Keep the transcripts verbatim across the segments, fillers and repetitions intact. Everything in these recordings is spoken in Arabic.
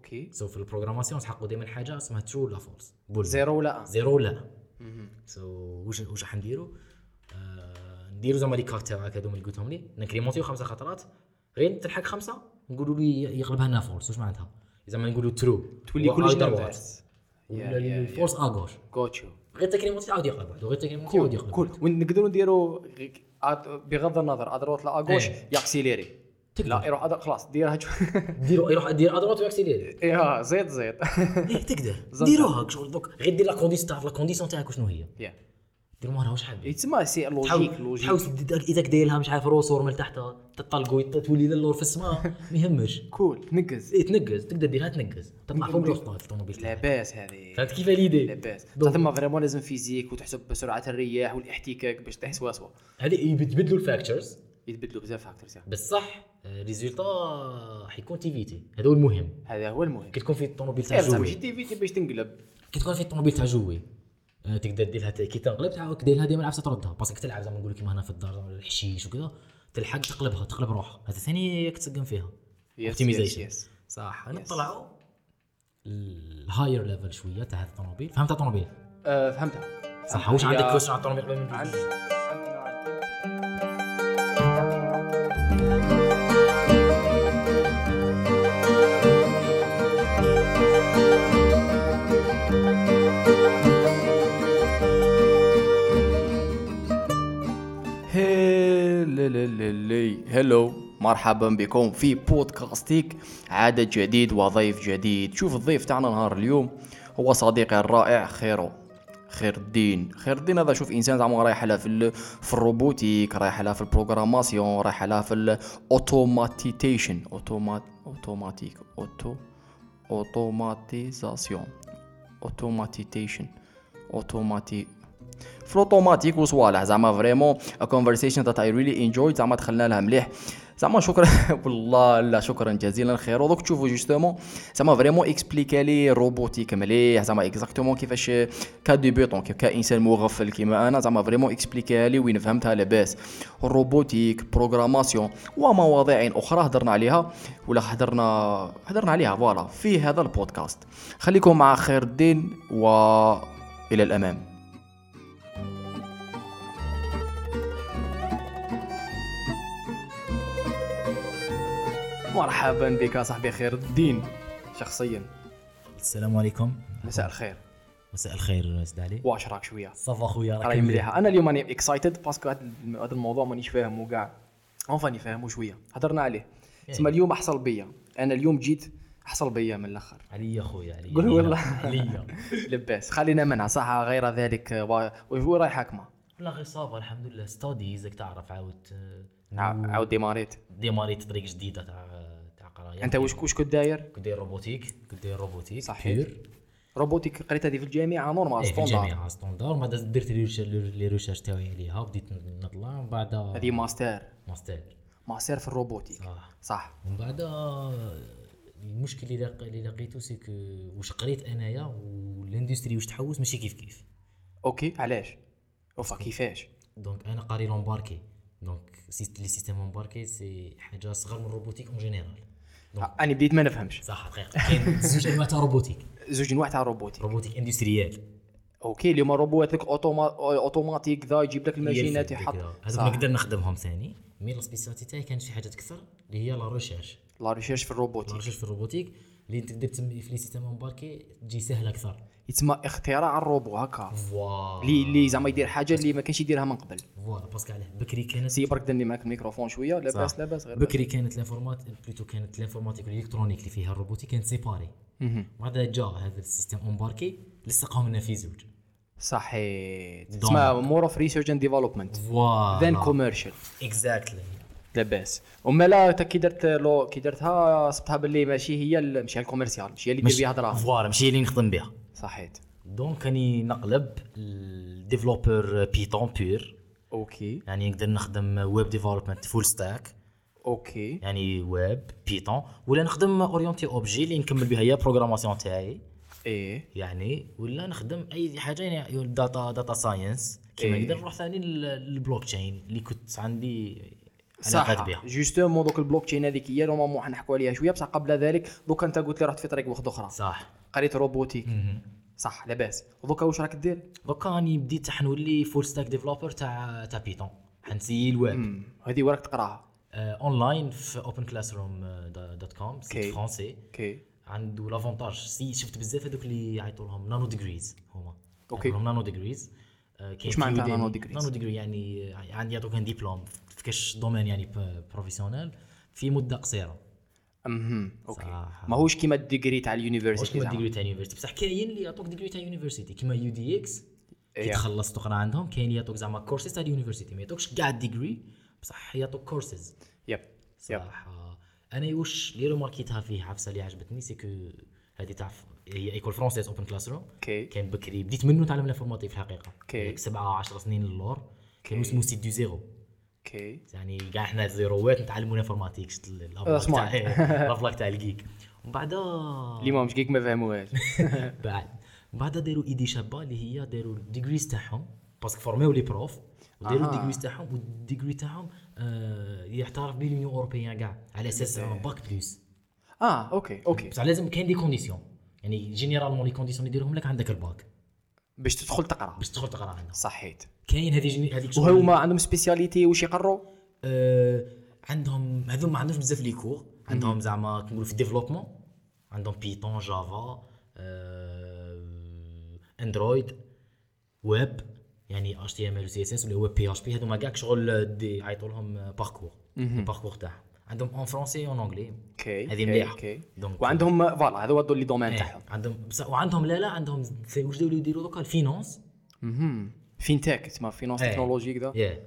اوكي سو في البروغراماسيون تحققوا دائما حاجه اسمها ترو ولا فولس زيرو ولا زيرو لا سو واش واش راح نديروا آه نديروا زعما لي كارت تاعك هذوما اللي قلتهم لي نكريمونتيو خمسه خطرات غير تلحق خمسه نقولوا لي يقلبها لنا فولس واش معناتها زعما نقولوا ترو تولي كلش نافاس ولا الفولس اغوش كوتشو غير تكريمونتي عاود يقلب واحد غير تكريمونتي عاود يقلب كول ونقدروا نديروا بغض النظر ادروت لا اغوش ياكسيليري لا يروح أدر... خلاص ديرها ديروا يروح دير ادروت وياكسيليري ايه زيد زيد ايه تقدر ديروها شغل دوك غير دير لا كونديسيون تاع لا كونديسيون تاعك شنو هي يا ديروا مره واش حاب يتسمى سي لوجيك لوجيك تحاول اذا دايرها مش عارف روسور من تحت تطلقوا تولي للور في السماء ما يهمش كول تنقز ايه تنقز تقدر ديرها تنقز تطلع فوق الوسط الطوموبيل لاباس هذه فهمت كيف ليدي لاباس ثم فريمون لازم فيزيك وتحسب بسرعه الرياح والاحتكاك باش تحس واسوا هذه يتبدلوا الفاكتورز يتبدلوا بزاف فاكتورز بصح ريزولتا حيكون تيفيتي هذا هو المهم هذا هو المهم كي تكون في الطوموبيل تاع جوي ماشي تيفيتي باش تنقلب كي تكون في الطوموبيل تاع جوي تقدر ديرها كي تنقلب تعاود ديرها ديما عفسه تردها باسكو تلعب زعما نقول لك كيما هنا في الدار الحشيش وكذا تلحق تقلبها تقلب روحها هذا ثاني كتسقم فيها اوبتيمايزيشن صح نطلعوا الهاير ليفل شويه تاع هذا الطوموبيل فهمت الطوموبيل أه فهمتها صح واش عندك كويشن على الطوموبيل قبل ما ندوز هلو مرحبا بكم في بودكاستيك عدد جديد وضيف جديد. شوف الضيف تاعنا نهار اليوم هو صديقي الرائع خيرو خير الدين خير الدين هذا شوف انسان زعما رايح لها في في الروبوتيك رايح لها في البروغراماسيون رايح لها في الاوتوماتيزيشن اوتومات اوتوماتيك اوتو اوتوماتيزاسيون اوتوماتيزيشن اوتوماتي في الاوتوماتيك وصوالح زعما فريمون ا كونفرسيشن ذات اي ريلي انجويد زعما دخلنا لها مليح زعما شكرا والله لا شكرا جزيلا خير. ودوك تشوفوا جوستومون زعما فريمون اكسبليكا لي روبوتيك مليح زعما اكزاكتومون كيفاش كديبيوتون كانسان مغفل كيما انا زعما فريمون اكسبليكا لي وين فهمتها لاباس الروبوتيك بروغراماسيون ومواضيع اخرى هضرنا عليها ولا هضرنا هضرنا عليها فوالا في هذا البودكاست. خليكم مع خير الدين والى الامام. مرحبا بك صاحبي خير الدين شخصيا. السلام عليكم. مساء الخير. مساء الخير سيد علي. واش راك شويه صافا خويا راك مليحه. انا اليوم راني اكسايتد باسكو هذا الموضوع مانيش فاهمه كاع اونفاني فاهمه شويه هضرنا عليه تسمى اليوم احصل بيا انا اليوم جيت احصل بيا من الاخر عليا خويا عليا قول والله عليا لباس خلينا منها صح غير ذلك وهو رايح حكمه لا غير صافا الحمد لله ستاديزك تعرف عاود عاود ديماريت ديماريت طريق جديده تاع تاع قرايه. انت واش واش كنت داير كنت داير روبوتيك كنت داير روبوتيك صحيح روبوتيك قريت هذه في الجامعه نورمال ستوندار في الجامعه ستوندار ما درت لي ريشيرش تاعي عليها بديت نطلع من بعد هذه ماستر ماستر ماستر في الروبوتيك صح صح. ومن بعد المشكل اللي اللي لقيته سي كو واش قريت انايا والاندستري واش تحوس ماشي كيف كيف. اوكي علاش وفا كيفاش؟ دونك انا قاري لومباركي دونك سيست لي سيستيم امباركي سي حاجه صغر من الروبوتيك اون جينيرال. انا بديت ما نفهمش صح دقيقه كاين زوج انواع تاع روبوتيك زوج انواع تاع روبوتيك روبوتيك اندستريال اوكي اللي هما روبوتك اوتوماتيك ذا يجيب لك الماشينات يحط هذوك نقدر نخدمهم ثاني مي لا سبيسياليتي تاعي كانت في حاجات اكثر اللي هي لا ريشيرش لا ريشيرش في الروبوتيك لا ريشيرش في الروبوتيك اللي تقدر تسمي في لي سيستيم امباركي تجي سهله اكثر يتسمى اختراع الروبو هكا فوالا اللي اللي زعما يدير حاجه اللي ما كانش يديرها من قبل فوالا باسكو علاه بكري كانت سي برك دني معاك الميكروفون شويه لاباس لاباس غير بكري كانت لانفورماتيك بلوتو كانت لانفورماتيك والالكترونيك اللي فيها الروبوتيك كانت سيباري بعد جا هذا السيستم امباركي لصقهم لنا في زوج صحيح تسمى مور اوف ريسيرش اند ديفلوبمنت فوالا ذان كوميرشال اكزاكتلي لاباس. وما لا كي درت لو كي درتها صبتها باللي ماشي هي ماشي الكوميرسيال ماشي هي اللي دير بها دراهم فوالا ماشي اللي نخدم بها صحيت. دونك راني نقلب الديفلوبر بيتون بير اوكي يعني نقدر نخدم ويب ديفلوبمنت فول ستاك اوكي يعني ويب بيتون ولا نخدم اورينتي اوبجي اللي نكمل بها هي بروغراماسيون تاعي ايه يعني ولا نخدم اي حاجه يعني داتا داتا ساينس كيما نقدر نروح ثاني للبلوك تشين اللي كنت عندي علاقات صح بها. جوستومون دوك البلوك تشين هذيك هي نورمالمون حنحكوا عليها شويه، بصح قبل ذلك دوكا انت قلت لي رحت في طريق واحده اخرى، صح. قريت روبوتيك. مهم. صح لاباس. ودوكا واش راك دير؟ دوكا راني بديت حنولي فول ستاك ديفلوبر تاع تاع بيتون، حنسيي الويب. امم هذه وراك تقراها؟ اونلاين في اوبن كلاس روم دوت كوم، سيت فرونسي. اوكي عنده لافونتاج سي شفت بزاف هذوك اللي يعيطوا لهم نانو ديجريز، هما اوكي لهم نانو ديجريز. واش معناتها نانو ديجريز؟ نانو ديجري يعني عندي يعطوك ان ديبلوم في كاش دومين يعني بروفيسيونيل في مده قصيره. امم اوكي صح. ماهوش كيما الديجري تاع واش اليونيفرسيتي كيما زعما. ديجري تاع يونيفرسيتي، بصح كاين اللي يعطوك ديجري تاع يونيفرسيتي كيما يو دي اكس كي إيه. تخلص تقرا عندهم. كاين اللي يعطوك زعما كورسز تاع اليونيفرسيتي، ما يعطوكش كاع ديجري بصح يعطوك كورسز. يب يب صح. انا واش اللي رماركيتها فيه عفسه اللي عجبتني سيكو هذه تعرف هي ايكول فرونسيز اوبن كلاس روم. اوكي كان بكري بديت منه نتعلم الانفورماتيك في الحقيقه. اوكي سبعة عشر سنين للور كان اسمه سيت دو زيرو. اوكي يعني كاع احنا زيروات نتعلموا الانفورماتيك سمارت. تاع الافلاك تاع الجيك. ومن بعد اللي ما مش كيك ما فهموهاش. بعد من بعد داروا ايدي شابه اللي هي داروا الديجريز تاعهم باسكو فورميو لي بروف وداروا أها. الديجريز تاعهم والديجري تاعهم آه يعترف به لونيون اوروبيان كاع على اساس باك بلس. اه اوكي اوكي بصح لازم كاين دي كونديسيون يعني جينيرالمون لي كونديسيون اللي يديرهم لك عندك الباك باش تدخل تقرا. باش تدخل تقرا عندهم. صحيت. كاين هذه جيني هذيك وهما عندهم سبيسياليتي واش يقروا؟ آه عندهم هذوما ما عندهمش بزاف لي كور. عندهم زعما كنقولوا في الديفلوبمون عندهم بيتون جافا آه اندرويد ويب يعني اتش تي ام ال و سي اس اس ولا ويب بي اتش بي. هذوما كاع شغل دي يعيطوا لهم باركور الباركور تاعهم. عندهم اون فرونسي اون انجلي. اوكي هذه مليحه. اوكي دونك وعندهم فوالا هذا هو اللي دومين إيه. تاعهم. عندهم بصح وعندهم لا لا عندهم واش داو يديروا دوكا الفينانس. اها فينتك تسمى فينانس إيه. تكنولوجي كذا. يا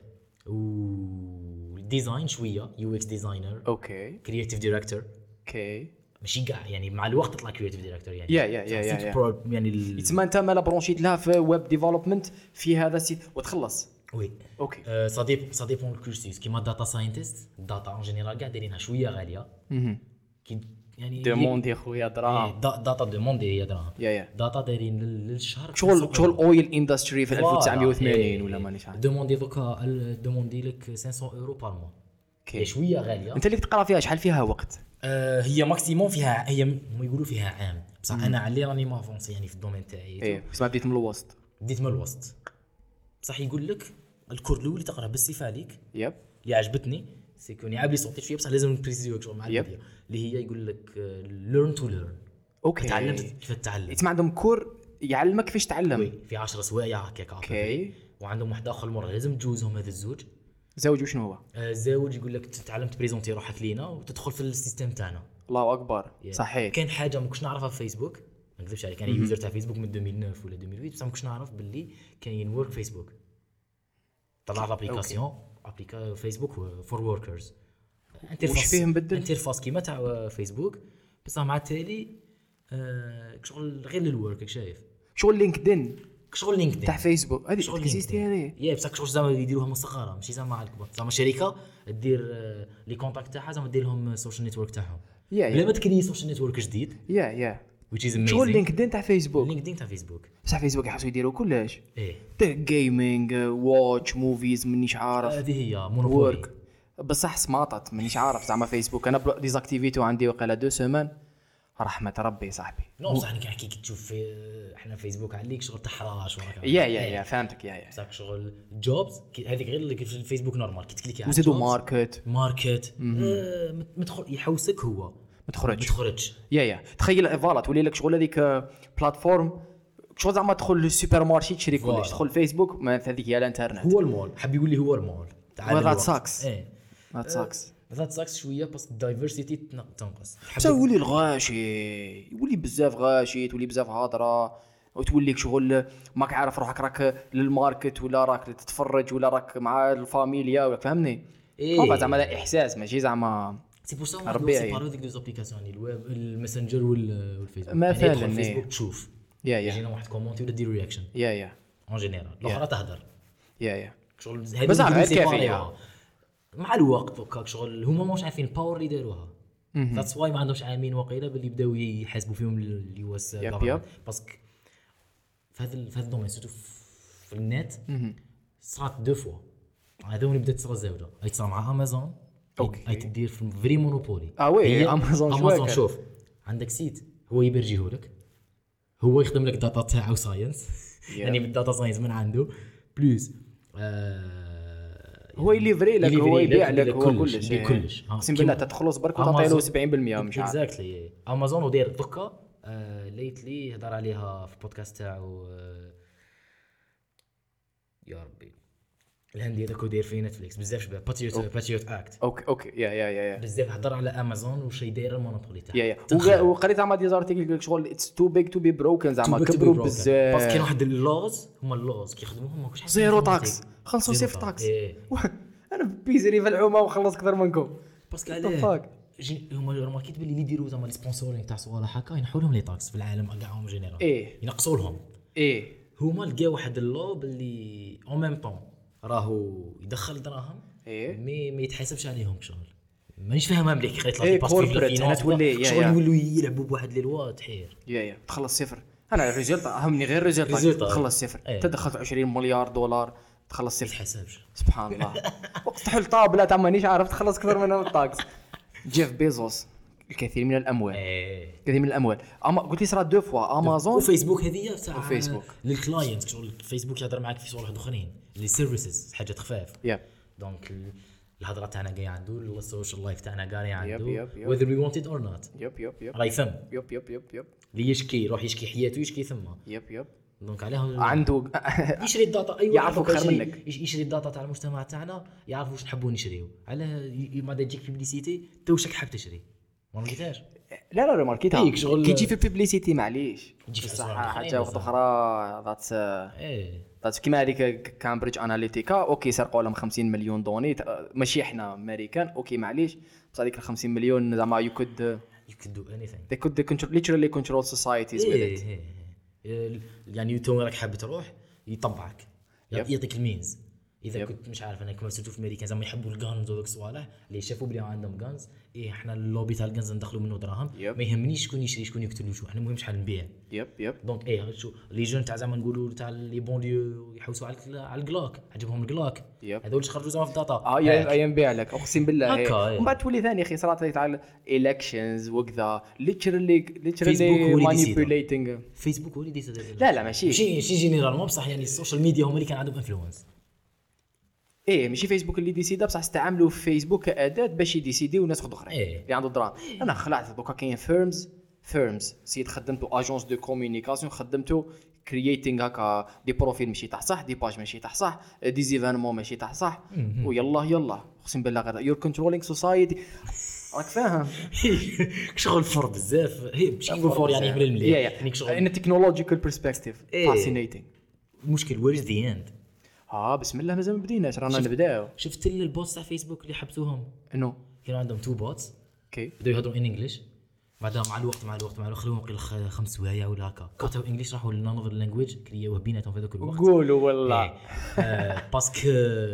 والديزاين شويه يو اكس ديزاينر اوكي كرييتيف دايركتور. اوكي ماشي كاع يعني مع الوقت تطلع كرييتيف دايركتور يعني يا يا يا يا, سيت يا. برو يعني ال... تسمى انت مالا برونشيت لها في ويب ديفلوبمنت في هذا السيت وتخلص. وي اوكي أه صديق صديق الكورسيس كيما داتا ساينتست الداتا اون جينيرال كاع دايرينها شويه غاليه. اها كي يعني دوموندي خويا دراهم. إيه، دا- داتا دوموندي هي دراهم. يا يا داتا دايرين لل- للشهر شغل شغل اويل اندستري في فوالا. ألف وتسعمية وثمانين إيه، ولا إيه. مانيش عارف. دوموندي دوكا ال- دوموندي لك خمسمية اورو بار موا. اوكي هي شويه غاليه. انت اللي تقرا فيها شحال فيها وقت؟ آه هي ماكسيموم فيها هي ما يقولوا فيها عام بصح انا علي راني مافونسي يعني في الدومين تاعي. ايه بس ما بديت من الوسط. بديت من الوسط بصح يقول لك الكور الاول اللي تقرا بالصفه عليك يب اللي عجبتني سيكوني عابلي صوتي شويه بصح لازم نبريسيزيو شغل مع يب. البدايه اللي هي يقول لك ليرن تو ليرن. اوكي تعلمت كيف تتعلم. تسمى عندهم كور يعلمك كيفاش تعلم. وي في عشرة سوايع هكاك. اوكي وعندهم واحد اخر مره لازم تجوزهم هذا الزوج. زوج وشنو هو؟ آه، الزوج يقول لك تتعلم تبريزونتي روحك لينا وتدخل في السيستم تاعنا. الله اكبر يعني صحيح. كاين حاجه ما كنتش نعرفها في فيسبوك ما نكذبش عليك انا يوزر تاع فيسبوك من ألفين وتسعة ولا ألفين وثمانية بصح ما كنتش نعرف باللي كاين ورك فيسبوك. طلع لابليكاسيون ابليكا فيسبوك فور وركرز. وش فيه مبدل؟ انترفاس كيما تاع فيسبوك بصح مع التالي آه شغل غير للورك شايف شغل لينكدين شغل لينكدين تاع فيسبوك هذه شغل اكزيستي هذه. يا بصح شغل زعما يديروها من الصغار ماشي زعما على الكبار زعما شركه دير آه، لي كونتاكت تاعها زعما دير لهم سوشيال نيتورك تاعهم يا بلا يا ما تكري سوشيال نيتورك جديد يا يا which is amazing. شغل لينكدين تاع فيسبوك. لينكدين تاع فيسبوك بصح فيسبوك يحسوا يديروا كلش ايه جيمنج واتش موفيز مانيش عارف هذه هي مونوبولي. ورك بصح سماطت مانيش عارف زعما فيسبوك انا ديزاكتيفيتو عندي وقيله دو سيمان رحمه ربي صاحبي. نو بصح انا كي تشوف في احنا فيسبوك عليك شغل تحراش وراك يا يا يا فهمتك يا يا بصح شغل جوبز هذيك غير اللي في الفيسبوك نورمال كي تكليكي على وزيدوا jobs، ماركت ماركت آه، مدخل يحوسك هو ما تخرجش. ما تخرجش. يا يا تخيل فوالا تولي لك شغل هذيك بلاتفورم شغل زعما تدخل للسوبر مارشي تشري كلش فوالا. تدخل فيسبوك ما هذيك هي الانترنت. هو المول حب يقول لي هو المول وذات ساكس ايه ذات ساكس ذات ساكس شويه بس الدايفرسيتي تنقص. بس يولي الغاشي يولي بزاف غاشي تولي بزاف هضره وتوليك شغل ماك عارف روحك راك للماركت ولا راك تتفرج ولا راك مع الفاميليا فهمني. إيه. زعما هذا احساس ماشي زعما سي بور سا ربي سي يعين. بارو ديك دي زابليكاسيون الويب الماسنجر وال- والفيسبوك مثلاً، يعني تدخل إيه. فيسبوك تشوف يا يا يجينا واحد كومونتي ولا دير رياكشن يا يا اون جينيرال الاخرى تهدر يا يا شغل بس زعما هذه كافية. مع الوقت دوكا شغل هما ماش عارفين الباور اللي داروها ذاتس واي ما عندهمش عامين وقيله باللي بداو يحاسبوا فيهم اليو اس يب يب. باسكو في هذا في هذا الدومين سيرتو في النت صرات دو فوا هذا اللي بدات تصرا الزاوده هاي تصرا مع امازون أوكي. هاي تدير في فري مونوبولي. اه وي هي امازون امازون شوف عندك سيت هو يبرجيهولك، هو يخدم لك داتا تاعو ساينس يعني بالداتا ساينس من عنده بلوس آه هو يليفري لك، هو يبيع لك، هو كلش كلش يبيع كلش. اقسم بالله تتخلص برك وتعطي له سبعين بالمية مش عارف. اكزاكتلي امازون وداير دوكا آه ليتلي هضر عليها في البودكاست تاعو آه يا ربي الهندي هذاك داير في نتفليكس بزاف شباب باتريوت باتريوت اكت. اوكي اوكي يا يا يا يا بزاف هضر على امازون وشي داير المونوبولي تاعها. يا يا وقريت زعما دي زارتيكل لك شغل اتس تو بيج تو بي بروكن زعما كبروا بزاف باسكو كاين واحد اللوز هما اللوز كيخدموهم ماكوش حاجه زيرو تاكس خلصوا صفر تاكس. انا بيزري في العومه وخلص اكثر منكم باسكو علاه هما رماكيت باللي يديروا زعما لي سبونسورينغ تاع صوالح هكا ينحوا لهم لي تاكس في العالم كاعهم جينيرال ايه ينقصوا لهم ايه هما لقاو واحد اللو باللي اون ميم طون راهو يدخل دراهم ايه مي ما يتحاسبش عليهم شغل مانيش فاهمها مليح قريت إيه كوربريت هنا تولي شغل يولوا يلعبوا بواحد لي لوا تحير يا يا تخلص صفر. انا الريزلت اهمني غير الريزلت تخلص صفر. انت دخلت عشرين مليار دولار تخلص صفر ما يتحاسبش سبحان الله. وقت تحل طابله تاع مانيش عارف تخلص اكثر منها من الطاكس. جيف بيزوس الكثير من الاموال ايه الكثير من الاموال اما قلت لي صرا دو فوا امازون وفيسبوك هذه تاع فيسبوك للكلاينت شغل فيسبوك يهضر معاك في صوالح اخرين لي سيرفيسز حاجات خفاف يا دونك الهضره تاعنا جاي عنده السوشيال لايف تاعنا قاري عنده يب يب whether we want it or not يب يب يب راهي يثم يب يب يب يب اللي يشكي يروح يشكي حياته يشكي ثم يب يب دونك عليهم عنده يشري الداتا ايوه يعرفوا خير منك يشري الداتا تاع المجتمع تاعنا يعرفوا واش نحبوا نشريو على ما تجيك بيبليسيتي توشك حاب تشري ما لقيتهاش لا لا ماركيتها شغل كي تجي في البيبليسيتي معليش تجي في الصحه حاجه وقت اخرى ذات ايه ذات كيما هذيك كامبريدج اناليتيكا اوكي سرقوا لهم خمسين مليون دوني ماشي احنا امريكان اوكي معليش بس هذيك ال خمسين مليون زعما يو كود you could do anything they could they control literally control societies with it. إيه إيه. يعني تو راك حاب تروح يطبعك يعطيك المينز اذا yep. كنت مش عارف انا كما سيرتو في امريكا زعما يحبوا الغانز ودوك الصوالح اللي شافوا بلي عندهم غانز ايه احنا اللوبي تاع الغانز ندخلوا منه دراهم yep. ما يهمنيش شكون يشري شكون يقتل شو احنا المهم شحال نبيع يب يب دونك ايه شو لي جون تاع زعما نقولوا تاع لي بونديو يحوسوا على على الكلاك عجبهم الكلاك yep. هذول اللي خرجوا زعما في الداتا اه يا نبيع لك اقسم بالله ومن بعد تولي ثاني اخي صارت تاع الالكشنز وكذا ليترالي ليترالي مانيبيوليتينغ فيسبوك هو اللي ديسيد لا لا ماشي شي شي جينيرالمون بصح يعني السوشيال ميديا هما اللي كان عندهم انفلونس ايه ماشي فيسبوك اللي ديسيدا بصح استعملوا فيسبوك كاداه باش يديسيديو الناس اخرين إيه. اللي عنده دراهم. انا خلعت دوكا كاين فيرمز فيرمز سيت خدمتو اجونس دو كومونيكاسيون خدمتو كرييتينغ هكا دي بروفيل ماشي تاع صح دي باج ماشي تاع صح دي زيفينمون ماشي تاع صح ويلا يلا اقسم بالله غير يور كنترولينغ سوسايتي راك فاهم شغل فور بزاف هي ماشي نقول فور يعني من المليح يعني شغل ان تكنولوجيكال برسبكتيف فاسينيتينغ المشكل وير از ذا اند ها بسم الله مازال ما بديناش رانا نبداو. شفت البوتس تاع فيسبوك اللي حبسوهم انه كانوا عندهم تو بوتس اوكي بداو يهضروا ان انجلش بعدها مع الوقت مع الوقت مع الوقت خلوهم قيل خمس سوايع ولا هكا كاتو انجلش راحوا لنانوفر لانجويج كرياوه بيناتهم في هذاك الوقت قولوا والله آه باسكو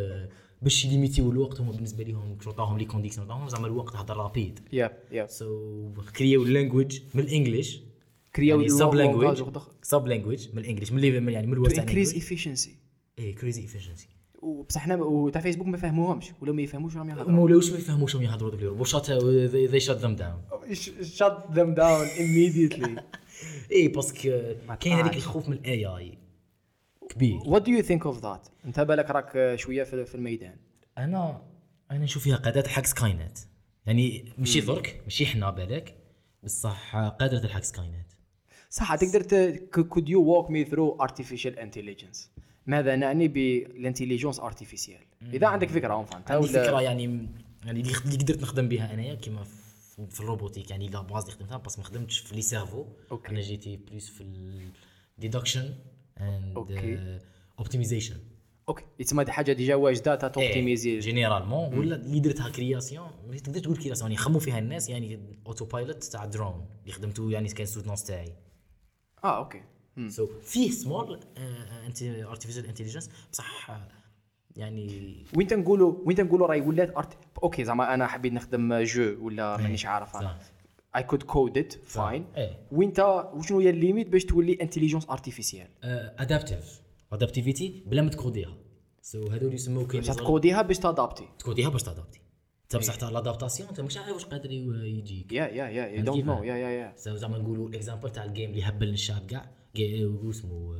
باش يليميتيو الوقت هما بالنسبه لهم عطاهم لي كونديسيون تاعهم زعما الوقت هضر رابيد يا يا سو كرياو اللانجويج من الانجليش كرياو سب لانجويج سب لانجويج من الانجليش من اللي يعني من الوسط انكريز افيشنسي ايه كريزي افيشنسي وبصح حنا وتاع فيسبوك ما فهموهمش ولا ما يفهموش راهم يهضروا ما ولاوش ما يفهموش راهم يهضروا بلي روبوشات they shut them down shut them down immediately ايه باسكو كاين هذيك الخوف من الاي اي كبير. what do you think of that انت بالك راك شويه في الميدان؟ انا انا نشوف فيها قادات حق سكاينت يعني ماشي درك ماشي حنا بالك بصح قادره الحق سكاينت صح تقدر could you walk me through artificial intelligence ماذا نعني بالانتيليجنس ارتيفيسيال اذا عندك فكره اون فهمت عندي فكره يعني يعني اللي قدرت نخدم بها انايا كيما في الروبوتيك يعني لا باز اللي خدمتها بس ما خدمتش في لي سيرفو انا جيتي بليس في الديدكشن اند اوبتيمايزيشن اوكي يتسمى دي حاجه ديجا واجده تا توبتيميزي جينيرالمون ولا اللي درتها كرياسيون تقدر تقول كرياسيون يعني يخموا فيها الناس يعني اوتو بايلوت تاع درون اللي خدمته يعني كان سوتنونس تاعي اه اوكي سو فيه سمول انت ارتيفيشال انتليجنس بصح يعني وين تنقولوا وين تنقولوا راهي ولات ارت اوكي زعما انا حبيت نخدم جو ولا مانيش عارف انا اي كود كود ات فاين وانت وشنو هي الليميت باش تولي انتليجنس ارتيفيسيال ادابتيف ادابتيفيتي بلا ما تكوديها سو هذول يسموه كاين باش تكوديها باش تادابتي تكوديها باش تادابتي انت بصح تاع لادابتاسيون انت مش عارف واش قادر ي- يجيك. يا يا يا يو دونت نو يا يا يا زعما نقولوا الاكزامبل تاع الجيم اللي هبل الشعب كاع كاع اسمه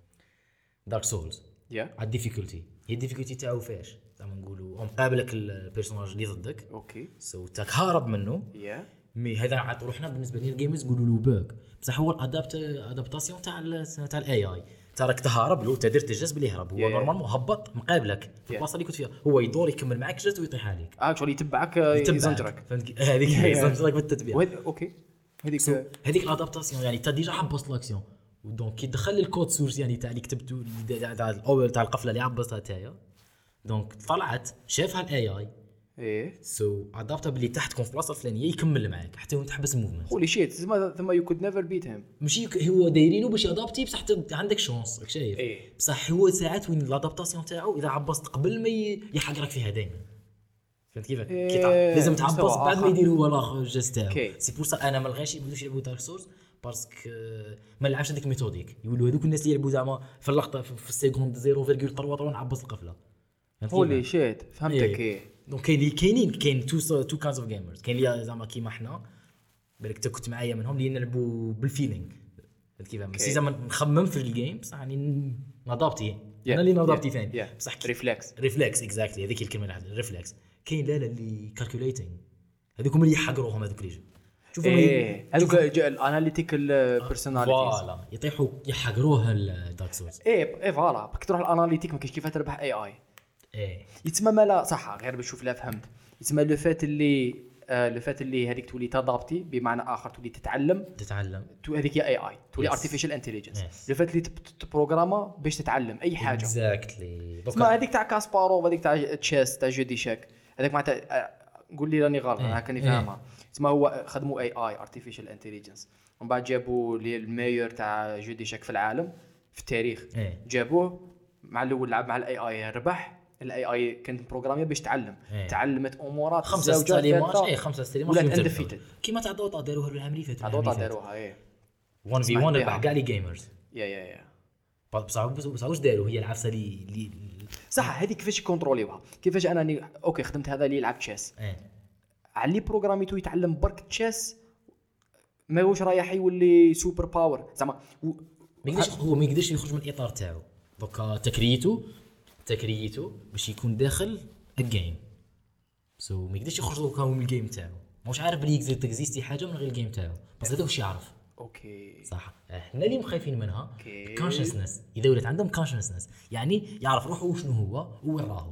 دارك سولز. يا على الديفيكولتي هي الديفيكولتي تاعو فاش زعما نقولوا مقابلك البيرسوناج اللي ضدك اوكي سو تاك هارب منه يا مي هذا عاد روحنا بالنسبه لي الجيمرز يقولوا له باك بصح هو الادابت ادابتاسيون تاع ال- تاع الاي اي تراك تهرب له تدير تجلس بلي يهرب هو Yeah, yeah. نورمالمون هبط مقابلك في البلاصه اللي كنت فيها هو يدور يكمل معك جلس ويطيح عليك اكشولي يتبعك يتبعك. يزنجرك فهمت هذيك Yeah, yeah. يزنجرك بالتتبيع وهذ- اوكي هذيك So, هذيك الادابتاسيون يعني انت ديجا حبست لاكسيون ودونك كي دخل الكود سورس يعني تاع اللي كتبته تاع تاع الاول تاع القفله اللي عبستها تاعي دونك طلعت شافها الاي اي ايه سو ادابتا بلي تحت تكون في البلاصه الفلانيه يكمل معاك حتى وانت تحبس الموفمنت هولي شيت ثم ثم يو كود نيفر بيت هيم ماشي ك- هو دايرينه باش يادابتي بصح ت- عندك شونس راك شايف إيه. بصح هو ساعات وين لادابتاسيون تاعو اذا عبست قبل ما ي- يحقرك فيها دائما فهمت كيف إيه، كي تع- لازم مستوى تعبس بعد ما آخر. يدير هو لا الجست تاعو أوكي. سي بور سا انا ما لغاش يبداوش يلعبوا دارك سورس باسكو ما نلعبش هذيك الميثوديك يقولوا هذوك الناس اللي يلعبوا زعما في اللقطه في في السيكوند صفر فاصلة ثلاثة ثلاثة نعبس القفله فهمت كيف؟ هولي شيت فهمتك إيه. ايه دونك كاين اللي كاينين كاين تو تو كاينز اوف جيمرز كاين اللي زعما كيما حنا بالك انت كنت معايا منهم اللي نلعبوا بالفيلينغ فهمت كيف ماشي زعما نخمم في الجيم بصح يعني نادابتي انا اللي نادابتي ثاني بصح ريفلكس ريفلكس اكزاكتلي هذيك الكلمه اللي عندي ريفلكس كاين لا لا اللي كالكوليتنج هذوكم اللي يحقروهم هذوك اللي شوفوا ايه هذوك الاناليتيكال بيرسوناليتيز فوالا يطيحوا يحقروها الدارك سورس ايه ايه فوالا باك تروح الاناليتيك ما كاينش كيف تربح اي اي ايه يتسمى مالا صح غير باش نشوف لا فهمت يتسمى لو فات اللي آه لو فات اللي هذيك تولي تادابتي بمعنى اخر تولي تتعلم تتعلم تو هذيك هي اي اي تولي Yes. ارتفيشال انتليجنس Yes. لو فات اللي تبروغراما باش تتعلم اي حاجه اكزاكتلي اسمع هذيك تاع كاسباروف هذيك تاع تشيس تاع جودي شاك هذاك معناتها آه، قول لي راني غلط انا كاني فاهمها اسمع هو خدموا اي اي ارتفيشال انتليجنس ومن بعد جابوا لي الميور تاع جودي شاك في العالم في التاريخ إيه. جابوه مع الاول لعب مع الاي اي ربح الاي اي كانت بروغراميه باش تعلم إيه. تعلمت امورات خمسه زوجات ستريمات ثلاثة. اي خمسه ستريمات ولا فهمت اندفيتد الفكرة. كيما تاع دوطا داروها العام اللي فات عدوطا داروها ايه واحد في واحد ربح كاع لي جيمرز يا يا يا بصح بصح واش داروا هي العفسه اللي اللي صح هذه كيفاش يكونتروليوها كيفاش انا ني... اوكي خدمت هذا اللي يلعب تشيس ايه علي بروغراميتو يتعلم برك تشيس ما هوش رايح يولي سوبر باور زعما و... ما يقدرش هو ما يقدرش يخرج من الاطار تاعو دوكا تكريته تكريته باش يكون داخل الجيم سو so, ما يقدرش يخرج دوكا من الجيم تاعو ماهوش عارف بلي يقدر تكزيستي حاجه من غير الجيم تاعو بس هذا واش يعرف اوكي صح احنا اللي مخايفين منها أوكي. كونشسنس اذا ولات عندهم كونشسنس يعني يعرف روحه وشنو هو وين راهو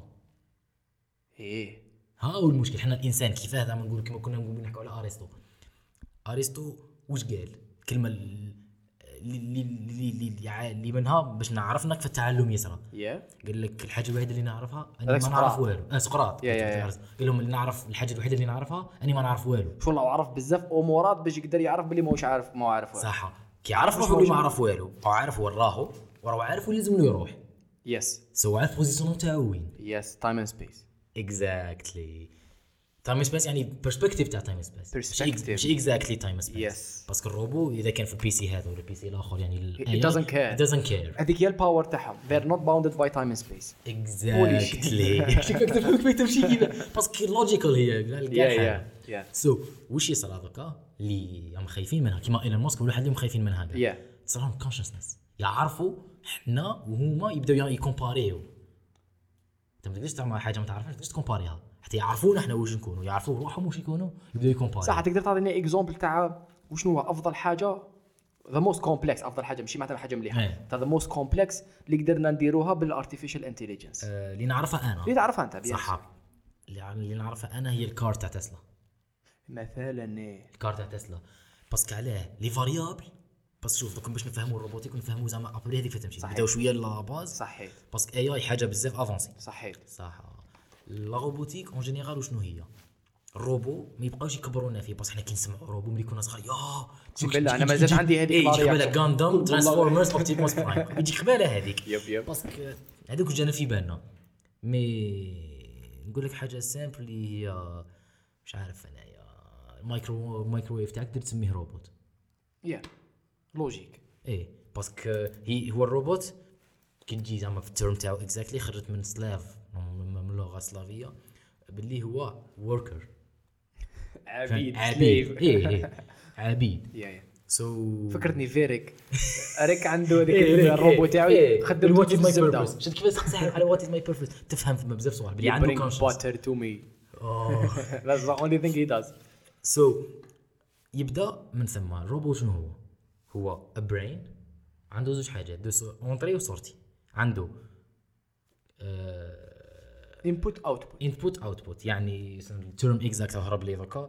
ايه ها هو المشكل حنا الانسان كيفاه زعما نقول كما كنا نقول نحكوا على ارسطو ارسطو واش قال الكلمه اللي اللي اللي اللي, اللي منها باش نعرفنا كيف التعلم يسرى يا قال لك الحاجه الوحيده اللي نعرفها اني هذاك ما سقراط. نعرف والو اه سقراط يا- يا- يا. قال لهم اللي نعرف الحاجه الوحيده اللي نعرفها اني ما نعرف والو شو الله عرف بزاف امورات باش يقدر يعرف بلي ماهوش عارف ما عارف والو. صح كي يعرف روحو اللي ما عرف والو هو عارف وين راهو وراه عارف وين لازم له يروح يس سو عارف بوزيسيون تاعو وين يس تايم اند سبيس اكزاكتلي تايم سبيس يعني برسبكتيف تاع تايم سبيس Perspective. ماشي اكزاكتلي تايم سبيس Yes. باسكو الروبو اذا كان في البي سي هذا ولا البي سي الاخر يعني ال It doesn't care. it doesn't care هذيك هي الباور تاعهم they're not bounded by time and space اكزاكتلي شوف كيف كيف تمشي كذا باسكو لوجيكال هي كاع يا حاجه يا سو واش يصير هذاك اللي هم خايفين منها كيما ايلون ماسك ولا حد اللي خايفين منها هذا يا تصير لهم كونشسنس يعرفوا حنا وهما يبداو يكومباريو انت ما تقدرش تعمل حاجه ما تعرفهاش تقدرش تكومباريها حتى يعرفونا احنا واش نكونوا يعرفوا روحهم واش يكونوا يبداو يكومباريو صح تقدر تعطيني اكزومبل تاع وشنو هو افضل حاجه ذا موست كومبلكس افضل حاجه ماشي معناتها حاجه مليحه إيه. تاع ذا موست كومبلكس اللي قدرنا نديروها بالارتفيشال انتليجنس آه، اللي نعرفها انا اللي تعرفها انت بيان صح اللي اللي نعرفها انا هي الكار تاع تسلا مثلا إيه. الكار تاع تسلا باسكو علاه لي فاريابل بس شوف دوك باش نفهموا الروبوتيك ونفهموا زعما ابري هذيك تمشي صحيح. بداو شويه لا باز صحيت باسكو اي اي حاجه بزاف افونسي صحيت صح لا روبوتيك اون جينيرال وشنو هي الروبو ما يبقاوش يكبرونا فيه بس حنا كي نسمعوا روبو ملي كنا صغار يا بالله، أنا مازال عندي هذيك يجي الرياكشن. قبالها غاندام ترانسفورمرز اوبتيموس برايم يجي قبالها هذيك يب يب باسكو هذوك جانا في بالنا مي نقول لك حاجه سامبل اللي هي مش عارف انايا المايكرو المايكروويف تاعك تقدر تسميه روبوت يا لوجيك ايه باسكو هي هو الروبوت كي تجي زعما في التيرم تاعو اكزاكتلي خرجت من سلاف من اللغه السلافيه باللي هو وركر عبيد عبيد slave. ايه ايه عبيد يا يا سو فكرتني فيريك ريك عنده هذيك الروبو تاعو خدم وات از ماي الزبدة. بيربز شفت كيفاش تسحب على وات از ماي بيربز تفهم في بزاف صوالح بلي عنده Bring كونشنس butter to me. That's the only thing he does. سو يبدا من ثم الروبو شنو هو هو a brain عنده زوج حاجات دو اونطري وسورتي عنده Input output. انبوت اوتبوت يعني التيرم اكزاكت هرب لي ذكا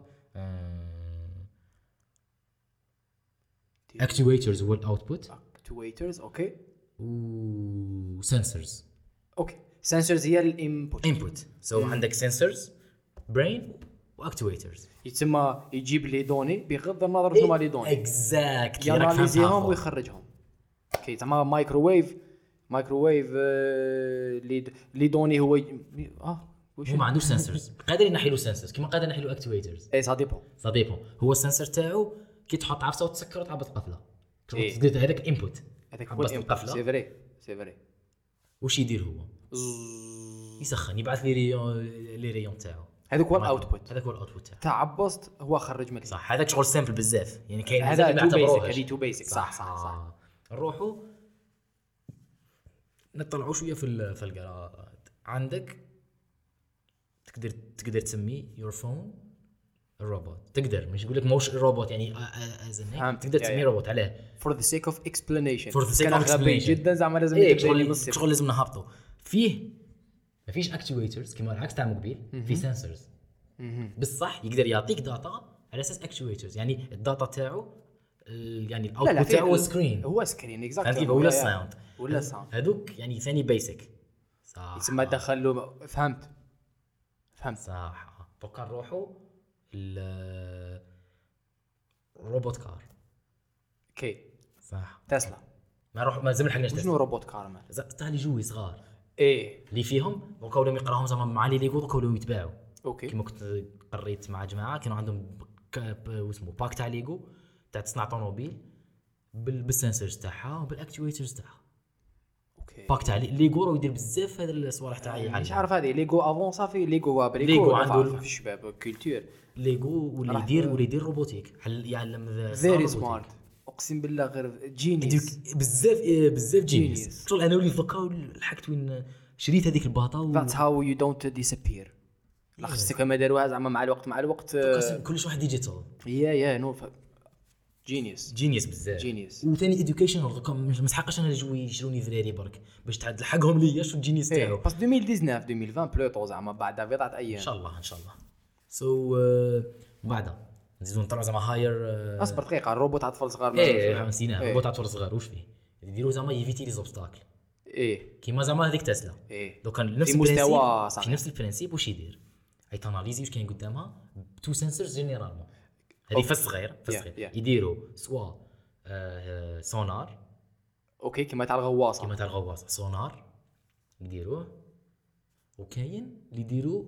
اكتويترز هو الاوتبوت Actuators. Okay. و sensors Okay. Sensors هي الانبوت. input سو so عندك sensors brain واكتويترز يتسمى يجيب لي دوني بغض النظر شنو هما لي دوني اكزاكت ياناليزيهم ويخرجهم. اوكي زعما مايكروويف مايكروويف آه، لي لي دوني هو ي- اه واش هو ما عندوش سنسورز قادر ينحي له سنسورز كيما قادر ينحي له اكتويترز اي سا ديبون. سا ديبون هو السنسور تاعو كي تحط عفسه وتسكر وتعبط قفله إيه. تقدر هذاك الانبوت هذاك هو عبست الانبوت. القفله سي فري سي فري. واش يدير هو يسخن يبعث لي ريون لي ريون تاعو هذاك هو الاوتبوت هذاك هو الاوتبوت تاعو تاع عبست هو خرج مليح. صح هذاك شغل سامبل بزاف يعني كاين هذا بزاف تو اللي ما بيسك. يعتبروهش هذه تو بيسك. صح صح صح. نروحوا نطلعوا شويه في ال- في القراءات عندك تقدر تقدر تسمي يور فون الروبوت تقدر مش يقول لك موش الروبوت يعني از فهمت. تقدر يا- تسميه يا. روبوت علاه for the sake of explanation. For the sake كان of غبي explanation. جدا زعما لازم ايه يكتب لي شغل نص. شغل لازم نهبطوا فيه ما فيش اكتويترز كما العكس تاع الموبيل في سنسورز بصح يقدر يعطيك داتا على اساس اكتويترز يعني الداتا تاعو ال- يعني لا لا الاوتبوت في- تاعو سكرين هو سكرين اكزاكت. فهمت كيف ولا الساوند ولا الساوند هذوك يعني ثاني بيسك صح يتسمى دخل له. فهمت فهمت. صح دوكا نروحوا ال روبوت كار اوكي صح تسلا. ما نروح ما زلنا حقناش شنو روبوت كارمان؟ تاع لي جوي صغار ايه اللي فيهم دوكا ولاو يقراهم زعما مع لي ليغو دوكا ولاو يتباعوا اوكي كيما كنت قريت مع جماعه كانوا عندهم واسمه باك تاع ليغو تاع تصنع طوموبيل بال- بالسنسورز تاعها وبالاكتويترز تاعها اوكي. باك تاع ليغو راه يدير بزاف هذا الصوالح تاع مش عارف هذه ليغو افون صافي ليغو هو ليغو ليغو عنده عنده في الشباب كولتور ليغو واللي راح- يدير واللي يدير روبوتيك حل يعلم ذا فيري روبوتيك. سمارت اقسم بالله غير هذيك جينيس. بزاف إيه، بزاف جينيس Genius. شغل انا ولي ذكا لحقت وين شريت هذيك الباطا و... That's how you don't disappear. لا خصك كما داروها زعما مع الوقت مع الوقت. قسم كلش واحد ديجيتال يا يا نو جينيس جينيس بزاف جينيس. وثاني اديوكيشنال دوكا مش مسحقش انا نجوي يشروني ذراري برك باش تعاد لحقهم ليا شو الجينيس ايه تاعو بس ألفين وتسعطاش ألفين وعشرين بلوتو زعما بعد بضعة ان ايام. شاء الله ان شاء الله سو بعدها نزيدو نطلعوا زعما هاير اصبر دقيقه الروبوت تاع اطفال صغار. ايه نسيناه إيه. روبوت تاع طفل صغار واش فيه يديروا زعما يفيتي لي زوبستاكل ايه كيما زعما هذيك تسلا ايه دوكا نفس في مستوى البرانسيب صحيح. في نفس البرانسيب واش يدير اي تاناليزي واش كاين قدامها تو سنسورز جينيرالمون هذه فاس صغير فاس Yeah, صغير yeah. يديروا سوا آه، سونار اوكي كيما تاع الغواصه. كيما تاع الغواصه سونار يديروه وكاين اللي يديروا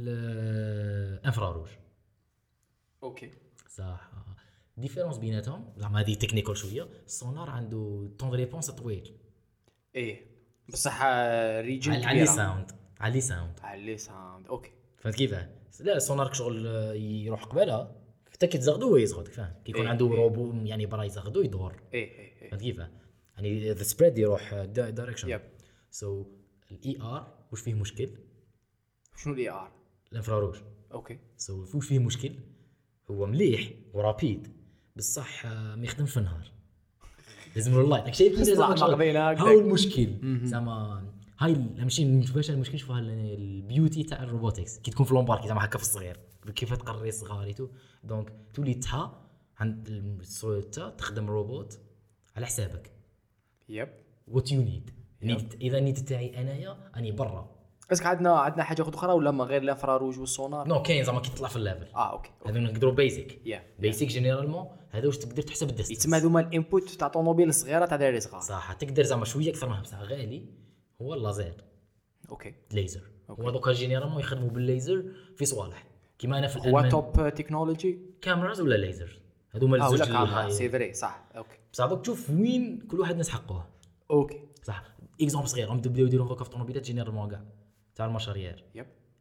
الانفراروج اوكي صح ديفيرونس بيناتهم زعما هذه تكنيكال شويه السونار عنده طون ريبونس طويل ايه بصح ريجن على لي ساوند على لي ساوند على ساوند. اوكي فهمت كيفاه لا السونار شغل آه، يروح قبالها حتى كي تزغدو هو يزغد فاهم كي يكون إيه، عنده إيه. روبو يعني برا يزغدو يدور ايه ايه ايه فهمت كيفاه يعني ذا سبريد يروح دايركشن يب. سو الاي ار واش فيه مشكل شنو الاي ار؟ الانفراروج اوكي سو واش فيه مشكل هو مليح ورابيد بصح آه، ما يخدمش في النهار لازم له اللايت داك الشيء صح، ماخذينها هكذاك. هاو المشكل زعما هاي ماشي نشوفهاش المشكل نشوفها البيوتي تاع الروبوتكس كي تكون في لومباركي زعما هكا في الصغير كيف تقري صغاريتو دونك تولي تا عند السويتا تخدم روبوت على حسابك يب. وات يو نيد اذا نيد تاعي انايا اني برا اسك عندنا عندنا حاجه اخرى ولا ما غير الانفراروج والسونار؟ نو كاين زعما كي تطلع في الليفل اه اوكي هذو نقدروا بيزك يا بيسك جينيرالمون هذا واش تقدر تحسب الديستنس يتسمى هذوما الانبوت تاع طوموبيل صغيره تاع دراري صغار. صح تقدر زعما شويه اكثر منها بصح غالي هو اللازير اوكي ليزر هو دوكا جينيرالمون يخدموا بالليزر في صوالح كيما انا في هو الالمان توب تكنولوجي. كاميراز ولا ليزر هذوما اه ولا الزوج كاميرا الهاي سي فري صح. اوكي بصح دوك تشوف وين كل واحد ناس حقوه اوكي صح اكزومبل صغير هم بداو يديروا دوكا في طوموبيلات جينيرالمون كاع تاع المشاريع يب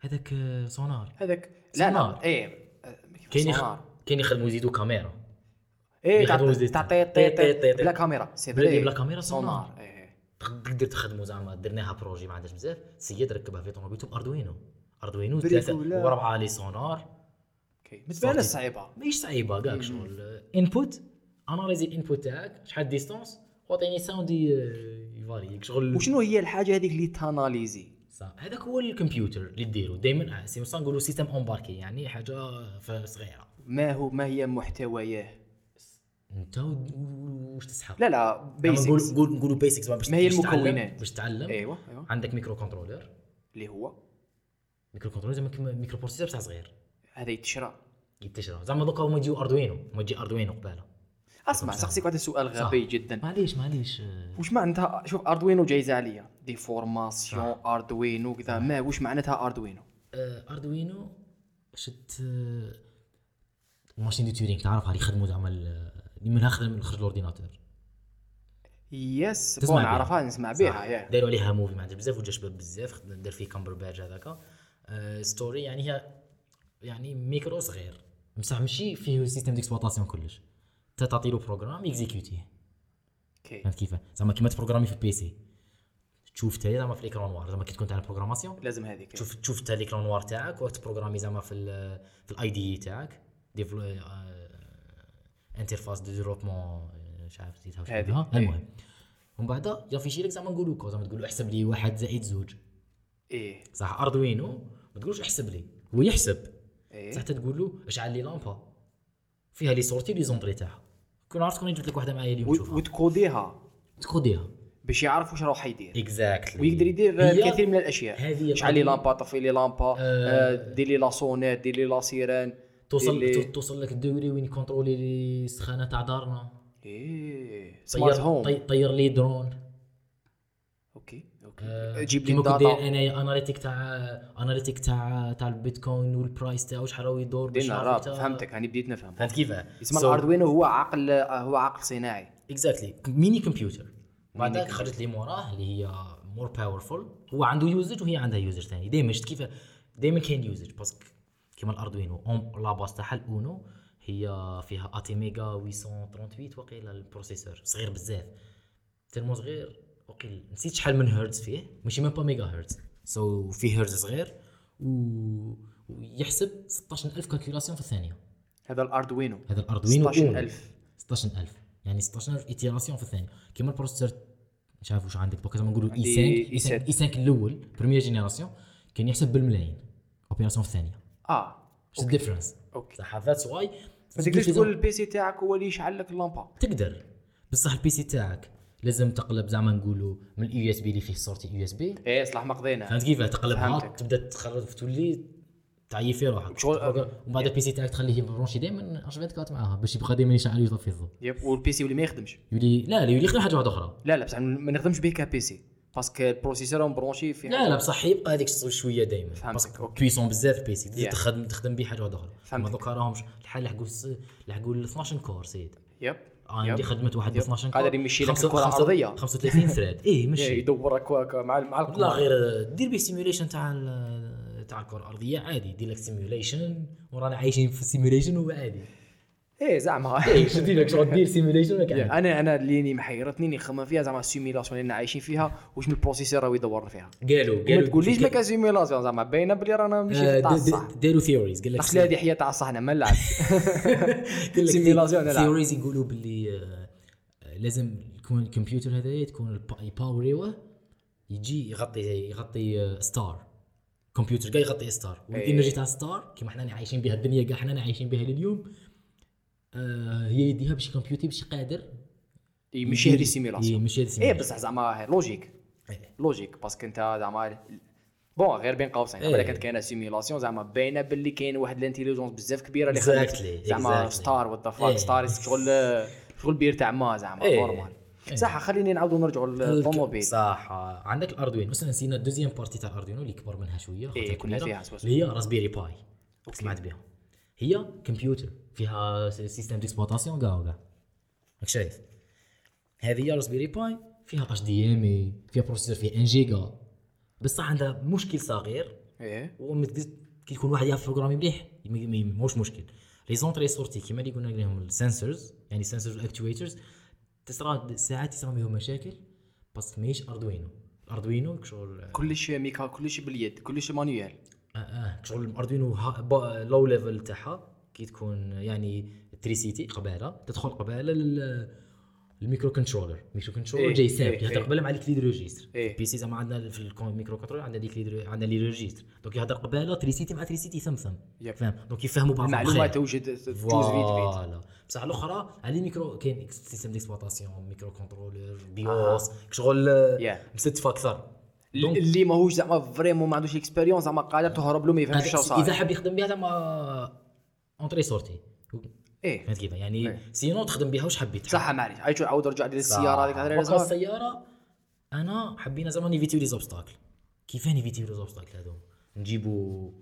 هذاك آه، سونار هذاك لا سونار. لا ايه كاين يخ... سونار. كاين يخدموا يزيدوا كاميرا ايه يخدموا تاع زيت. تاع طي طي- طي طي- طي- بلا كاميرا سي بلا- فري بلا كاميرا سونار. سونار ايه تقدر تخدموا زعما درناها بروجي ما عندهاش بزاف سيد ركبها في طوموبيلته باردوينو اردوينو بريفو ثلاثه لا. وربعه لي سونار اوكي بالنسبه لنا صافي. صعيبه ماهيش صعيبه كاع شغل انبوت اناليزي الانبوت تاعك شحال ديستونس وعطيني ساوند يفاري شغل. وشنو هي الحاجه هذيك اللي تاناليزي صح هذاك هو الكمبيوتر اللي ديرو دائما سي مصا نقولوا سيستم امباركي يعني حاجه ف- صغيره ما هو ما هي محتوياه انت و- واش تسحق لا لا نقول بيسكس نقول نقولوا بيسكس باش ما هي باش تتعلم- المكونات؟ باش تتعلم ايوه ايوه عندك ميكرو كنترولر اللي هو ميكرو كنترولر زعما كيما ميكرو بروسيسور بتاع صغير هذا يتشرى. يتشرى زعما دوكا هما يجيو اردوينو هما يجي اردوينو قباله. اسمع سقسيك واحد السؤال غبي جدا معليش معليش واش معناتها شوف اردوينو جايزه عليا دي فورماسيون اردوينو كذا ما واش معناتها اردوينو آه، اردوينو شت آه، ماشين دي تورينغ تعرفها اللي يخدموا زعما ال- اللي منها خدم نخرج الاورديناتور يس تسمع بون بها. نعرفها نسمع بها يا داروا عليها موفي ما عندها بزاف وجا شباب بزاف خد- دار فيه كامبر بادج هذاك آه، ستوري يعني هي يعني ميكرو صغير بصح ماشي فيه سيستم ديكسبلوطاسيون كلش انت تعطي له بروغرام يكزيكوتيه اوكي فهمت كيف زعما كيما تبروغرامي في البيسي تشوف تاهي زعما في الاكران نوار زعما كي تكون تاع البروغراماسيون لازم هذيك تشوف تشوف تاع الاكران نوار تاعك وتبروغرامي زعما في ال في الاي دي تاعك ديفلو انترفاس دو ديفلوبمون مش عارف نسيتها واش هذه. اسمها المهم ومن بعد يافيشي لك زعما نقولوا كو زعما تقول له احسب لي واحد زائد زوج ايه صح اردوينو ما تقولوش احسب لي هو يحسب ايه صح تقول له اشعل لي لامبا فيها لي سورتي لي زونطري تاعها كون عرفت كون جبت لك واحده معايا اليوم و- تشوفها وتكوديها تكوديها باش يعرف واش راح يدير اكزاكتلي ويقدر يدير الكثير من الاشياء هذه شعل لي القضية. لامبا طفي لي لامبا آه، دير لي لا سونيت دير لي لا سيران توصل دير لي- تو- توصل لك الدوري وين كونترولي لي السخانه تاع دارنا ايه سمارت طير هوم طي- طير لي درون اوكي اوكي آه، جيب لي كيما كنت داير الداتا انايا اناليتيك تاع اناليتيك تاع تاع البيتكوين والبرايس تاعو شحال راهو يدور باش دينا نعرف راب تا- فهمتك هاني بديت نفهم فهمت كيف اسم الاردوينو هو عقل هو عقل صناعي اكزاكتلي ميني كمبيوتر بعدك خرجت لي موراه اللي هي مور باورفول هو عنده يوزج وهي عندها يوزج ثاني دائما شفت كيف دائما كاين يوزج باسكو كيما الاردوينو اون لا باس تاعها الاونو هي فيها اتي ميجا ثمانمية وثمانية وثلاثين وقيله البروسيسور صغير بزاف تلمو صغير وقيل نسيت شحال من هرتز فيه ماشي ميم با ميجا هرتز سو so فيه هرتز صغير و... ويحسب ستة عشر ألف كالكولاسيون في الثانية هذا الاردوينو هذا الاردوينو ستة عشر ألف ستة عشر ألف يعني ستة عشر ألف ايتيراسيون في الثانيه كيما البروسيسور مش عارف واش عندك دوكا زعما نقولوا اي عندي خمسة إي سبعة. اي خمسة الاول بريمير جينيراسيون كان يحسب بالملايين اوبيراسيون في الثانيه اه واش الديفرنس اوكي صح ذاتس واي ما تقدرش تقول البي سي تاعك هو اللي يشعل لك اللامبا تقدر بصح البي سي تاعك لازم تقلب زعما نقولوا من اليو اس بي اللي فيه صورتي يو اس بي ايه صلاح ما قضينا فهمت كيف تقلبها فهمتك. تبدا تخرج تولي تعيي في روحك شغل- ومن بعد البي سي تاعك تخليه برونشي دائما أربعة وعشرين معاها باش يبقى دائما يشعل ويطفي الضوء يب والبي سي واللي ما يخدمش يولي لا لا يولي يخدم حاجه واحده اخرى لا لا بصح ما نخدمش به كبي سي باسكو البروسيسور مبرونشي في لا لا بصح يبقى هذيك شويه دائما فهمتك، أوكي. بويسون بزاف البيسي تزيد Yeah. تخدم تخدم به حاجه واحده اخرى فهمتك. اما دوكا راهم الحال لحقوا لحقوا ال اثناش كور سيد يب عندي يب. خدمت واحد ب يب. اثناش كور قادر يمشي لك خمسة- الكرة خمسة- الأرضية. خمسة وثلاثين ثريد ايه ماشي يدورك واكا مع مع لا الكرة غير دير به سيميوليشن تاع ال- تاع الكره الارضيه عادي يدير لك سيميوليشن ورانا عايشين في السيميوليشن وعادي ايه زعما ايه شو دير لك شغل دير سيميوليشن ولا عادي انا انا اللي محيرتني اللي نخمم فيها زعما السيميلاسيون اللي عايشين فيها واش من البروسيسور راهو يدور فيها قالوا ما قالوا تقوليش ما كان سيميلاسيون زعما باينه بلي رانا ماشي آه، تاع د- الصح د- داروا ثيوريز قال لك اخلي هذه حياه تاع الصح انا ما نلعب سيميلاسيون سيميلاسيون نلعب ثيوريز يقولوا باللي آه، لازم يكون الكمبيوتر هذا تكون الباور يجي يغطي يغطي ستار كمبيوتر كاع يغطي ستار والانرجي تاع ستار كيما حنا عايشين بها الدنيا كاع حنا عايشين بها لليوم آه هي يديها باش الكمبيوتر باش قادر يمشي هذه السيميلاسيون يمشي هذه ايه السيميلاسيون بصح زعما لوجيك لوجيك باسكو انت زعما بون غير بين قوسين إيه. الا كانت كاينه سيميلاسيون زعما باينه باللي كاين واحد الانتيليجونس بزاف كبيره اللي Exactly, خلت زعما exactly. ستار وات ذا إيه. فاك ستار شغل شغل بير تاع ما زعما إيه. نورمال صح خليني نعاودوا نرجعوا للطوموبيل صح عندك الاردوينو اصلا نسينا الدوزيام بارتي تاع الاردوينو اللي كبر منها شويه خاطر إيه، كنا كبيرة، فيها سوا سوا. اللي هي راسبيري باي سمعت بها هي كمبيوتر فيها سيستم ديكسبلوطاسيون كاع وكاع راك شايف هذه هي راسبيري باي فيها اتش دي ام اي فيها بروسيسور فيه واحد جيجا بصح عندها مشكل صغير ايه ومتقدر كي يكون واحد يعرف بروغرامي مليح ماهوش مشكل. لي زونطري سورتي كيما اللي قلنا عليهم السنسورز يعني سنسورز اكتويترز تصرا ساعات يصرا بهم مشاكل باسكو ماهيش اردوينو. الاردوينو شغل كلش ميكا كلش باليد كلش مانيوال. اه اه شغل الاردوينو لو ليفل تاعها كي تكون يعني تريسيتي قباله تدخل قباله الميكرو كنترولر. الميكرو كنترولر إيه جاي سامبل إيه يهضر قباله مع الكليد ريجيستر. إيه. بي سي زعما عندنا في الميكرو كنترولر عندنا ديك لي عندنا لي ريجيستر دونك يهضر قباله تريسيتي مع تريسيتي ثمثم يب. فاهم دونك يفهموا بعض المعلومات توجد توز فيد فيد. فوالا. بصح الاخرى على ميكرو كاين سيستم ديكسبلوطاسيون ميكرو كنترولر بيوس شغل Yeah. مستف اكثر اللي ماهوش زعما فريمون ما عندوش اكسبيريونس زعما قادر تهرب له ما يفهمش شنو صار. اذا حاب يخدم بها زعما اونطري سورتي ايه فهمت كيف يعني إيه. سينو تخدم بها واش حبيت صح معليش عايش عاود رجع للسياره هذيك هذا هذا السياره انا حبينا زعما نيفيتيو لي زوبستاكل. كيف نيفيتيو لي زوبستاكل هذو نجيبو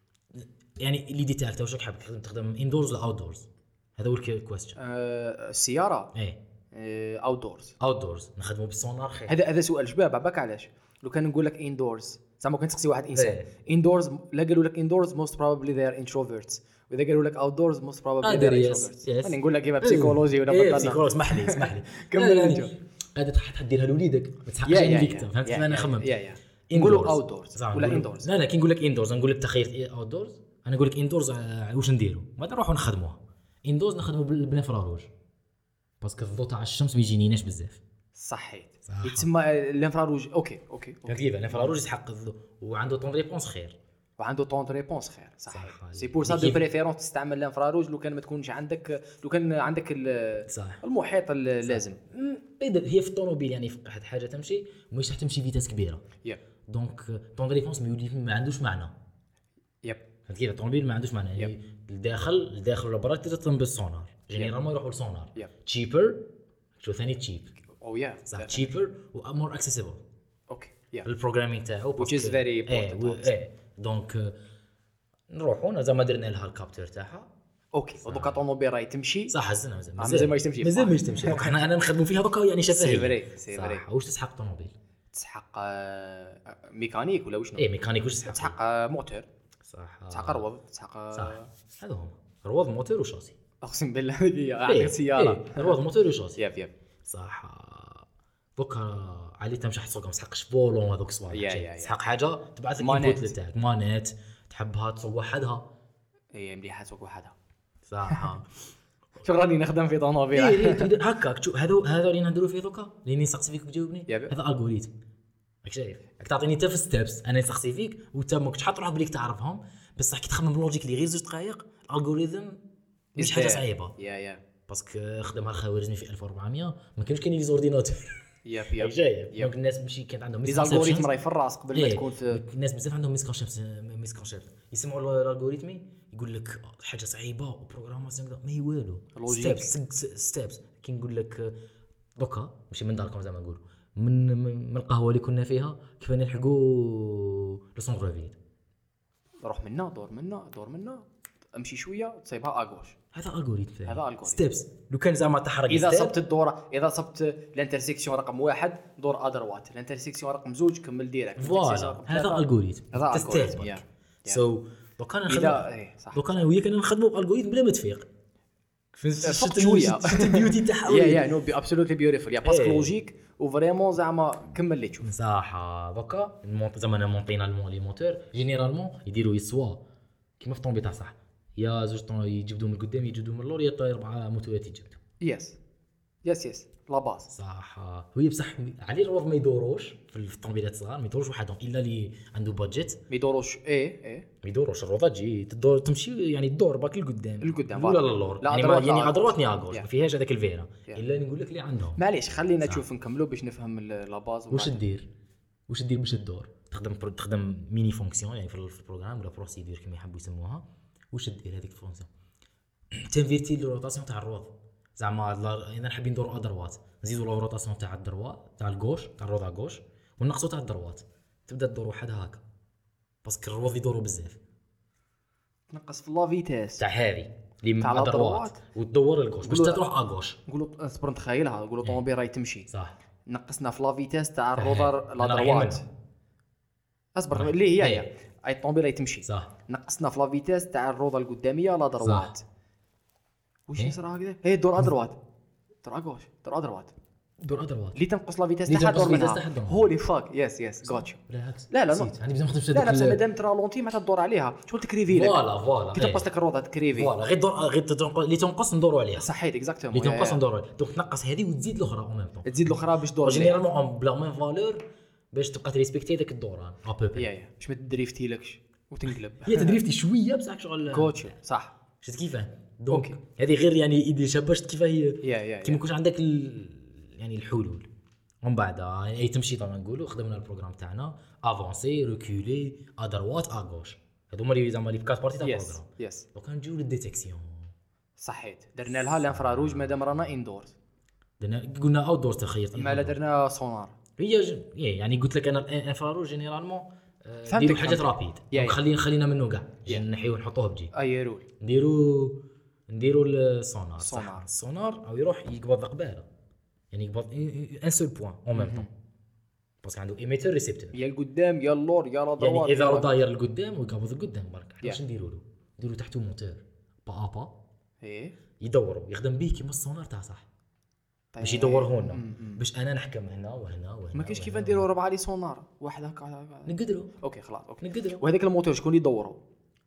يعني اللي ديتاكت واش راك حاب تخدم تخدم اندورز ولا اوت دورز هذا هو الكويستشن. السياره ايه اوت دورز اوت دورز نخدمو بالسونار خير. هذا هذا سؤال شباب عباك علاش لو كان نقول لك اندورز زعما كنت تسقسي واحد انسان إيه. اندورز لا قالوا لك اندورز موست بروبابلي ذي ار انتروفيرتس واذا قالوا لك اوت دورز موست بروبابلي ذي ار انتروفيرتس. انا نقول لك كيما بسيكولوجي ولا إيه بطلنا بسيكولوجي اسمح لي اسمح لي كمل انت. قاعده تحديرها لوليدك ما تحقش يا- يا- على يا. فيكتيم فهمت كيف يا- انا يا- خممت. يا- يا. Indoors. نقولوا اوت دورز زعما ولا نقولوا- اندورز. لا لا كي نقول لك اندورز نقول لك تخيل اوت دورز انا نقول لك اندورز واش نديروا ما نروحوا نخدموها. اندورز نخدموا بالانفراروج باسكو الضوء تاع الشمس ما يجينيناش بزاف. صحيت صح. يتسمى الانفراروج اوكي اوكي فهمت كيف الانفراروج يسحق الضوء وعنده طون ريبونس خير. وعنده طون دو ريبونس خير صحيح. صح. سي بور سا دو بريفيرونس تستعمل الانفراروج لو كان ما تكونش عندك لو كان عندك ال- صح المحيط اللازم. بيدر هي في الطوموبيل يعني في واحد حاجه تمشي ومش راح تمشي فيتاس كبيره يب دونك طون ريبونس ما يولي ما عندوش معنى. يب فهمت كيف الطوموبيل ما عندوش معنى يعني الداخل الداخل ولا برا تقدر تطلب بالسونار جينيرالمون يروحوا للسونار Yep. تشيبر شو ثاني تشيب او يا صح تشيبر ومور اكسسبل اوكي يا البروغرامينغ تاعو Which is very important, ايه ايه دونك آه، نروحوا زعما درنا لها الكابتور تاعها اوكي ودوكا طوموبيل راهي تمشي صح هزنا مازال مازال ما يتمشي. مازال ما يتمشي دونك حنا انا نخدموا فيها دوكا يعني شفهيه. سي فري سي فري. صح واش تسحق الطوموبيل تسحق آه، ميكانيك ولا وشنو؟ ايه ميكانيك واش تسحق تسحق آه، موتور صح تسحق روض تسحق آه، صح هذا هما روض موتور وشاسي. اقسم بالله هي إيه، عندك سياره إيه، روض موتور وشاسي يب يب صح دوكا علي تمشي حتى ما تسحقش بولون هذوك يا- الصوالح يا- شي. يا. تسحق حاجه تبعث لك مانيت. انبوت تاعك مانيت تحبها تسوق وحدها هي مليحه تسوق وحدها. صح شو راني نخدم في طوموبيل ايه ايه تقدر هكاك تشوف هذا هذا اللي نهضروا فيه دوكا اللي نسقسي فيك تجاوبني يا بي. هذا الجوريثم راك شايف راك تعطيني انت في ستيبس انا نسقسي فيك وانت ما كنتش حاط روحك بليك تعرفهم بصح كي تخمم بلوجيك اللي غير زوج دقائق الالغوريثم مش حاجه صعيبه يا يا باسكو خدمها الخوارزمي في ألف وأربعمية ما كانوش كاينين لي زورديناتور يب راك يب شايف يب. دونك الناس ماشي كانت عندهم لي زالغوريثم misconceptions. راهي في الراس قبل ما إيه، تكون في الناس بزاف عندهم ميسكونسيبت ميسكونسيبت يسمعوا الالغوريثمي يقول لك حاجه صعيبه وبروغراماسيون ما هي والو لوجيك. ستيبس ستيبس كي نقول لك دوكا ماشي من داركم زعما نقولوا من من من القهوه اللي كنا فيها كيف نلحقوا لو سونتر فيل روح منا دور منا دور منا امشي شويه تصيبها اغوش. هذا الجوريثم هذا algorithm. ستيبس لو كان زعما تحرق اذا step، صبت الدوره اذا صبت الانترسيكسيون رقم واحد دور ادروات الانترسيكسيون رقم زوج كمل ديريكت فوالا هذا الجوريثم هذا تستيب algorithm، يا. سو دوكا انا اذا نخدم ايه صح دوكا انا وياك انا نخدموا بالالغوريثم بلا ما تفيق فقت شويه شفت البيوتي تاعها يا يا نو بي ابسولوتلي بيوتيفول يا باسكو إيه. لوجيك وفريمون زعما كمل اللي تشوف. صح دوكا المونط زعما انا مونطينا المون لي موتور جينيرالمون يديروا يسوا كيما في طومبي تاع صح يا زوج طون يجبدوا من القدام يجبدوا من اللور يا اربعه موتورات يجبدوا يس يس يس لا باز صح هي بصح علي الروض ما يدوروش في الطوموبيلات الصغار ما يدوروش وحدهم الا اللي عنده بادجيت ما يدوروش ايه ايه ما يدوروش الروضه تجي تدور تمشي يعني تدور باك لقدام لقدام، ولا فوالا. للور لا يعني أدروات، ما- يعني لا ادروات ني أدروات. اغوش Yeah. ما فيهاش هذاك الفيرا Yeah. الا نقول لك اللي عندهم معليش خلينا نشوف نكملوا باش نفهم ال- لا باز واش دير واش دير باش تدور تخدم برو- تخدم ميني فونكسيون يعني في ال- في البروغرام ولا بروسيدور كما يحبوا يسموها واش دير هذيك الفونكسيون تنفيرتي الروتاسيون تاع الروض زعما لا- اذا حابين ندوروا ادروات نزيدوا لا روتاسيون تاع الدروات تاع الغوش تاع الروض غوش ونقصوا تاع الدروات تبدا تدور وحدها هكا باسكو الروض يدوروا بزاف تنقص في لا فيتاس تاع هذه اللي تاع مع الأدروات. الدروات وتدور الغوش باش نقولوا- تروح اغوش نقولوا اصبر نتخيلها نقولوا طوموبيل راهي تمشي صح نقصنا في لا فيتاس تاع تاع الروضر هذه. لا أنا راح دروات يمنع. اصبر اللي هي إيه. هي اي الطوموبيله تمشي صح نقصنا في لا فيتاس تاع الروضه القداميه لا دروات واش إيه؟ يصرى هكذا هي دور ادروات دور اغوش دور ادروات دور ادروات اللي تنقص لا فيتاس اللي تاع تنقص دور فيتاس منها تاع دور. هولي فاك يس يس غوتشو بالعكس لا لا نسيت عندي بزاف ما خدمتش لا لا بصح هذاك مادام ترالونتي معناتها تدور عليها شغل تكريفي لك فوالا فوالا كي تنقص لك الروضه تكريفي فوالا غير دور غير تنقص اللي تنقص ندوروا عليها صحيت اكزاكتومون اللي تنقص ندوروا عليها دونك تنقص هذه وتزيد الاخرى او ميم طون تزيد الاخرى باش تدور عليها جينيرالمون بلا ميم فالور باش تبقى تريسبكتي داك الدوران ابوبي يا يا باش ما تدريفتي لكش وتنقلب هي تدريفتي شويه بصح شغل كوتشو صح شفت كيفاه دونك هذه غير يعني ايدي شابه شفت كيفاه هي يا يا كي ما يكونش عندك ال... يعني الحلول ومن بعد اي تمشي طبعا نقولوا خدمنا البروغرام تاعنا افونسي ريكولي ادروات اغوش هذو هما اللي زعما لي بكات بارتي تاع يس البروغرام يس دونك نجيو للديتيكسيون صحيت درنا لها الانفراروج مادام رانا اندورز درنا قلنا اوت دور تخيرت ما لا درنا سونار هي ج... يعني قلت لك انا الانفراروج جينيرالمون فهمتك، نديروا حاجات فهمتك. رابيد يا دونك يا. خلينا خلينا منه كاع نحيو نحطوه بجي اي رول نديروا نديروا السونار صح السونار. السونار او يروح يقبض قباله يعني يقبض ان سول بوين اون ميم طون باسكو عنده ايميتر ريسيبتور يا القدام يا اللور يا لا يعني دروات اذا راه داير لقدام ويقبض لقدام برك Yeah. واش نديروا له نديروا تحته موتور با با ايه يدوروا يخدم بيه كيما السونار تاع صح باش يدور لنا باش انا نحكم هنا وهنا وهنا ما كاينش كيف وهنا. نديروا ربعه لي سونار واحد هكا هكا. نقدروا اوكي خلاص اوكي نقدروا وهذاك الموتور شكون اللي يدوروا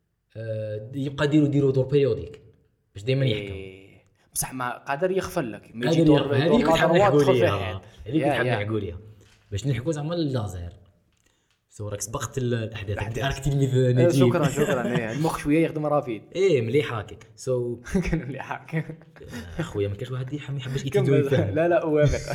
آه يبقى ديروا ديروا دور بيريوديك باش دائما يحكم إيه. بصح ما قادر يغفل لك ما قادر يجي دور يغفل. دور هذيك لا نحب دروات نحكوا تدخل فيه ليها حد. هذيك يا- نحب يا. نحكوا ليها باش نحكوا زعما اللازر سو راك سبقت الاحداث راك تلميذ نجيب شكرا شكرا إيه. المخ شويه يخدم رافيد ايه مليح هكاك سو كان اللي حاك اخويا ما كاش واحد يحب ما يحبش كمل. يتدوي فهم لا لا اوافق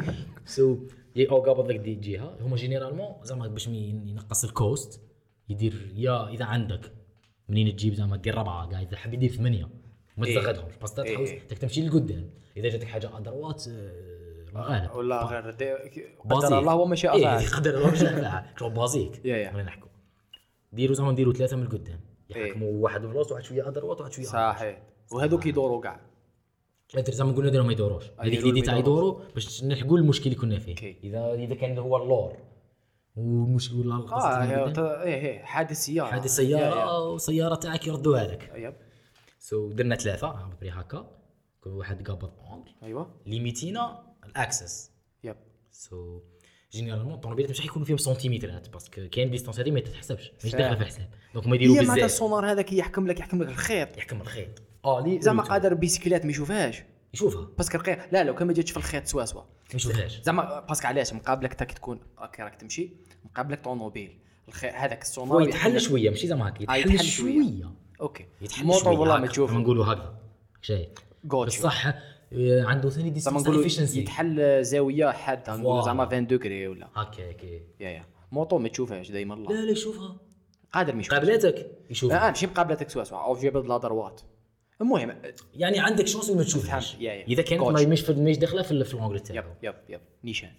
سو او قابض لك دي جهه هما جينيرالمون زعما باش ينقص الكوست يدير يا اذا عندك منين تجيب زعما دير ربعه قاعد اذا حاب يدير ثمانيه ما إيه. تزغدهمش بس تحوس إيه. تك تمشي لقدام اذا جاتك حاجه ادروات الله غالب ولا غير دي- بازيك. قدر الله وما شاء إيه فعل قدر الله ما شاء فعل شغل بازيك يا يا. خلينا نحكوا ديروا زعما نديروا ثلاثه من القدام إيه. يحكموا واحد بلاصه واحد شويه ادروات واحد شويه صحيح وهذوك يدوروا كاع لا ترى زعما قلنا ديروا ما يدوروش هذيك يدوروا اللي ما تاع يدوروش. يدوروا باش نلحقوا المشكل اللي كنا فيه أوكي. اذا اذا كان هو اللور والمشكل ولا اه القصه هي- اللي قدام، ايه ايه حادث سياره هذه يا- يا. سياره وسياره تاعك يردوها لك يب سو درنا ثلاثه بري هكا كل واحد قابض اونغل ايوه ليميتينا الاكسس يب سو جينيرالمون الطوموبيلات مش حيكونوا فيهم سنتيمترات باسكو كاين ديستانس هذه ما تتحسبش مش فاهم. داخله في الحساب دونك ما يديروا هي معناتها بزاف السونار هذاك يحكم لك يحكم لك الخيط يحكم الخيط اه لي زعما قادر بيسكلات ما يشوفهاش يشوفها باسكو الخيط لا لو كان ما جاتش في الخيط سوا سوا ما يشوفهاش زعما باسكو علاش مقابلك تا كي تكون هكا راك تمشي مقابلك طوموبيل الخيط هذاك هو السونار يتحل شويه ماشي زعما هكا آه، يتحل يتحل شوية. شويه اوكي يتحل موطور شويه والله ما هكا. تشوفه نقولوا هكا شايف غوتشو بصح آه، عنده ثاني زعما ديستانس نقولوا افيشنسي يتحل زاويه حاده نقولوا فوالا. زعما عشرين دوغري ولا هكا هكا يا يا موطو ما تشوفهاش دائما الله لا لا يشوفها قادر ما يشوفهاش قابلاتك يشوفها اه ماشي مقابلتك سوا سوا او جبد لا دروات المهم يعني عندك شانس ما تشوفهاش فهمت. يا- يا. اذا كانت كوتش. ما مش مش داخله في في الانجل تاعو يب يب يب نيشان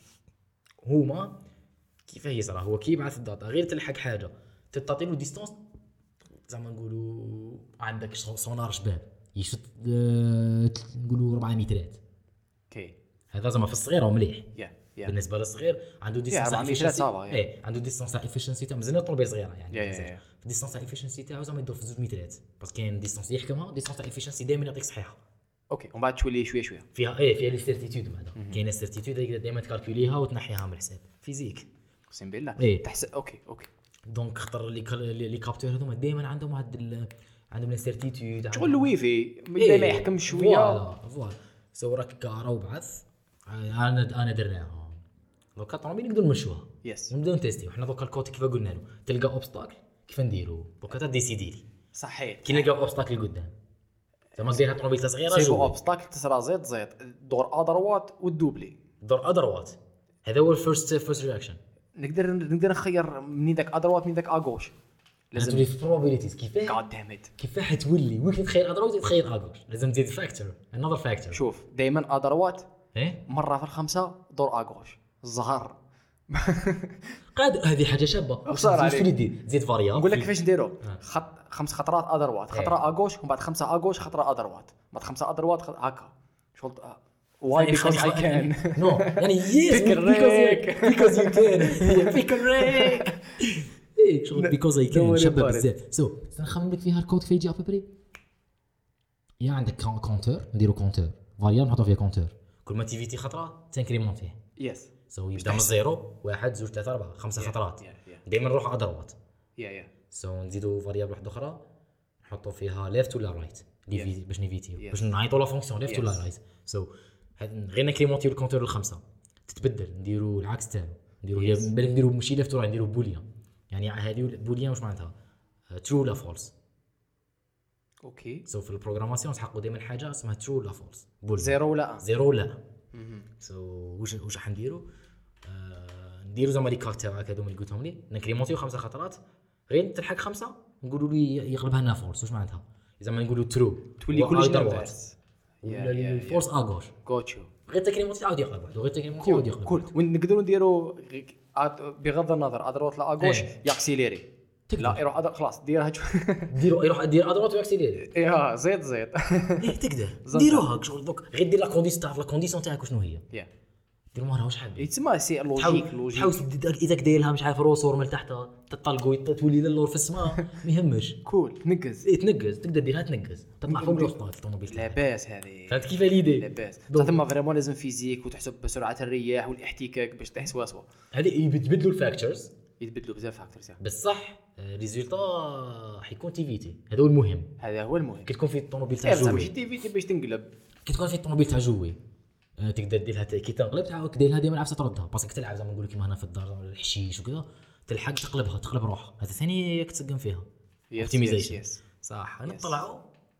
هما كيفاه يصرا هو كي يبعث الداتا غير تلحق حاجه تعطي له ديستانس زعما نقولوا عندك سونار شباب يشد آه، نقولوا أربعة مترات اوكي هذا زعما في الصغير هو مليح يا يا بالنسبه للصغير عنده ديستانس أربعة مترات صعبة، يا. ايه عنده ديستانس تاع افيشنسي تاع مازال طوموبيل صغيره يعني يا- يا- يا. الديستانس تاع افيشنسي تاعو زعما يدور في زوج مترات بس كاين ديستانس يحكمها ديستانس تاع افيشنسي دائما يعطيك صحيحه اوكي ومن بعد تولي شويه شويه فيها ايه فيها لي سيرتيتود بعدا كاينه السيرتيتود هذيك دائما تكالكوليها وتنحيها من الحساب فيزيك اقسم بالله إيه. تحس اوكي اوكي دونك خطر لي كال- لي كابتور هذوما دائما عندهم واحد ال- عندهم السيرتيتود شغل الويفي بدا ما يحكم شويه فوالا فوالا سو راك كارا وبعث انا انا درناها دوكا طوموبيل نقدروا نمشوها يس ونبداو نتيستيو حنا دوكا الكوت كيف قلنا له تلقى اوبستاكل كيف نديرو دوكا تا ديسيدي لي صحيت كي نلقاو اوبستاكل قدام زعما ديرها طوموبيل صغيره سيرو شوف اوبستاكل تسرى زيت زيت دور ادروات والدوبلي دور ادروات هذا هو الفيرست فيرست رياكشن نقدر نقدر نخير منين ذاك ادروات من ذاك اغوش لازم لازم تولي في probabilities كيفاه جاد دامت كيفاه حتولي وين تخير ادروات تخير اغوش لازم تزيد فاكتور انذر فاكتور شوف دائما ادروات ايه مره في الخمسه دور اغوش الزهر قادر هذه حاجه شابه خسارة واش عليك. تولي دير زيد فاريابل نقول لك كيفاش نديرو خط خمس خطرات ادروات إيه. خطره اغوش ومن بعد خمسه اغوش خطره ادروات بعد خمسه ادروات خ- هكا شغل واي بيكوز اي كان نو يعني يس Pick a rake. بيكوز يو كان بيك ريك ايه شغل بيكوز اي كان شباب بزاف سو نخمم لك فيها الكود كيف يجي ابري يا عندك كونتور نديرو كونتور فاريابل نحطو فيها كونتور كل ما تيفيتي خطره تنكريمونتيه يس سو يبدا من زيرو واحد زوج ثلاثة أربعة خمسة خطرات دائما نروح ادروات يا يا سو نزيدو فاريابل واحده اخرى نحطو فيها ليفت ولا رايت لي باش نيفيتيو Yes. باش نعيطوا لا فونكسيون ليفت ولا رايت سو غير نكريمونتيو الكونتور الخمسه تتبدل نديرو العكس تاعو نديرو هي بالك نديرو ماشي ليفت ولا نديرو بوليان يعني هذه بوليان واش معناتها ترو ولا فولس اوكي سو في البروغراماسيون نحققوا دائما حاجه اسمها ترو ولا فولس زيرو ولا زيرو ولا سو واش واش راح نديرو آه نديرو زعما لي كارت تاعك هذوما اللي قلتهم لي نكريمونتيو خمسه خطرات غير تلحق خمسه نقولوا لي يقلبها لنا فولس واش معناتها زعما نقولوا ترو تولي كلش نمبر ولا الفولس اغوش غوتشو غير تكريمونتي عاود يقلب واحد غير تكريمونتي عاود يقلب كول ونقدروا نديروا بغض النظر ادروات لا اغوش ياكسيليري لا يروح أدر... خلاص ديرها ديرو يروح دير ادروات وياكسيليري ايه زيد زيد ايه تقدر ديروها شغل دوك غير دير لا كونديسيون تعرف لا كونديسيون تاعك شنو هي يا دير مالها واش حاب يتسمى سي لوجيك لوجيك حاول اذا دايرها مش عارف روسور من تحت تطلقوا تولي للور في السماء ما يهمش كول تنقز ايه تنقز تقدر ديرها تنقز تطلع فوق الوسط الطوموبيل لاباس هذه فهمت كيف ليدي لاباس ثم فريمون لازم فيزيك وتحسب بسرعه الرياح والاحتكاك باش تحس واسوا هذه يتبدلوا الفاكتورز يتبدلوا بزاف فاكتورز بصح ريزولتا حيكون تيفيتي هذا هو المهم هذا هو المهم كي تكون في الطوموبيل تاع زعما جوي ماشي تيفيتي باش تنقلب كي تكون في الطوموبيل تاع جوي أه تقدر ديرها كي تنقلب تعاود ديرها ديما عفسه تردها باسكو تلعب زعما نقول لك كيما هنا في الدار الحشيش وكذا تلحق تقلبها تقلب روحها هذا ثاني كتسقم فيها اوبتيمايزيشن صح نطلعوا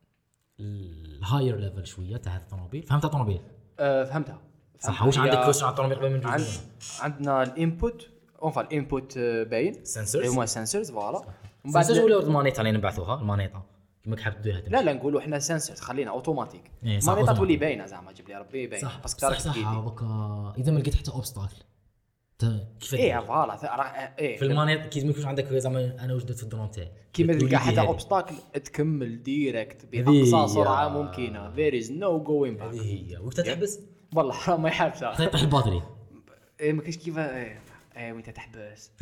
الهاير ليفل شويه تاع هذا الطوموبيل فهمت الطوموبيل أه فهمتها صح واش عندك كويشن على الطوموبيل قبل من عند... عندنا الانبوت اونفا الانبوت باين سنسورز هما سنسورز فوالا من بعد ولا المانيطه اللي نبعثوها المانيطه كيما حاب ديرها لا لا نقولوا احنا سنسورز خلينا اوتوماتيك إيه المانيطه تولي باينه زعما جيب لي ربي باين باسكو صح صح هذاك اذا ما لقيت حتى اوبستاكل كيف ايه فوالا ايه في المانيط كي ما يكونش عندك زعما انا وجدت في الدرون تاعي كيما تلقى حتى اوبستاكل تكمل ديريكت باقصى سرعه ممكنه there is no going back هذه هي وقت تحبس والله حرام ما يحبسها طيح الباتري ايه ما كاينش كيف ايه ايه وانت تحبس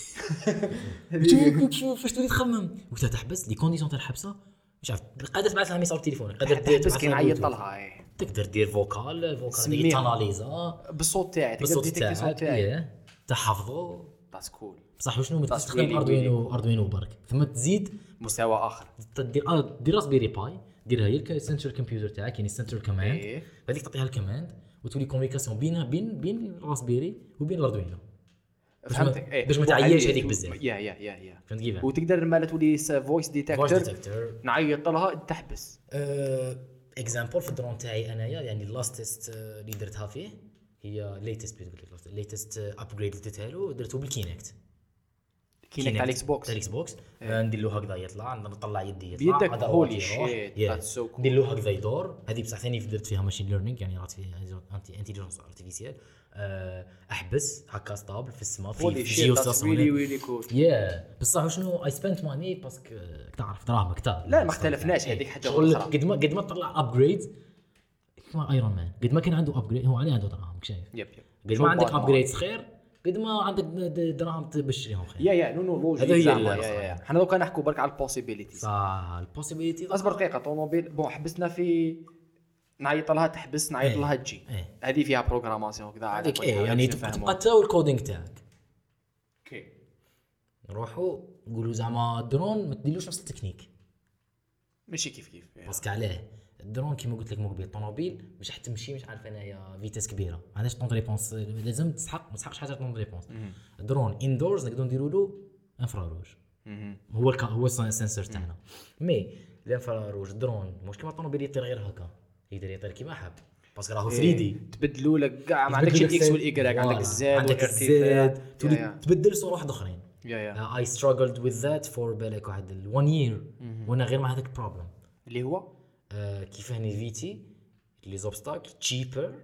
شوف فاش تولي تخمم وقت تحبس لي كونديسيون تاع الحبسه مش عارف قادر تبعث لها ميساج تليفون قادر تحبس كي نعيط لها ايه تقدر دير فوكال فوكال ديك تاناليزا بالصوت تاعي تقدر ديتيكتي الصوت تاعي تحفظه بس كول بصح وشنو ما تستخدم اردوينو اردوينو برك ثم تزيد مستوى اخر دير اه دير راسبيري باي ديرها هي السنترال كمبيوتر تاعك يعني السنترال كوماند هذيك تعطيها الكوماند وتولي كوميونيكاسيون بين بين بين الراسبيري وبين الاردوينو فهمتك ايه باش ما تعياش هذيك بزاف يا يا يا يا فهمت كيف وتقدر مالا تولي فويس ديتكتور نعيط لها تحبس اكزامبل في الدرون تاعي انايا يعني اللاستست اللي درتها فيه هي ليتست ليتست ابجريد اللي درتها له درته بالكينكت كينكت على الاكس بوكس على الاكس بوكس ندير له هكذا يطلع نطلع يدي يطلع بيدك هولي شيت ذاتس سو كول ندير له هكذا يدور هذه بصح ثاني درت فيها ماشين ليرنينغ يعني رات فيها انتيليجنس ارتيفيسيال احبس هكا ستابل في السماء في جيو ستاسيون ويلي ويلي كول يا بصح شنو اي سبنت ماني باسكو تعرف دراهم كثار لا ما اختلفناش هذيك حاجه اخرى قد ما قد ما طلع ابجريد كما ايرون مان قد ما كان عنده ابجريد هو عليه عنده دراهم شايف يب يب قد ما عندك ابجريد خير قد ما عندك دراهم تبشريهم خير يا يا نو نو لوجيك زعما حنا دوكا نحكوا برك على البوسيبيليتيز صح البوسيبيليتيز اصبر دقيقه طوموبيل بون حبسنا في نعيط لها تحبس نعيط لها تجي هذه فيها بروغراماسيون وكذا هذيك ايه يعني تبقى تاو الكودينغ تاعك اوكي نروحوا نقولوا زعما الدرون ما تديروش نفس التكنيك ماشي كيف كيف باسكو علاه الدرون كيما قلت لك مقبل الطوموبيل مش حتمشي مش عارف انايا فيتاس كبيره ما عندهاش طون ريبونس لازم تسحق ما تسحقش حاجه طون ريبونس الدرون اندورز نقدروا نديروا له انفراروج هو الك... هو السنسور تاعنا مي الانفراروج الدرون مش كيما الطوموبيل يطير غير هكا يقدر يطير كيما حاب باسكو راهو ثري دي تبدلوا لك كاع ما عندكش الاكس والايكغيك عندك الزاد عندك الزاد تبدل صوره واحده اخرين يا يا اي ستراجلد وذ ذات فور بالك واحد one يير وانا غير مع هذاك البروبلم اللي هو آه كيف هني فيتي لي زوبستاكل تشيبر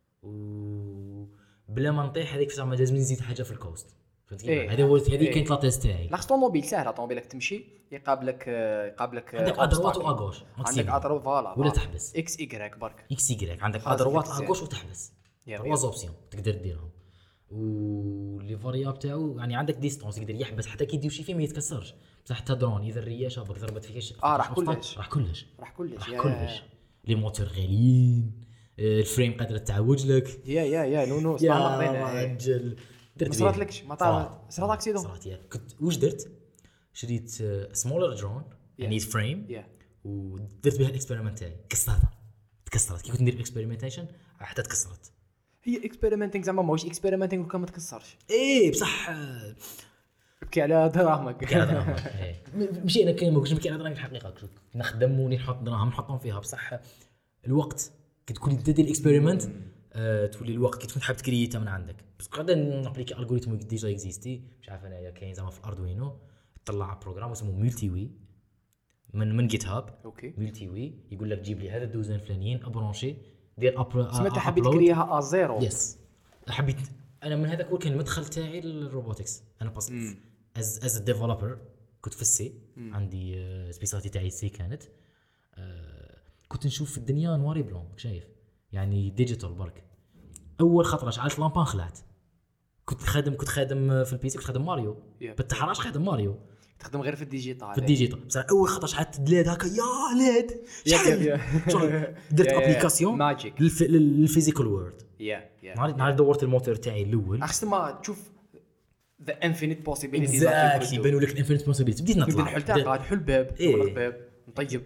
و بلا ما نطيح هذيك زعما لازم نزيد حاجه في الكوست فهمت كيف هذا هو هذه كانت لا تيست تاعي لاخ طوموبيل ساهله طوموبيلك تمشي يقابلك يقابلك عندك ادروات واغوش عندك ادروات فوالا ولا تحبس اكس ايكغيك برك اكس ايكغيك عندك ادروات اغوش وتحبس تروا اوبسيون تقدر ديرهم ولي فارياب تاعو يعني عندك ديستونس يقدر يحبس حتى كي يدير شي فيه ما يتكسرش، بصح حتى درون اذا الرياشه بك ضربت فيك اه راح كلش راح كلش راح كلش راح كلش. لي موتور غاليين، الفريم قادره تعوج لك. يا يا يا نو نو يا رجل درت ما صراتلكش ما طار صرات اكسيدون صرات يا كنت واش درت شريت سمولر درون يعني فريم يا ودرت بها الاكسبيرمنت تاعي كسرتها تكسرت كي كنت ندير اكسبيرمنتيشن حتى تكسرت. هي اكسبيرمنتينغ زعما ماهوش اكسبيرمنتينغ وكان ما تكسرش ايه بصح بكي على دراهمك بكي على دراهمك ايه ماشي انا كاين ما كنتش بكي على دراهمك الحقيقه نخدم ونحط دراهم نحطهم فيها بصح الوقت كي تكون دير الاكسبيرمنت أه تولي الوقت كي تكون حاب تكرييتها من عندك بس قاعده نابليكي الغوريثم ديجا اكزيستي مش عارف انايا كاين زعما في الاردوينو طلع بروغرام اسمه ملتي وي من من جيت هاب اوكي ملتي وي يقول لك جيب لي هذا الدوزين فلانيين ابرونشي دير ابر سمعت حبيت تكريها ا زيرو يس حبيت انا من هذاك هو كان المدخل تاعي للروبوتكس انا باس از از ديفلوبر كنت في السي عندي سبيساليتي تاعي السي كانت أه كنت نشوف في الدنيا نواري بلون شايف يعني ديجيتال برك. اول خطره شعلت لامبان خلعت كنت خادم كنت خادم في البيسي كنت خادم ماريو yeah. بالتحراش خادم ماريو تخدم غير في الديجيتال في الديجيتال بس اول خطره شعلت ليد هكا يا ليد شحال درت ابليكاسيون ماجيك للفيزيكال وورد يا يا نهار دورت الموتور تاعي الاول احسن ما تشوف ذا انفينيت بوسيبيليتيز اكزاكتلي يبانوا لك الانفينيت بوسيبيليتيز بديت نطلع نحل تاع قاعد حل باب نغلق باب نطيب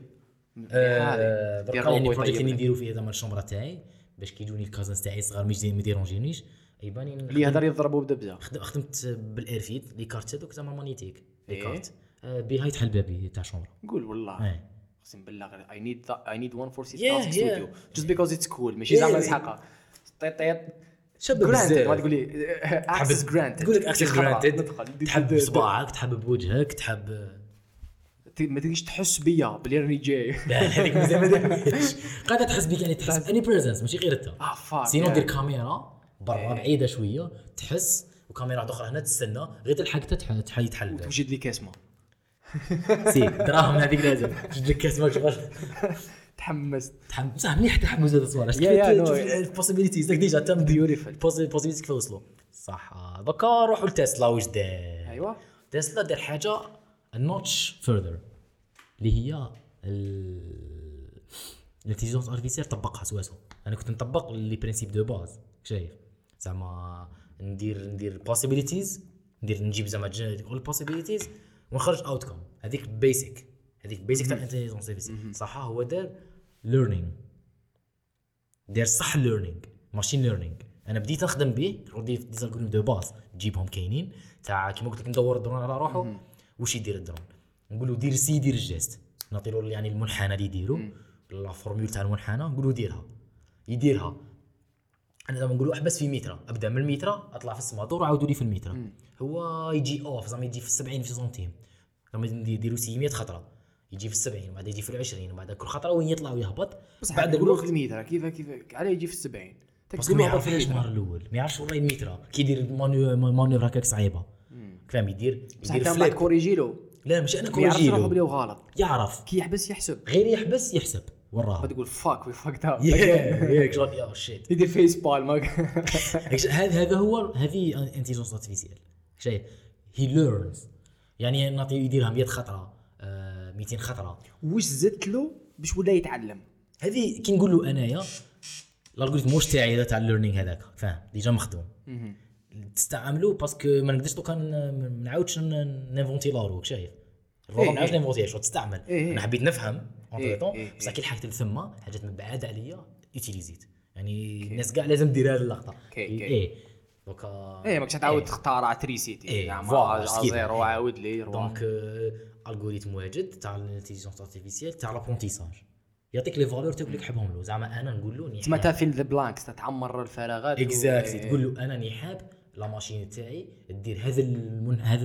هذا يعني البروجيكت اللي نديرو فيه زعما الشومبره تاعي باش كيجوني الكازنز تاعي صغار مش زين ما يديرونجينيش يباني اللي يهضر يضربوا بدبزه خدمت بالايرفيد لي كارت دوك زعما مانيتيك لي كارت بها يتحل بابي تاع الشومبره قول والله اقسم بالله غير اي نيد اي نيد واحد فور سي ستوديو جوست بيكوز اتس كول ماشي زعما نسحقها طيط طيط شاب بزاف ما تقول لي اكسس جرانتد تقول لك اكسس جرانتد تحب بصباعك تحب بوجهك تحب ما تقدرش تحس بيا بلي راني جاي لا هذيك مزيان ما ديرش قاعده تحس بك يعني تحس اني بريزنس ماشي غير انت اه فاك سينو دير كاميرا برا بعيده شويه تحس وكاميرا اخرى هنا تستنى غير تلحق تحل يتحل توجد لي كاسمه سي دراهم هذيك لازم توجد لك كاسمه شغل تحمست تحمس بصح مليح تحمس هذا الصوالح شوف البوسيبيليتيز ديجا تم بيوتيفول البوسيبيليتيز كيف وصلوا صح دوكا نروحوا لتسلا واش دار ايوا تسلا دار حاجه النوتش فيرذر اللي هي الانتيليجنس ارتيفيسيال طبقها سواسو انا كنت نطبق لي برينسيپ دو باز شايف زعما ندير ندير بوسيبيليتيز ندير نجيب زعما اول بوسيبيليتيز ونخرج اوتكم هذيك بيسك هذيك بيسك تاع الانتيليجنس ارتيفيسيال صح هو دار ليرنينغ دار صح ليرنينغ ماشين ليرنينغ انا بديت نخدم به رديت دي زالغوريثم دو باز تجيبهم كاينين تاع كيما قلت لك ندور الدرون على روحه واش يدير الدرون نقولوا دير سي دير الجيست نعطيلو يعني المنحنى اللي يديرو لا فورمول تاع المنحنى نقولوا ديرها يديرها انا دابا نقولوا احبس في متر ابدا من المتر اطلع في السما دور عاودوا لي في المتر هو يجي اوف زعما يجي في سبعين في سنتيم لما يديروا سبعمية خطره يجي في السبعين وبعد يجي في العشرين وبعد كل خطره وين يطلع ويهبط بعد الوقت المتر كيف كيف عليه يجي في السبعين بس ما يعرفش النهار الاول ما يعرفش والله المتر كي يدير مانيفر هكاك صعيبه فاهم يدير يدير فليب كوريجيلو لا مش انا كوريجيلو يعرف بلي غلط يعرف كي يحبس يحسب غير يحبس يحسب وراه تقول فاك وي فاكت اب ياك شغل يا شيت يدير فيس بالم هذا هذا هو هذه انتيليجنس ارتيفيسيال شايف هي ليرنز يعني نعطيه يديرها مية خطره ميتين خطره واش زدت له باش ولا يتعلم هذه كي نقول له انايا الالغوريثم واش تاعي هذا تاع الليرنينغ هذاك فاهم ديجا مخدوم تستعملوا باسكو ما نقدرش دوكا ما نعاودش نيفونتي لاروك شايف الروح ما نعاودش نيفونتي شو تستعمل انا حبيت نفهم اون طون بصح كي لحقت ثم حاجات مبعده عليا يوتيليزيت يعني الناس كاع لازم دير هذه اللقطه اي دوكا اي ماكش تعاود تختار تريسيتي زعما زيرو عاود لي دونك الغوريثم واجد تاع الانتيليجنس ارتيفيسيال تاع لابرونتيساج يعطيك لي فالور تقول لك حبهم له زعما انا نقول له تما تافين ذا بلانكس تعمر الفراغات اكزاكتلي تقول له انا ني حاب لا ماشين تاعي دير هذا المن... هذا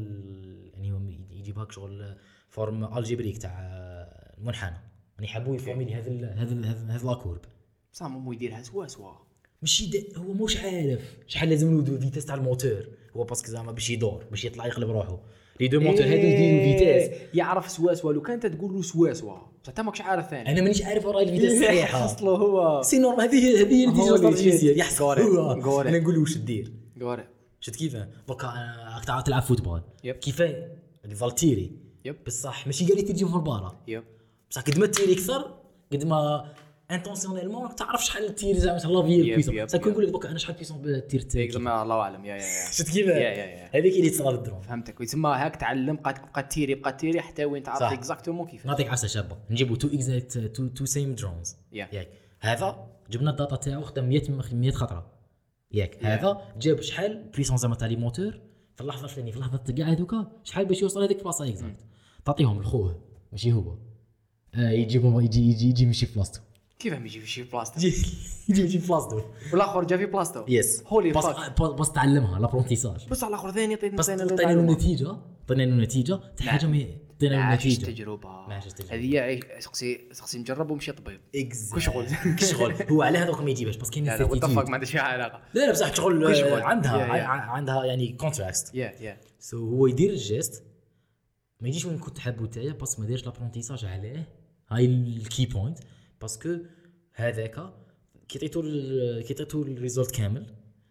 يعني يجيبها شغل فورم الجبريك تاع المنحنى راني حابو يفهمي لي هذا هذا هذا لاكورب بصح مو يديرها سوا سوا ماشي هو موش عارف شحال لازم له فيتاس تاع الموتور هو باسكو زعما باش يدور باش يطلع يقلب روحه لي دو موتور هذو يديروا فيتاس يعرف سوا سوا لو كانت تقول له سوا سوا حتى ماكش عارف ثاني انا مانيش عارف وراي الفيتاس الصحيحه اصله هو سي نورمال هذه هذه الانتيليجنس ارتيفيسيال يحسب انا نقول له واش دير قارئ شفت كيف دوكا راك تعرف تلعب فوتبول يب. كيف الفالتيري يب بصح ماشي قال لي تجي في البارة يب بصح قد ما تيري اكثر قد ما انتونسيونيلمون راك تعرف شحال تير زعما ان شاء الله يب، في يب، بيسون صح يب. نقول لك دوكا انا شحال بيسون بالتير تاعي يسمى الله اعلم يا يا يا شفت كيف يا يا يا هذيك اللي تصرا للدرون فهمتك ويسمى هاك تعلم بقى تبقى تيري بقى تيري حتى وين تعرف صح. اكزاكتومون كيف نعطيك عفسه شابه نجيبوا تو اكزاكت تو تو سيم درونز يا. ياك هذا جبنا الداتا تاعو خدم مية مية خطره ياك هذا جاب شحال بليسون زعما تاع لي موتور في اللحظه الفلانيه في اللحظه كاع هذوكا شحال باش يوصل هذيك البلاصه اكزاكت تعطيهم لخوه ماشي هو آه يجيبهم يجي يجي يجي ماشي في بلاصتو كيف هم يجي في شي بلاصتو يجي يجي ماشي في بلاصتو والاخر جا في بلاصتو يس هولي بس فاك بس تعلمها لابرونتيساج بس على الاخر ثاني عطيت بس مثلا عطينا له نتيجه عطينا له نتيجه تاع حاجه مي عطينا له عاش نتيجه تجربه ما عاشش تجربة. هذه هي سقسي سقسي نجرب ومشي طبيب كشغل كشغل هو على هذوك ما يجيبش بس كاين لا لا وات certitude. ما عندهاش فيها علاقه لا لا بصح شغل كشغل. عندها يا- يا. ع- عندها يعني كونتراكت يا يا سو هو يدير الجيست ما يجيش وين كنت حابو تاعي بس ما دارش لابرونتيساج عليه هاي الكي بوينت باسكو هذاك كي عطيتو ال- كي عطيتو الريزولت كامل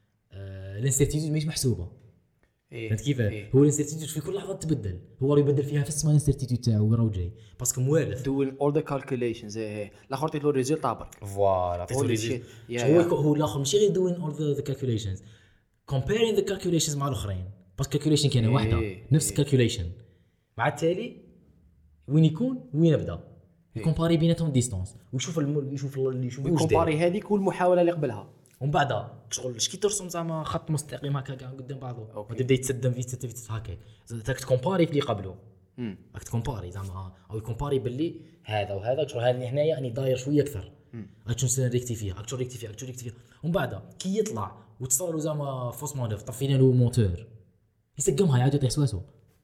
آه الانسيرتيتود ماهيش محسوبه إيه. فهمت كيف إيه. هو الانسيرتيتود في كل لحظه تبدل هو راه يبدل فيها في السما الانسيرتيتود تاعو وين راهو جاي باسكو موالف doing all the calculations ايه ايه الاخر عطيت له الريزلت عبر فوالا Holy shit. Yeah, هو yeah. هو الاخر ماشي غير دوين اول ذا كالكوليشنز comparing the calculations مع الاخرين بس كالكوليشن كاينه واحده إيه، نفس إيه. الكالكوليشن مع التالي وين يكون وين يبدا يكومباري بيناتهم ديستونس ويشوف الم... يشوف اللي يشوف واش داير كومباري هذيك والمحاوله اللي قبلها ومن بعد شغل اش كي ترسم زعما خط مستقيم هكا كاع قدام بعضه أوكي. وتبدا يتصدم في ست في هكا تاك تكومباري في اللي قبله امم راك تكومباري زعما او يكومباري باللي هذا وهذا شغل هذا اللي هنايا راني داير شويه اكثر اكشن سن ريكتيفيا اكشن ريكتيفيا اكشن ريكتيفيا ومن بعد كي يطلع وتصوروا زعما فوس مانوف طفينا له موتور يسقمها يعاود يطيح سواسو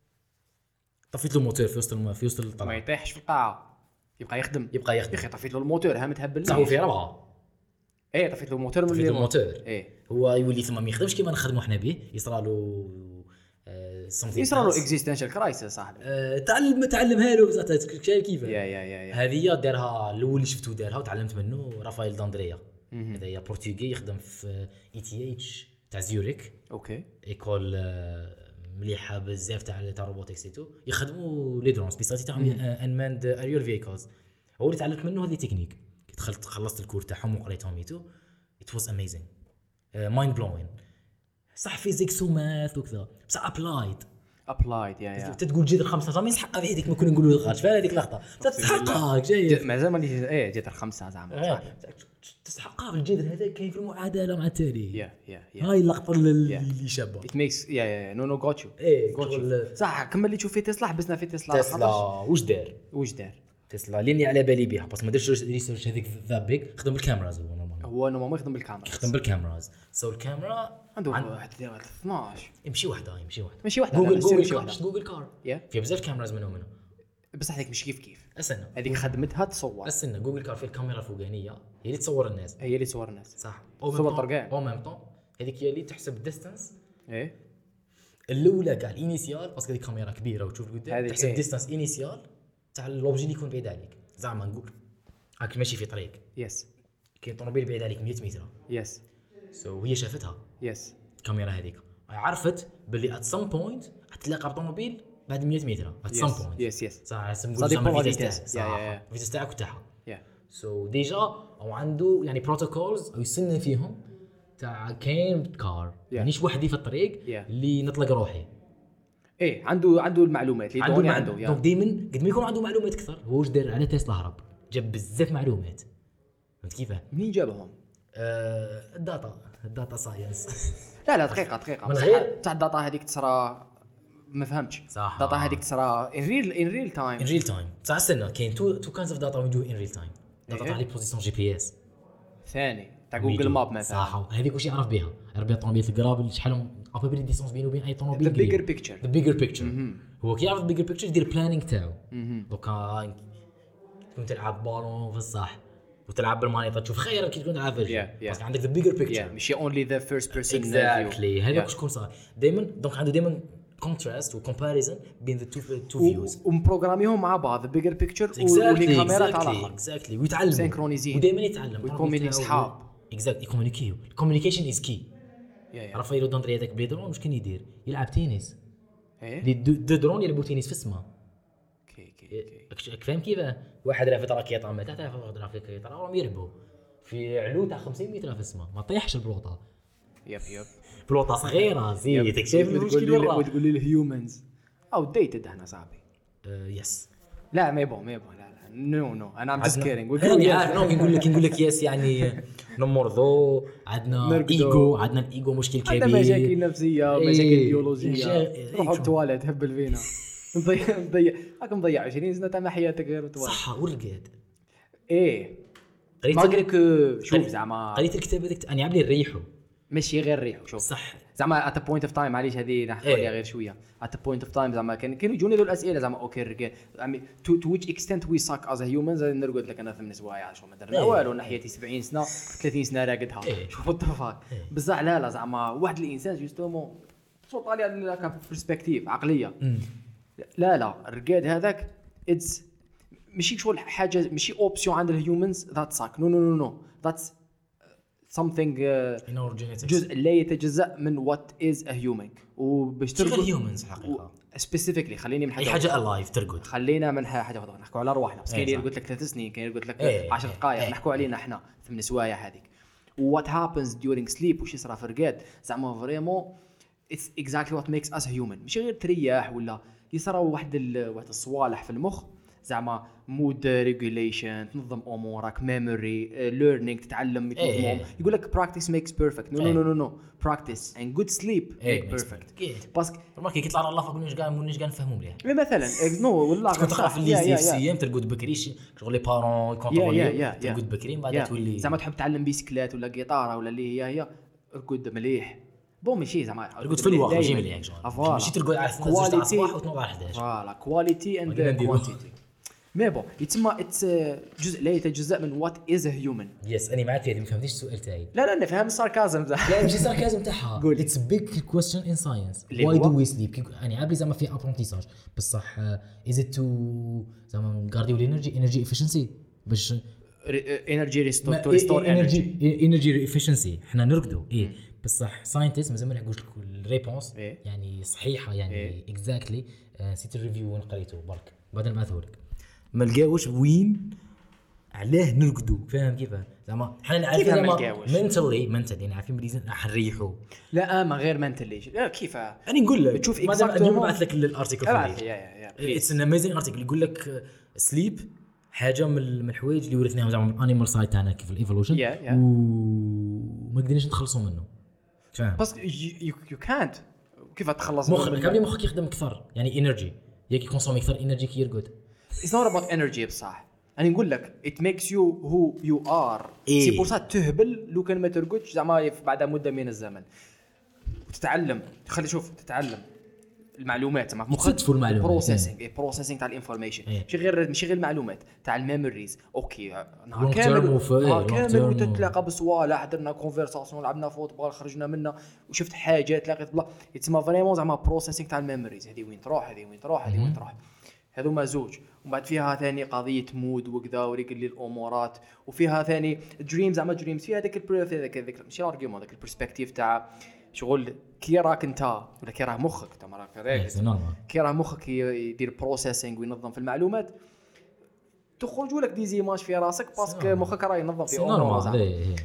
طفيت له موتور في وسط الم... في وسط ما الطلعه يطيحش في القاعه يبقى يخدم يبقى يا يخدم اخي طفيت له الموتور ها متهبل صح هو في ربعه ايه طفيت له الموتور من طفيت له اللي الموتور ايه هو يولي ثم ما يخدمش كيما نخدموا احنا به يصرى له آه، something يصرى له else. اكزيستنشال كرايسيس صاحبي آه، تعلم تعلمها له بزاف شايف كيف يا يا يا يا هذه دارها الاول اللي شفتو دارها وتعلمت منه رافائيل داندريا هذا هي برتغالي يخدم في اي تي اتش تاع زيوريك اوكي ايكول آه، مليحه بزاف تاع تاع روبوتكس تو يخدموا لي درون سبيساليتي تاعهم انماند اريال فيكلز هو اللي تعلمت منه هذه تكنيك كي دخلت خلصت الكور تاعهم وقريتهم ايتو ات واز اميزين مايند بلوين صح فيزيكس وماث وكذا بصح ابلايد ابلايد يا يا تقول جذر خمسة ما يسحق هذيك ما كنا نقولوا خارج فهذه هذيك اللقطه تسحقها جاي مع زعما اللي ايه جات الخمسه زعما تسحقها بالجذر هذا كاين في المعادله مع التالي يا يا يا هاي اللقطه اللي اللي شابه ات ميكس يا يا نو نو جوت يو ايه جوت شغل صح كمل اللي تشوف في تسلا حبسنا في تسلا تسلا واش دار واش دار تسلا اللي على بالي بها بس ما درتش ريسيرش هذيك ذا بيك خدم بالكاميراز هو نورمال هو نورمالمون يخدم بالكاميرا خدم بالكاميراز سو الكاميرا عنده عن- واحد اثناش يمشي وحده يمشي وحده ماشي واحده جوجل جوجل جوجل شي كار واحده جوجل كار يا في بزاف كاميراز منهم منهم بس هذيك مش كيف كيف استنى هذيك خدمتها تصور استنى جوجل كار في الكاميرا الفوقانيه هي اللي تصور الناس هي اللي تصور الناس صح صور طرقان. او ميم طون هذيك هي اللي تحسب الديستانس ايه الاولى كاع الانيسيال باسكو هذيك كاميرا كبيره وتشوف قدام هذيك تحسب إيه. ديستانس انيسيال تاع لوبجي اللي يكون بعيد عليك زعما نقول راك ماشي في طريق يس كاين طوموبيل بعيد عليك مية متر يس سو هي شافتها يس الكاميرا هذيك عرفت باللي ات سم بوينت حتلاقى بطوموبيل بعد مية متر ات سم بوينت يس يس صح صديق نقول زعما بون فيتاس فيتاس. تاعك يا- يا- يا. صح فيتاس تاعك وتاعها يا سو ديجا او عنده يعني بروتوكولز او يسنى فيهم تاع كاين كار مانيش وحدي في الطريق Yeah. اللي نطلق روحي ايه عنده عنده المعلومات اللي دوني عنده دونك يا دائما قد ما يكون عنده معلومات اكثر هو واش دار على تسلا هرب جاب بزاف معلومات فهمت كيفاه منين جابهم؟ آه الداتا الداتا ساينس لا لا دقيقه دقيقه من بصح غير- تاع الداتا هذيك تصرى ما فهمتش صح. الداتا هذيك تصرى ان ريل ان ريل تايم ان ريل تايم بصح استنى كاين تو تو كاينز اوف داتا وي دو ان ريل تايم داتا إيه. تاع لي بوزيسيون جي بي اس ثاني تاع جوجل ماب مثلا صح هذيك واش يعرف بها يعرف بها طوموبيل القراب شحال ابوبري ديستونس بينه وبين اي طوموبيل ذا بيجر بيكتشر ذا بيجر بيكتشر هو كي يعرف البيجر بيكتشر يدير بلانينغ تاعو دوكا تكون تلعب بالون في الصح وتلعب بالمانيطه تشوف خير كي تكون تلعب فيرجن Yeah, yeah. باسكو عندك ذا بيجر بيكتشر ماشي اونلي ذا فيرست بيرسون اكزاكتلي هذاك شكون صار دائما دونك عنده دائما كونتراست وكومباريزون بين ذا تو تو فيوز ومبروغراميهم مع بعض ذا بيجر بيكتشر والكاميرا تاع الاخر اكزاكتلي ويتعلم سينكرونيزين. ودائما يتعلم ويكونوا صحاب. اكزاكتلي يكومونيكيو الكوميونيكيشن از كي يا. رافائيل أودونتري هذاك بلي درون واش كان يدير يلعب تنس ايه لي دو, دو درون يلعبوا تنس في السماء كي كي كي راك فاهم كيف واحد رافد راكيطه من تحت رافد راكيطه راهم يلعبوا في علو تاع خمسين متر في السماء ما طيحش البلوطه يب يب بلوطه صغيره زيد شايف المشكل وين راه وتقول لي الهيومنز او ديتد احنا صاحبي يس لا ما يبون ما يبون لا لا نو نو انا ام جاست كيرينج انا عارف نو نقول لك نقول لك يس يعني نمرضو عندنا نرقدو. ايجو عندنا الايجو مشكل كبير عندنا مشاكل نفسيه إيه. مشاكل بيولوجيه إيه. روحوا التواليت هبل فينا نضيع نضيع راك مضيع عشرين سنه تاع حياتك غير التواليت صح ورقد ايه قريت ما قال لك شوف قريت- زعما قريت الكتاب هذاك انا عامل نريحو ماشي غير ريح شوف صح زعما ات بوينت اوف تايم معليش هذه نحكوا إيه. عليها غير شويه ات بوينت اوف تايم زعما كان كانوا يجوني ذو الاسئله زعما اوكي الرجال تو تو ويتش اكستنت وي ساك از هيومنز نرقد لك انا ثمان سوايع شو ما درنا إيه. والو انا حياتي سبعين سنه ثلاثين سنه راقدها إيه. شوف التفاك بصح لا لا زعما واحد الانسان جوستومون شو طالع لك برسبكتيف عقليه لا لا الرقاد هذاك اتس ماشي شغل حاجه ماشي اوبسيون عند الهيومنز ذات ساك نو نو نو نو ذاتس something uh, in our genetics جزء لا يتجزأ من وات از ا هيومن وباش شغل ترقد هيومنز حقيقه سبيسيفيكلي خليني من اي حاجه حاجه الايف ترقد خلينا من حاجه واحده نحكوا على ارواحنا بس كاين إيه اللي صح. قلت لك ثلاث سنين كاين اللي قلت لك إيه، عشر إيه، دقائق إيه. نحكوا علينا احنا ثمان سوايع هذيك وات هابنز during sleep وش يصرى في الرقاد زعما فريمون اتس اكزاكتلي وات ميكس اس هيومن ماشي غير ترياح ولا يصرى واحد ال... واحد الصوالح في المخ زعما مود ريجوليشن تنظم امورك ميموري ليرنينغ تتعلم إيه. يقول لك براكتيس ميكس بيرفكت نو إيه. نو نو نو براكتيس اند جود سليب إيه، ميك makes بيرفكت perfect. باسكو ماركي كي طلع الله فوق مش قاعد مش قاعد نفهموا مليح مثلا نو والله كنت تقرا في يا- يا- اللي يا. سي ام ترقد بكري شي- شغل لي بارون يا- كونترولي يا- يا. ترقد بكري من بعد يا. تولي زعما تحب تعلم بيسكلات ولا جيتاره ولا اللي هي هي ارقد مليح بون ماشي زعما ترقد في الوقت ماشي دايماً. مليح شغل أفوالا. ماشي ترقد على اثنا عشر تاع Quality. الصباح وتنوض على احداش فوالا كواليتي اند ولينا نديرو. كوانتيتي مي بون يتسمى اتس جزء لا يتجزأ من وات از هيومن يس انا معك في هذه ما فهمتيش السؤال تاعي لا لا نفهم الساركازم لا ماشي ساركازم تاعها قول. اتس بيج كويستشن ان ساينس اللي واي هو؟ دو وي سليب يعني عابلي زعما في ابرونتيساج بصح از ات تو زعما نغارديو الانرجي انرجي افيشنسي باش انرجي ريستور تو ريستور انرجي انرجي افيشنسي حنا نرقدوا ايه بصح ساينتست مازال ما نلحقوش الريبونس إيه. يعني صحيحه يعني إيه. اكزاكتلي نسيت الريفيو وين قريته برك بعد نبعثه لك ما لقاوش وين علاه نرقدوا فاهم كيف زعما حنا عارفين كيفاه ما زعما لقاوش؟ منتلي منتلي عارفين بلي راح نريحوا لا ما غير منتلي لا كيف انا نقول لك تشوف مادام exactement- اليوم نبعث لك الارتيكل ابعث في يا يا يا اتس ان اميزين ارتيكل يقول لك سليب حاجه من من الحوايج اللي ورثناهم زعما من الانيمال سايد تاعنا كيف الايفولوشن Yeah, yeah. وما قدرناش نتخلصوا منه فاهم بس يو كانت كيف تخلص مخك كامل مخك يخدم اكثر يعني انرجي ياك يكونسومي اكثر انرجي كي يرقد اتس نوت اباوت انرجي بصح انا نقول لك ات ميكس يو هو يو ار إيه. سي بور سا تهبل لو كان ما ترقدش زعما بعد مده من الزمن وتتعلم خلي شوف تتعلم المعلومات زعما مخك يستدفوا المعلومات. بروسيسنج بروسيسنج تاع الانفورميشن إيه. ماشي غير ماشي غير المعلومات تاع الميموريز اوكي نهار Long term كامل وف- نهار long كامل term و- وتتلاقى بصوالح درنا كونفرساسيون لعبنا فوتبول خرجنا منه وشفت حاجات لقيت بلا يتسمى فريمون زعما بروسيسنج تاع الميموريز هذه وين تروح هذه وين تروح هذه وين تروح هذوما زوج ومن بعد فيها ثاني قضيه مود وكذا وريقل لي الامورات وفيها ثاني دريم زعما دريمز فيها هذاك البر هذاك هذاك ماشي ارجيومون هذاك البرسبكتيف تاع شغل كي راك انت ولا كي راه مخك انت راك هذاك سي نورمال كي راه مخك يدير بروسيسينغ وينظم في المعلومات تخرجوا لك دي زيماج في راسك باسكو مخك راه ينظم في سي امور نورمال زعما ايه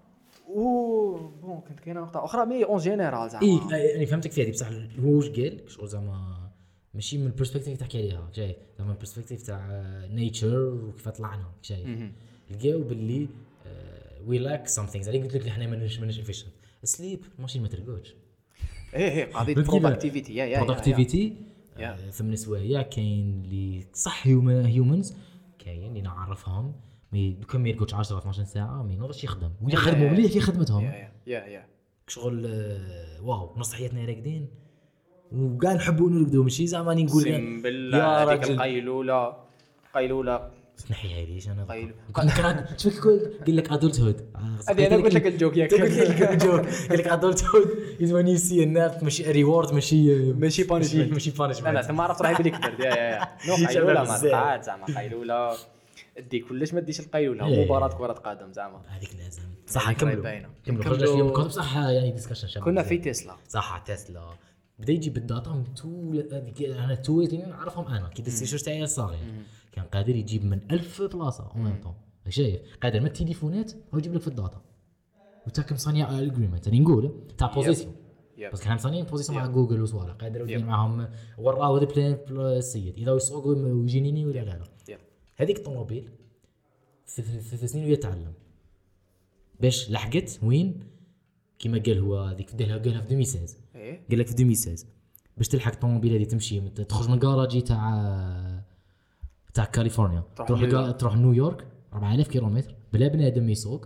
و بون كنت كاينه نقطه اخرى مي اون جينيرال زعما ايه انا فهمتك في هذه بصح هو واش قال شغل زعما ماشي من البرسبكتيف تحكي عليها شايف زعما من البرسبكتيف تاع نيتشر وكيف طلعنا شايف لقاو باللي وي لاك سامثينغز اللي قلت لك احنا ماناش ماناش افيشنت سليب ماشي ما ترقدش ايه ايه قضيه فهمت كيف؟ برودكتيفيتي يا يا برودكتيفيتي يا. ثمن سوايع كاين اللي صح هيومنز كاين اللي نعرفهم مي كم يرقدش عشرة اثنا عشر ساعه ما ينوضش يخدم ويخدموا مليح في خدمتهم يا يا يا شغل آه، واو نص حياتنا راقدين وكاع نحبوا نرقدوا ماشي زعما نقول اقسم بالله يا هذيك راجل القيلوله قيلوله تنحيها ليش انا قيلو. قال شوف قال لك ادولت هود هذه انا قلت لك الجوك ياك قلت لك الجوك قال لك ادولت هود از وين يو سي الناس ماشي ريورد ماشي ماشي punishment. ماشي لا لا بانشمنت ثم عرفت راهي بلي كبرت يا يا يا نو شباب قيلوله ما بزاف. طلعت زعما قيلوله دي كلش ما ديش القيلوله إيه. مباراه كره قدم زعما هذيك لازم صح هذيك راهي نكملوا باينة. نكملوا نكملوا. خرجنا شويه من الكود بصح يعني ديسكشن شباب كنا في تسلا. صح تسلا بدا يجيب الداتا من تو هذيك انا تو اللي نعرفهم انا كي دزت السيرش تاعي الصغير كان قادر يجيب من ألف بلاصه اون ميم طون شايف قادر من التليفونات هو يجيب لك في الداتا وتاك مصنع الاجريمنت راني نقول تاع بوزيسيون يب. بس كان مصنعين بوزيسيون مع جوجل وصوالح قادر يدير معاهم وراه هذا بلان السيد اذا يسوق ويجينيني ولا لا لا يب. هذيك الطوموبيل في ثلاث سنين ويتعلم باش لحقت وين كيما قال هو هذيك قالها قالها في ألفين وستة عشر ايه قال لك في ألفين وستة عشر باش تلحق الطوموبيل هذه تمشي مت- تخرج من الكراجي تاع تاع كاليفورنيا تروح تروح نيويورك. لكا- تروح نيويورك أربعة آلاف كيلومتر بلا بنادم يسوق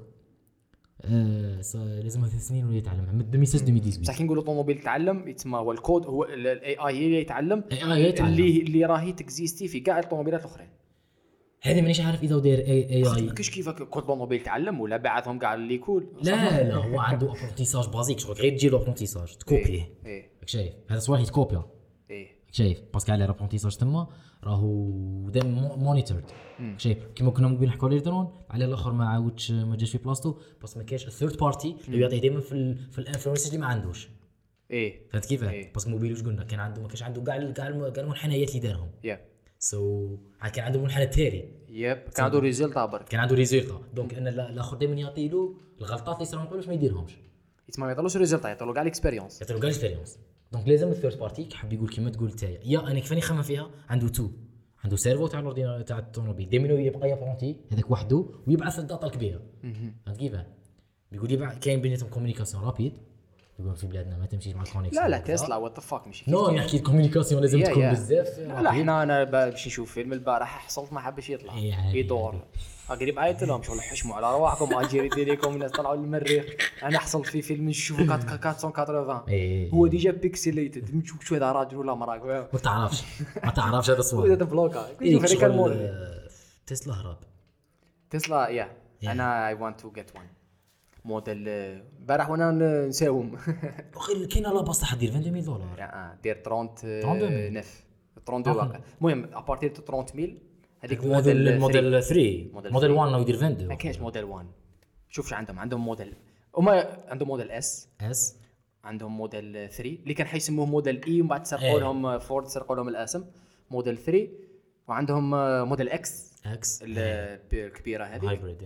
آه ص- لازم ثلاث سنين ولا يتعلم من ألفين وستة عشر ألفين وثمانية عشر بصح كي نقولوا طوموبيل يتعلم يتسمى هو الكود هو الاي اي هي اللي يتعلم إيه آي يتعلم. اللي اللي راهي تكزيستي في كاع الطوموبيلات الاخرين. هذه مانيش عارف اذا داير اي اي ما اي كاش كيفاش كل طوموبيل يتعلم ولا بعثهم كاع اللي كول. لا لا هو عنده ابرونتيساج بازيك شغل غير تجي له ابرونتيساج تكوبيه ايه راك شايف هذا صوالح يتكوبيا ايه راك شايف باسكو على لابرونتيساج تما راهو دام مونيتورد شايف كيما كنا مقبل نحكوا على الدرون على الاخر ما عاودش ما جاش في بلاصتو بس ما كاينش الثيرد بارتي اللي يعطيه دائما في ال في الانفلونسرز اللي ما عندوش ايه فهمت كيف إيه. باسكو موبيل واش قلنا كان عنده ما كانش عنده كاع كاع الم- كاع المنحنيات اللي دارهم يب سو so, كان عنده منحنى تالي يب كان عنده ريزلت برك كان عنده ريزولتا دونك ان الاخر دائما يعطي له الغلطات اللي يصيروا نقولوا ما يديرهمش يتسمى ما يطلعوش ريزلت يعطوا كاع الاكسبيريونس. يعطي له كاع الاكسبيريونس دونك لازم الثيرد بارتي كيحب يقول كيما تقول نتايا يا انا كيفاني نخمم فيها عنده تو عنده سيرفو تاع الاورديناتور تاع الطوموبيل دائما يبقى يابرونتي هذاك وحده ويبعث الداتا الكبيره فهمت كيف بيقول يبعث كاين بيناتهم كومونيكاسيون رابيد يقول في بلادنا ما تمشيش مع الكونيكسيون لا لا تسلا وات ذا فاك ماشي نو نحكي الكومونيكاسيون لازم يا- تكون يا. بزاف لا لا حنا انا باش نشوف فيلم البارح حصلت ما حبش يطلع إيه عادي، يدور قريب عيطت لهم شغل حشموا على رواحكم اجيري ديريكم الناس طلعوا للمريخ انا حصل في فيلم نشوفه أربعمية وثمانين إيه. هو ديجا بيكسيليتد نشوف شو هذا راجل ولا مراه ما تعرفش ما تعرفش هذا هو الصوالح هذا بلوكا إيه، شوف هذيك شغل، المول آه، تسلا هرب تسلا يا انا اي ونت تو جيت وان موديل البارح وانا نساوم اخي كاين لا باس تاع دير عشرين ألف دولار يا دير ثلاثين ثلاثين نف ثلاثين واقع المهم ابارتير ثلاثين ميل هذيك موديل موديل موديل ثلاثة موديل موديل واحد يدير عشرين ما كاينش موديل واحد شوف شو عندهم عندهم موديل هما عندهم موديل اس اس عندهم موديل ثلاثة اللي كان حيسموه موديل اي ومن بعد سرقوا إيه. لهم فورد سرقوا لهم الاسم موديل ثلاثة وعندهم موديل اكس اكس الكبيره هذه هايبريد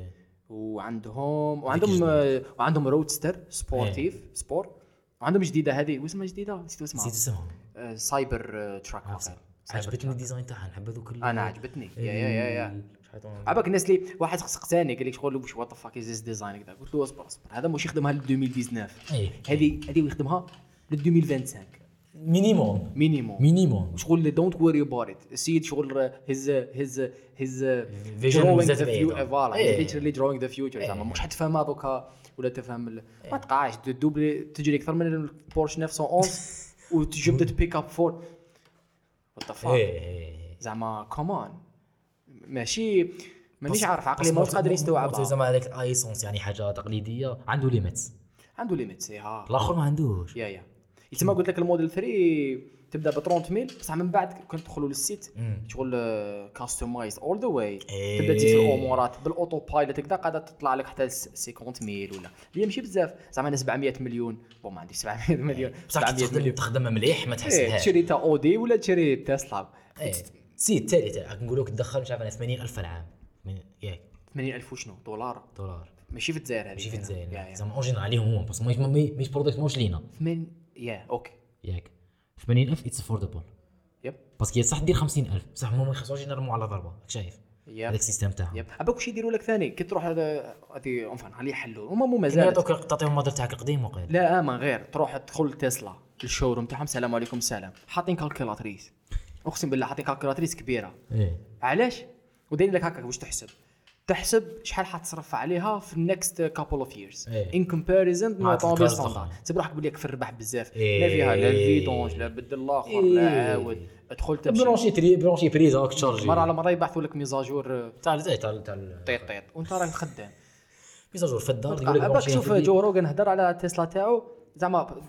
وعندهم وعندهم وعندهم رودستر سبورتيف سبور وعندهم جديده هذه واسمها جديده نسيت نسيت اسمها اسمهم آه، سايبر تراك عجبتني الديزاين تاعها نحب هذوك ال- انا عجبتني يا يا يا يا شحال عباك الناس اللي واحد سقساني قال لي شغل واش وات فاك از ديزاين كذا قلت له اصبر اصبر هذا مش يخدمها ل ألفين وتسعطاش إيه. هذه هذه يخدمها ل ألفين وخمسة وعشرين مينيموم مينيموم مينيموم شغل دونت وري اباوت ات السيد شغل هيز هيز هيز Vision بزاف بعيدة. فوالا إيه. ليترلي دروينغ ذا فيوتشر زعما مش حتفهمها دوكا ولا تفهم ال- ما تقعش دوبلي تجري اكثر من البورش تسعمية وأحد وتجبد تبيك اب فور وات ذا فاك ايه زعما كومان ماشي مانيش عارف عقلي ما قادر يستوعبها زعما هذاك الايسونس يعني حاجه تقليديه عنده ليميتس عنده ليميت ها الاخر ما عندوش يا يا يتما قلت لك الموديل ثلاثة تبدا ب ثلاثين ميل بصح من بعد كنت تدخلوا للسيت شغل كاستمايز اول ذا واي إيه. تبدا تزيد في الامورات بالاوتو بايلوت هكذا قاعده تطلع لك حتى خمسين ميل ولا هي ماشي بزاف زعما انا سبعمية مليون بون ما عنديش سبعمية مليون بصح كي سبعمية تخدم مليون تخدم مليح ما إيه، تحسبهاش تشري تا اودي ولا تشري تسلا ايه سي التالي تاعك نقول لك تدخل مش عارف انا ثمانين ألف في العام من- ياك ثمانين ألف وشنو دولار دولار ماشي في الجزائر هذه ماشي في يا الجزائر يا زعما اونجينال عليهم هما بس مش مش برودكت موش لينا ثمانين يا اوكي ياك ثمانين ألف اتس افوردبل يب باسكو صح دير خمسين ألف بصح هما ما يخصوش ينرموا على ضربه راك شايف يب هذاك السيستم تاعهم يب عباك واش يديروا لك ثاني كي تروح هذا هذه اونفان خليه يحلوا هما مو كيما مازال يعطوك تعطيهم الموديل تاعك القديم وقيل لا ما غير تروح تدخل تسلا الشوروم تاعهم السلام عليكم السلام حاطين كالكولاتريس اقسم بالله حاطين كالكولاتريس كبيره ايه علاش ودايرين لك هكاك واش تحسب تحسب شحال حتصرف عليها في النكست كابل اوف ييرز إيه. ان كومباريزون مع مع طوموبيل الكارز ستاندار الأخرى. تسيب روحك بلي في الربح بزاف إيه. لا فيها لا الفيدونج لا بدل الاخر لا إيه. عاود ادخل تمشي برونشي تري برونشي بريزا راك تشارجي مره على مره يبعثوا لك ميزاجور تاع تاع تاع تاع طيط طيط وانت راك خدام ميزاجور في الدار يقول لك عباك برونشي شوف تري- جو روغن هدر على تسلا تاعو زعما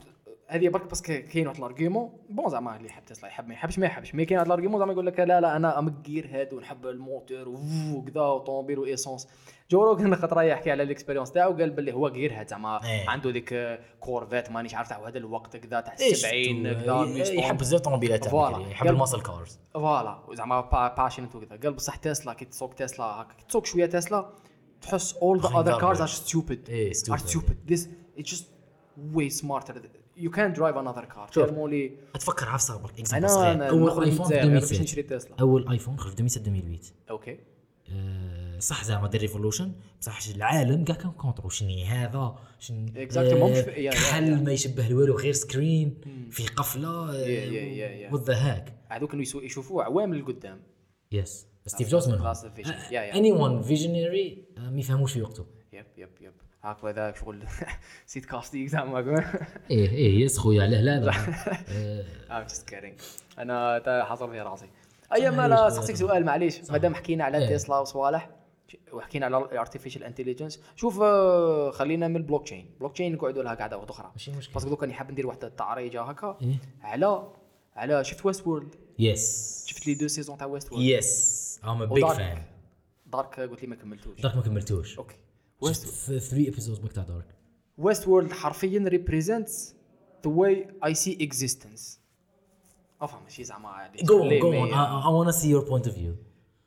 هذه برك باسكو كاين واحد الارغيومون بون زعما اللي يحب تسلا يحب ما يحبش ما يحبش مي كاين واحد الارغيومون زعما يقول لك لا لا انا امكير هادو نحب الموتور وكذا وطوموبيل وايسونس. جو روغن خطره يحكي على الاكسبيريونس تاعو قال باللي هو غير هاد زعما إيه. عنده ديك كورفيت مانيش عارف تاع هذا الوقت كذا تاع إيش سبعين تو- كذا ي- يحب بزاف طوموبيلات تاع فوالا. بكري، يحب قال- الماسل كارز. فوالا زعما باشنت وكذا. قال بصح تسلا كي تسوق تسلا هكا كي تسوق شويه تسلا تحس all the خاين other cars garbage. are stupid إيه، are stupid. stupid this it's just way smarter you can't drive another car. شوف. تكلموا لي اتفكر عارف صار برك انا اكزامبل صغير. أنا اول نخرج ايفون في الجزائر باش ألفين نشري وسبعة. تسلا. اول ايفون خرج في ألفين وسبعة ألفين وثمانية. اوكي أه صح زعما دير ريفولوشن بصح العالم كاع كان كونترو شني هذا شن Exactly. ماهوش في- يا- يا- كحل ما يشبه والو غير سكرين في قفله يا- يا- يا- يا. وذ هاك هذو كانوا يسو- يشوفوه عوام للقدام. يس ستيف جوبز منهم That's the vision. Yeah, yeah. اني ون فيجنري ما يفهموش في وقته. يب يب يب هاك ذاك شغل سيت كاستيك زعما ايه ايه يس خويا علاه لا لا I'm just kidding. انا تا حاصل في راسي. ايام معليش انا خويا. سقسيك سؤال معليش مادام حكينا على إيه. تسلا وصوالح وحكينا على الارتفيشال انتليجنس شوف آه، خلينا من البلوك تشين. بلوك تشين نقعدوا لها قاعده واحده اخرى ماشي مشكل. باسكو دوكا نحب ندير واحده التعريجه هكا إيه. على على شفت ويست وورلد. يس شفت لي دو سيزون تاع ويست وورلد. يس ام ا بيج فان. دارك قلت لي ما كملتوش. دارك ما كملتوش. اوكي ويست ثلاثة ابيزودز بك تاع دارك. ويست وورلد حرفيا ريبريزنتس ذا واي اي سي اكزيستنس. افهم ماشي زعما Go on, go on. I, I want to see your point of view.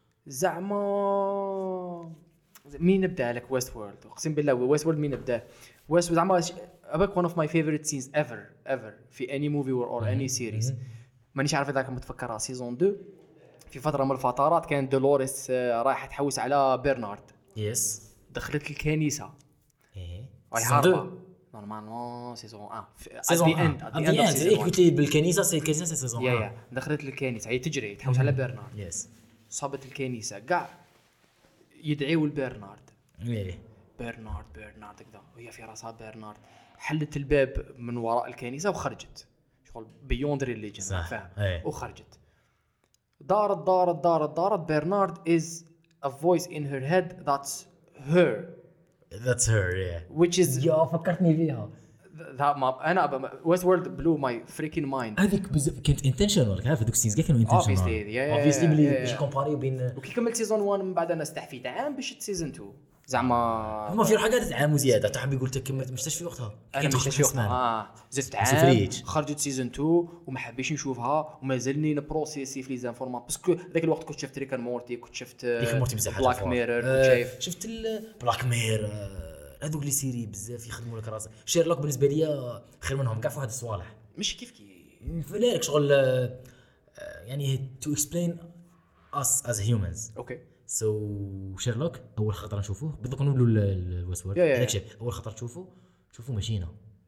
زعما مين نبدا لك ويست وورلد؟ اقسم بالله ويست وورلد مين نبدا؟ ويست زعما اباك one of my favorite scenes ever ever في any movie or, or any series. مانيش عارف اذا متفكرها سيزون اثنين في فتره من الفترات كان دولوريس آه، رايحه تحوس على برنارد. يس. دخلت الكنيسه ايه. راهي هاربه نورمالمون سيزون واحد سيزون واحد. at the end. إيه قلت لي بالكنيسة سي الكنيسة سي سيزون يا واحد. يا دخلت الكنيسه هي تجري تحوس على برنارد. يس. صابت الكنيسه كاع يدعيوا لبرنارد. ايه. برنارد برنارد كذا وهي في راسها برنارد حلت الباب من وراء الكنيسه وخرجت شغل بيوند ريليجن صح. فاهم أي. وخرجت دارت دارت دارت دارت برنارد is a voice in her head that's her That's her. Yeah. which is يا فكرتني فيها. that ما انا ويست وورلد بلو ماي فريكين مايند. هذيك بزاف كانت انتشنال عارف دوك السينز كاع كانوا انتشنال. Obviously, yeah, yeah, obviously yeah, بلي yeah. باش كومباري بين وكي كملت سيزون واحد من بعد انا استحفيت عام باش سيزون اثنين زعما هما في حاجات عام وزياده تحب يقول لك كملت مشتاش في وقتها. انا كانت مش تاخذ شوفها سمانة. اه زدت عام سفريج. خرجت سيزون اثنين وما حبيتش نشوفها ومازلني نبروسيسي في لي زانفورماسيون باسكو ذاك الوقت كنت شفت ريكان مورتي كنت شفت ريك مورتي بزاف حاجات بلاك فوق. ميرور كنت آه، شايف شفت بلاك مير هذوك لي سيري بزاف يخدموا لك راسك. شيرلوك بالنسبه لي خير منهم كاع في هاد الصوالح. مش كيف كي فلارك شغل آه، يعني to explain us as humans. اوكي سو شيرلوك اول خطره نشوفوه بالضبط نقولوا الويست وورد يا- يا- هذاك الشيء اول خطره تشوفه تشوفوا ماشينه.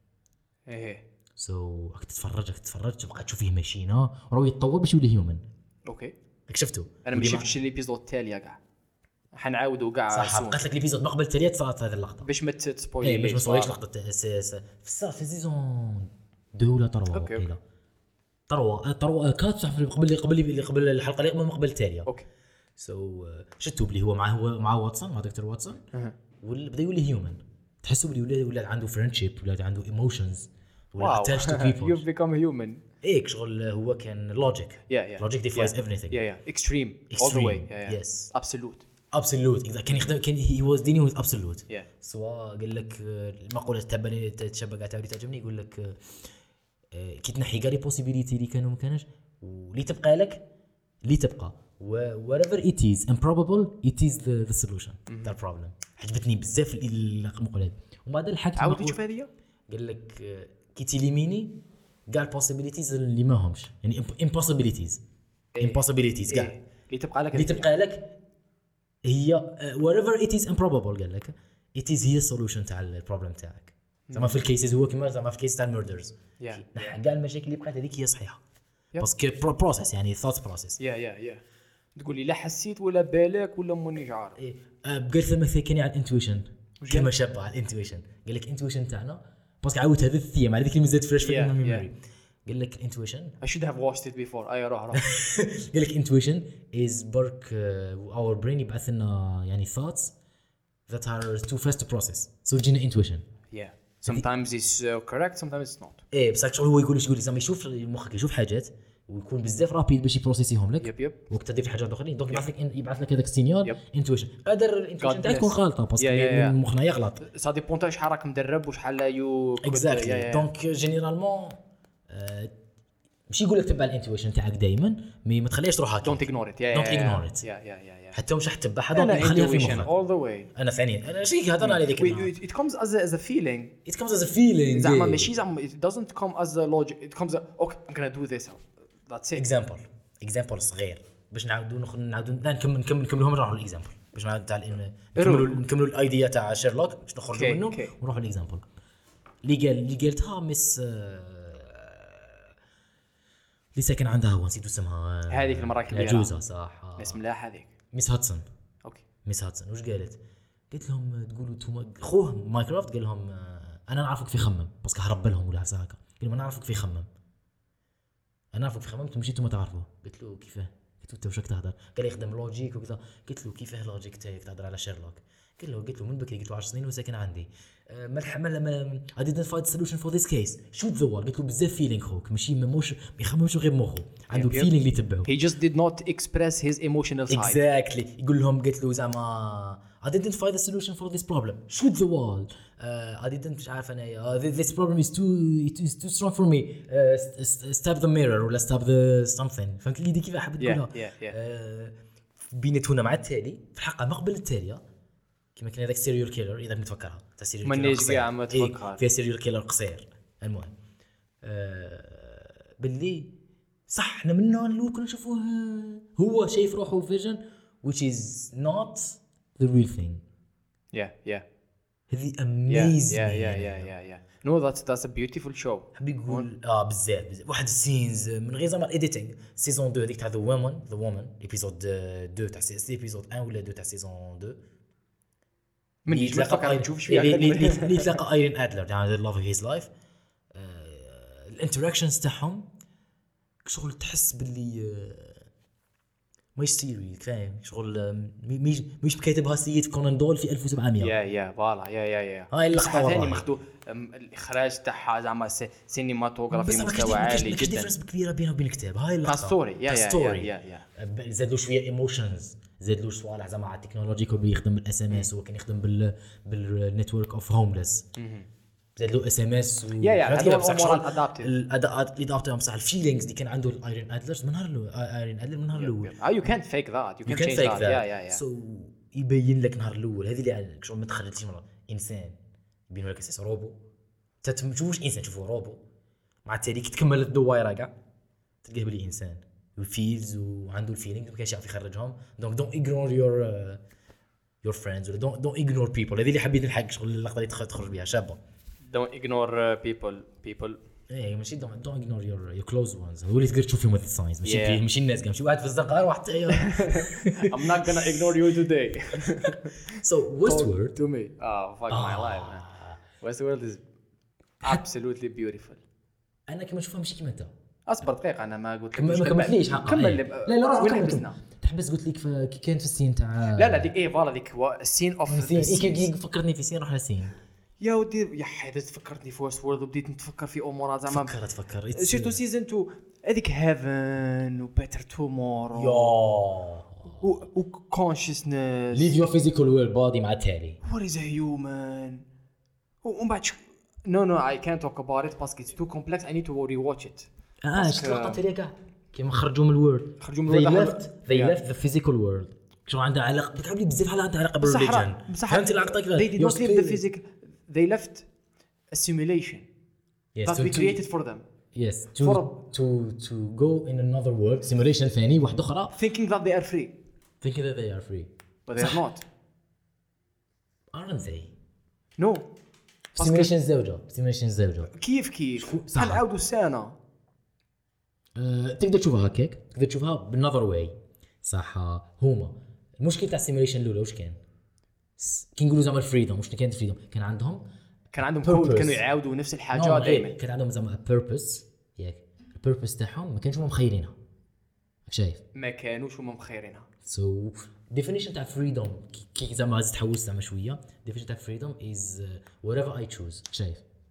ايه سو راك تتفرج راك تتفرج تبقى تشوف فيه ماشينه وراه يتطور باش يولي هيومن. اوكي راك شفتو انا ما شفتش الابيزود التاليه كاع حنعاودوا كاع صح soon. بقات لك ليبيزود ما قبل التاليات صارت هذه اللقطه. باش ما تسبويلي ايه باش ما نصوريش لقطه في الصار في سيزون دو ولا تروا أوكي، وقيله تروا تروا كات صح قبل قبل قبل الحلقه اللي قبل ما قبل التاليه. اوكي سو شتو بلي هو مع هو مع واتسون مع دكتور واتسون وبدا يولي هيومن تحسوا بلي ولا ولا عنده فريندشيب ولا عنده ايموشنز ولا واو اتاش تو you've بيبل. become human. ايك شغل هو كان لوجيك Yeah, yeah. لوجيك ديفايز Yeah. everything. Yeah, yeah. Extreme. All the Extreme. way. Yeah, yeah. Yes. Absolute. ابسولوت اذا كان يخدم كان هي واز دينينغ وذ ابسولوت. Yeah. سواء قال لك آه، المقوله تبني تشبه قاعد تعجبني يقول لك آه، آه، كي تنحي كاع لي بوسيبيليتي اللي كانوا ما كانش واللي تبقى لك اللي تبقى whatever it is improbable it is the, the solution that problem. عجبتني بزاف المقوله هذه ومن بعد الحاجه عاود تشوف هذه. قال لك آه، كي تيليميني كاع البوسيبيليتيز اللي ما همش يعني impossibilities impossibilities كاع إيه. اللي تبقى لك اللي تبقى لك هي uh, wherever it is improbable قال لك it is هي السولوشن تاع البروبلم تاعك. زعما في الكيسز هو كما زعما في الكيس تاع الميردرز Yeah. نحى كاع المشاكل اللي بقات هذيك هي صحيحه Yeah. باسكو بروسيس يعني ثوت بروسيس. يا يا يا تقول لي لا حسيت ولا بالك ولا مانيش عارف. ايه بقيت لما ثاني على الانتويشن كلمه شابه على الانتويشن قال لك الانتويشن تاعنا باسكو عاود هذا الثيم على ذيك اللي مازالت فريش في Yeah, الميموري. قال لك الانتويشن I should have watched it before. اي روح روح. قال لك intuition is برك uh, our brain يبعث لنا يعني thoughts that are too fast to process so يجينا intuition. Yeah. sometimes it's uh, correct sometimes it's not. ايه بصح شغل هو يقول لك يقول لك زعما يشوف مخك يشوف حاجات ويكون بزاف رابيد باش يبروسيسيهم لك. يب يب وقت تدير في حاجات اخرين دونك يبعث لك يبعث لك هذاك السينيال يب. انتويشن. قادر الانتويشن تاعك تكون غلطه باسكو مخنا يغلط. سا ديبون تاع شحال راك مدرب وشحال يو اكزاكتلي. دونك جينيرالمون ماشي يقول لك تبع الانتويشن تاعك دائما مي ما تخليهش تروح هكا. دونت اغنور ات. Don't ignore it. يا يا يا حتى مش راح تتبعها دونك خليها في مخك. all the way. انا ثاني انا شي هضرنا على ذيك it comes as a, as a feeling. it comes as a feeling. زعما ماشي زعما it doesn't come as a logic. it comes a, okay I'm gonna do this. that's it. example example صغير باش نعاودوا نعاودوا نكمل نكمل نكملهم نروحوا للاكزامبل باش نعاود تاع نكملوا نكملوا الايديا تاع شيرلوك باش نخرجوا منه ونروحوا للاكزامبل اللي قال اللي قالتها مس اللي ساكن عندها هو نسيت اسمها هذيك المره الكبيره عجوزه صح اسم ملاح هذيك ميس هاتسون. اوكي ميس هاتسون واش قالت؟ قلت لهم تقولوا انتم خوه ماينكرافت قال لهم انا نعرفك في خمم باسكو هرب لهم ولا هكا قال لهم انا نعرفك في خمم انا نعرفك في خمم انتم مشيتوا ما تعرفوه. قلت له كيفاه؟ قلت له انت واش راك تهضر؟ قال لي يخدم لوجيك وكذا. قلت له كيفاه لوجيك تاعك تهضر على شيرلوك؟ قال له قلت له من بكري قلت له عشر سنين وساكن عندي ما الحمل ما I didn't find solution for this case shoot the wall. قلت له بزاف فيلينغ خوك ماشي مش ما يخممش غير مخه عنده الفيلينغ اللي تبعه. he just did not express his emotional side. exactly. يقول لهم قلت له زعما I didn't find the solution for this problem shoot the wall. uh, I didn't مش عارف انا uh, this problem is too it is too strong for me uh, stab the mirror ولا stab the something. فهمت لي دي كيف حاب تقولها. yeah, yeah, yeah. uh, بينتونا مع التالي في الحلقه ما قبل التاليه كما كان هذاك سيريال كيلر اذا نتفكرها تاع سيريال كيلر مانيش كاع ما تفكر فيها سيريال كيلر قصير. المهم آه باللي صح احنا من النوع الاول كنا نشوفوه هو شايف روحه فيجن which is not the real thing. yeah yeah هذه amazing. yeah yeah yeah yeah yeah no that's that's a beautiful show. حبي يقول اه بزاف بزاف واحد السينز من غير زعما الايديتينغ سيزون اثنين هذيك تاع ذا وومن ذا وومن ايبيزود اثنين تاع سي ايبيزود واحد ولا اثنين تاع سيزون اثنين من يتلاقى نشوف شويه اللي تلاقى ايرين ادلر تاع لاف هيز لايف. الانتراكشنز تاعهم شغل تحس باللي ماي سيري فاهم شغل مش مش كاتبها سيد كونان دول في ألف وسبعمية. يا يا فوالا يا يا يا هاي اللقطه ثاني ماخذوا الاخراج تاعها زعما سينماتوغرافي مستوى عالي جدا. بس ديفرنس كبيره بينه وبين الكتاب. هاي اللقطه ستوري يا يا يا يا زادوا شويه ايموشنز زادوا صوالح زعما على التكنولوجي كل يخدم بالاس ام اس وكان يخدم بال بالنتورك اوف هومليس زاد له اس ام اس يا يا هذول الامور ادابتيف الاداءات اللي ضافتهم بصح الفيلينغز اللي كان عنده الايرين ادلرز من نهار الاول ايرين ادلر من نهار الاول يو كانت فيك ذات يو كانت فيك ذات يا يا يا سو يبين لك نهار الاول هذه اللي شغل ما تخرجتش مره انسان يبين لك اساس روبو انت ما تشوفوش انسان تشوفه روبو مع التالي كي تكمل الدويره كاع تلقاه بلي انسان وفيلز وعنده الفيلينغ ما كانش يعرف يخرجهم. دونك دونت اغنور يور يور فريندز ولا دونت دونت اغنور بيبل. هذه اللي حبيت نلحق شغل اللقطه اللي تخرج بها شابه. don't ignore people people ايه ماشي don't don't ignore your your close ones. هو اللي تقدر تشوف فيهم with signs ماشي yeah. ماشي الناس كاع ماشي واحد في الزنقه واحد I'm not gonna ignore you today. so Westworld to me oh fuck ah. my life man. Westworld is absolutely beautiful. انا كما نشوفها ماشي كيما انت. اصبر دقيقه انا ما قلت لك ما كملتليش حقا. كمل لا لا وين حبسنا تحبس قلت لك كي كانت في السين تاع لا لا ديك ايه فوالا ديك السين اوف السين فكرتني في سين روح للسين يا ودي يا حيدت فكرتني في ويست وورلد وبديت نتفكر في امورات زعما فكرت فكر شفتو سيزون اثنين هذيك هيفن وبيتر تومورو يا و كونشسنس ليف يور فيزيكال ويل بودي مع التالي وات از هيومن ومن بعد نو نو اي كانت توك اباوت ات باسكو اتس تو كومبلكس اي نيد تو ري واتش ات. اه شفت اللقطه تاعي كاع كيما خرجوا من الورد خرجوا من الورد they left the physical world شو عندها علاقه بك عبلي بزاف عندها علاقه بالريليجن. فهمت اللقطه كيفاش they did not leave the physical they left a simulation yes, that to, we created for them. yes to for to to go in another world simulation ثاني واحد اخرى thinking that they are free thinking that they are free but they are not aren't they no simulation زوجة simulation زوجة كيف كيف بحال عاودوا السنة أه، تقدر تشوفها هكاك تقدر تشوفها بالنظر واي صح. هما المشكل تاع السيميليشن الاولى واش كان كي نقولوا زعما الفريدوم واش كانت فريدوم كان عندهم كان عندهم كود كانوا يعاودوا نفس الحاجه دائما كان عندهم زعما بيربس ياك البيربس تاعهم ما كانش هما مخيرينها شايف ما كانوش هما مخيرينها. سو ديفينيشن تاع فريدوم كي زعما تحوس زعما شويه ديفينيشن تاع فريدوم از وات ايفر اي تشوز شايف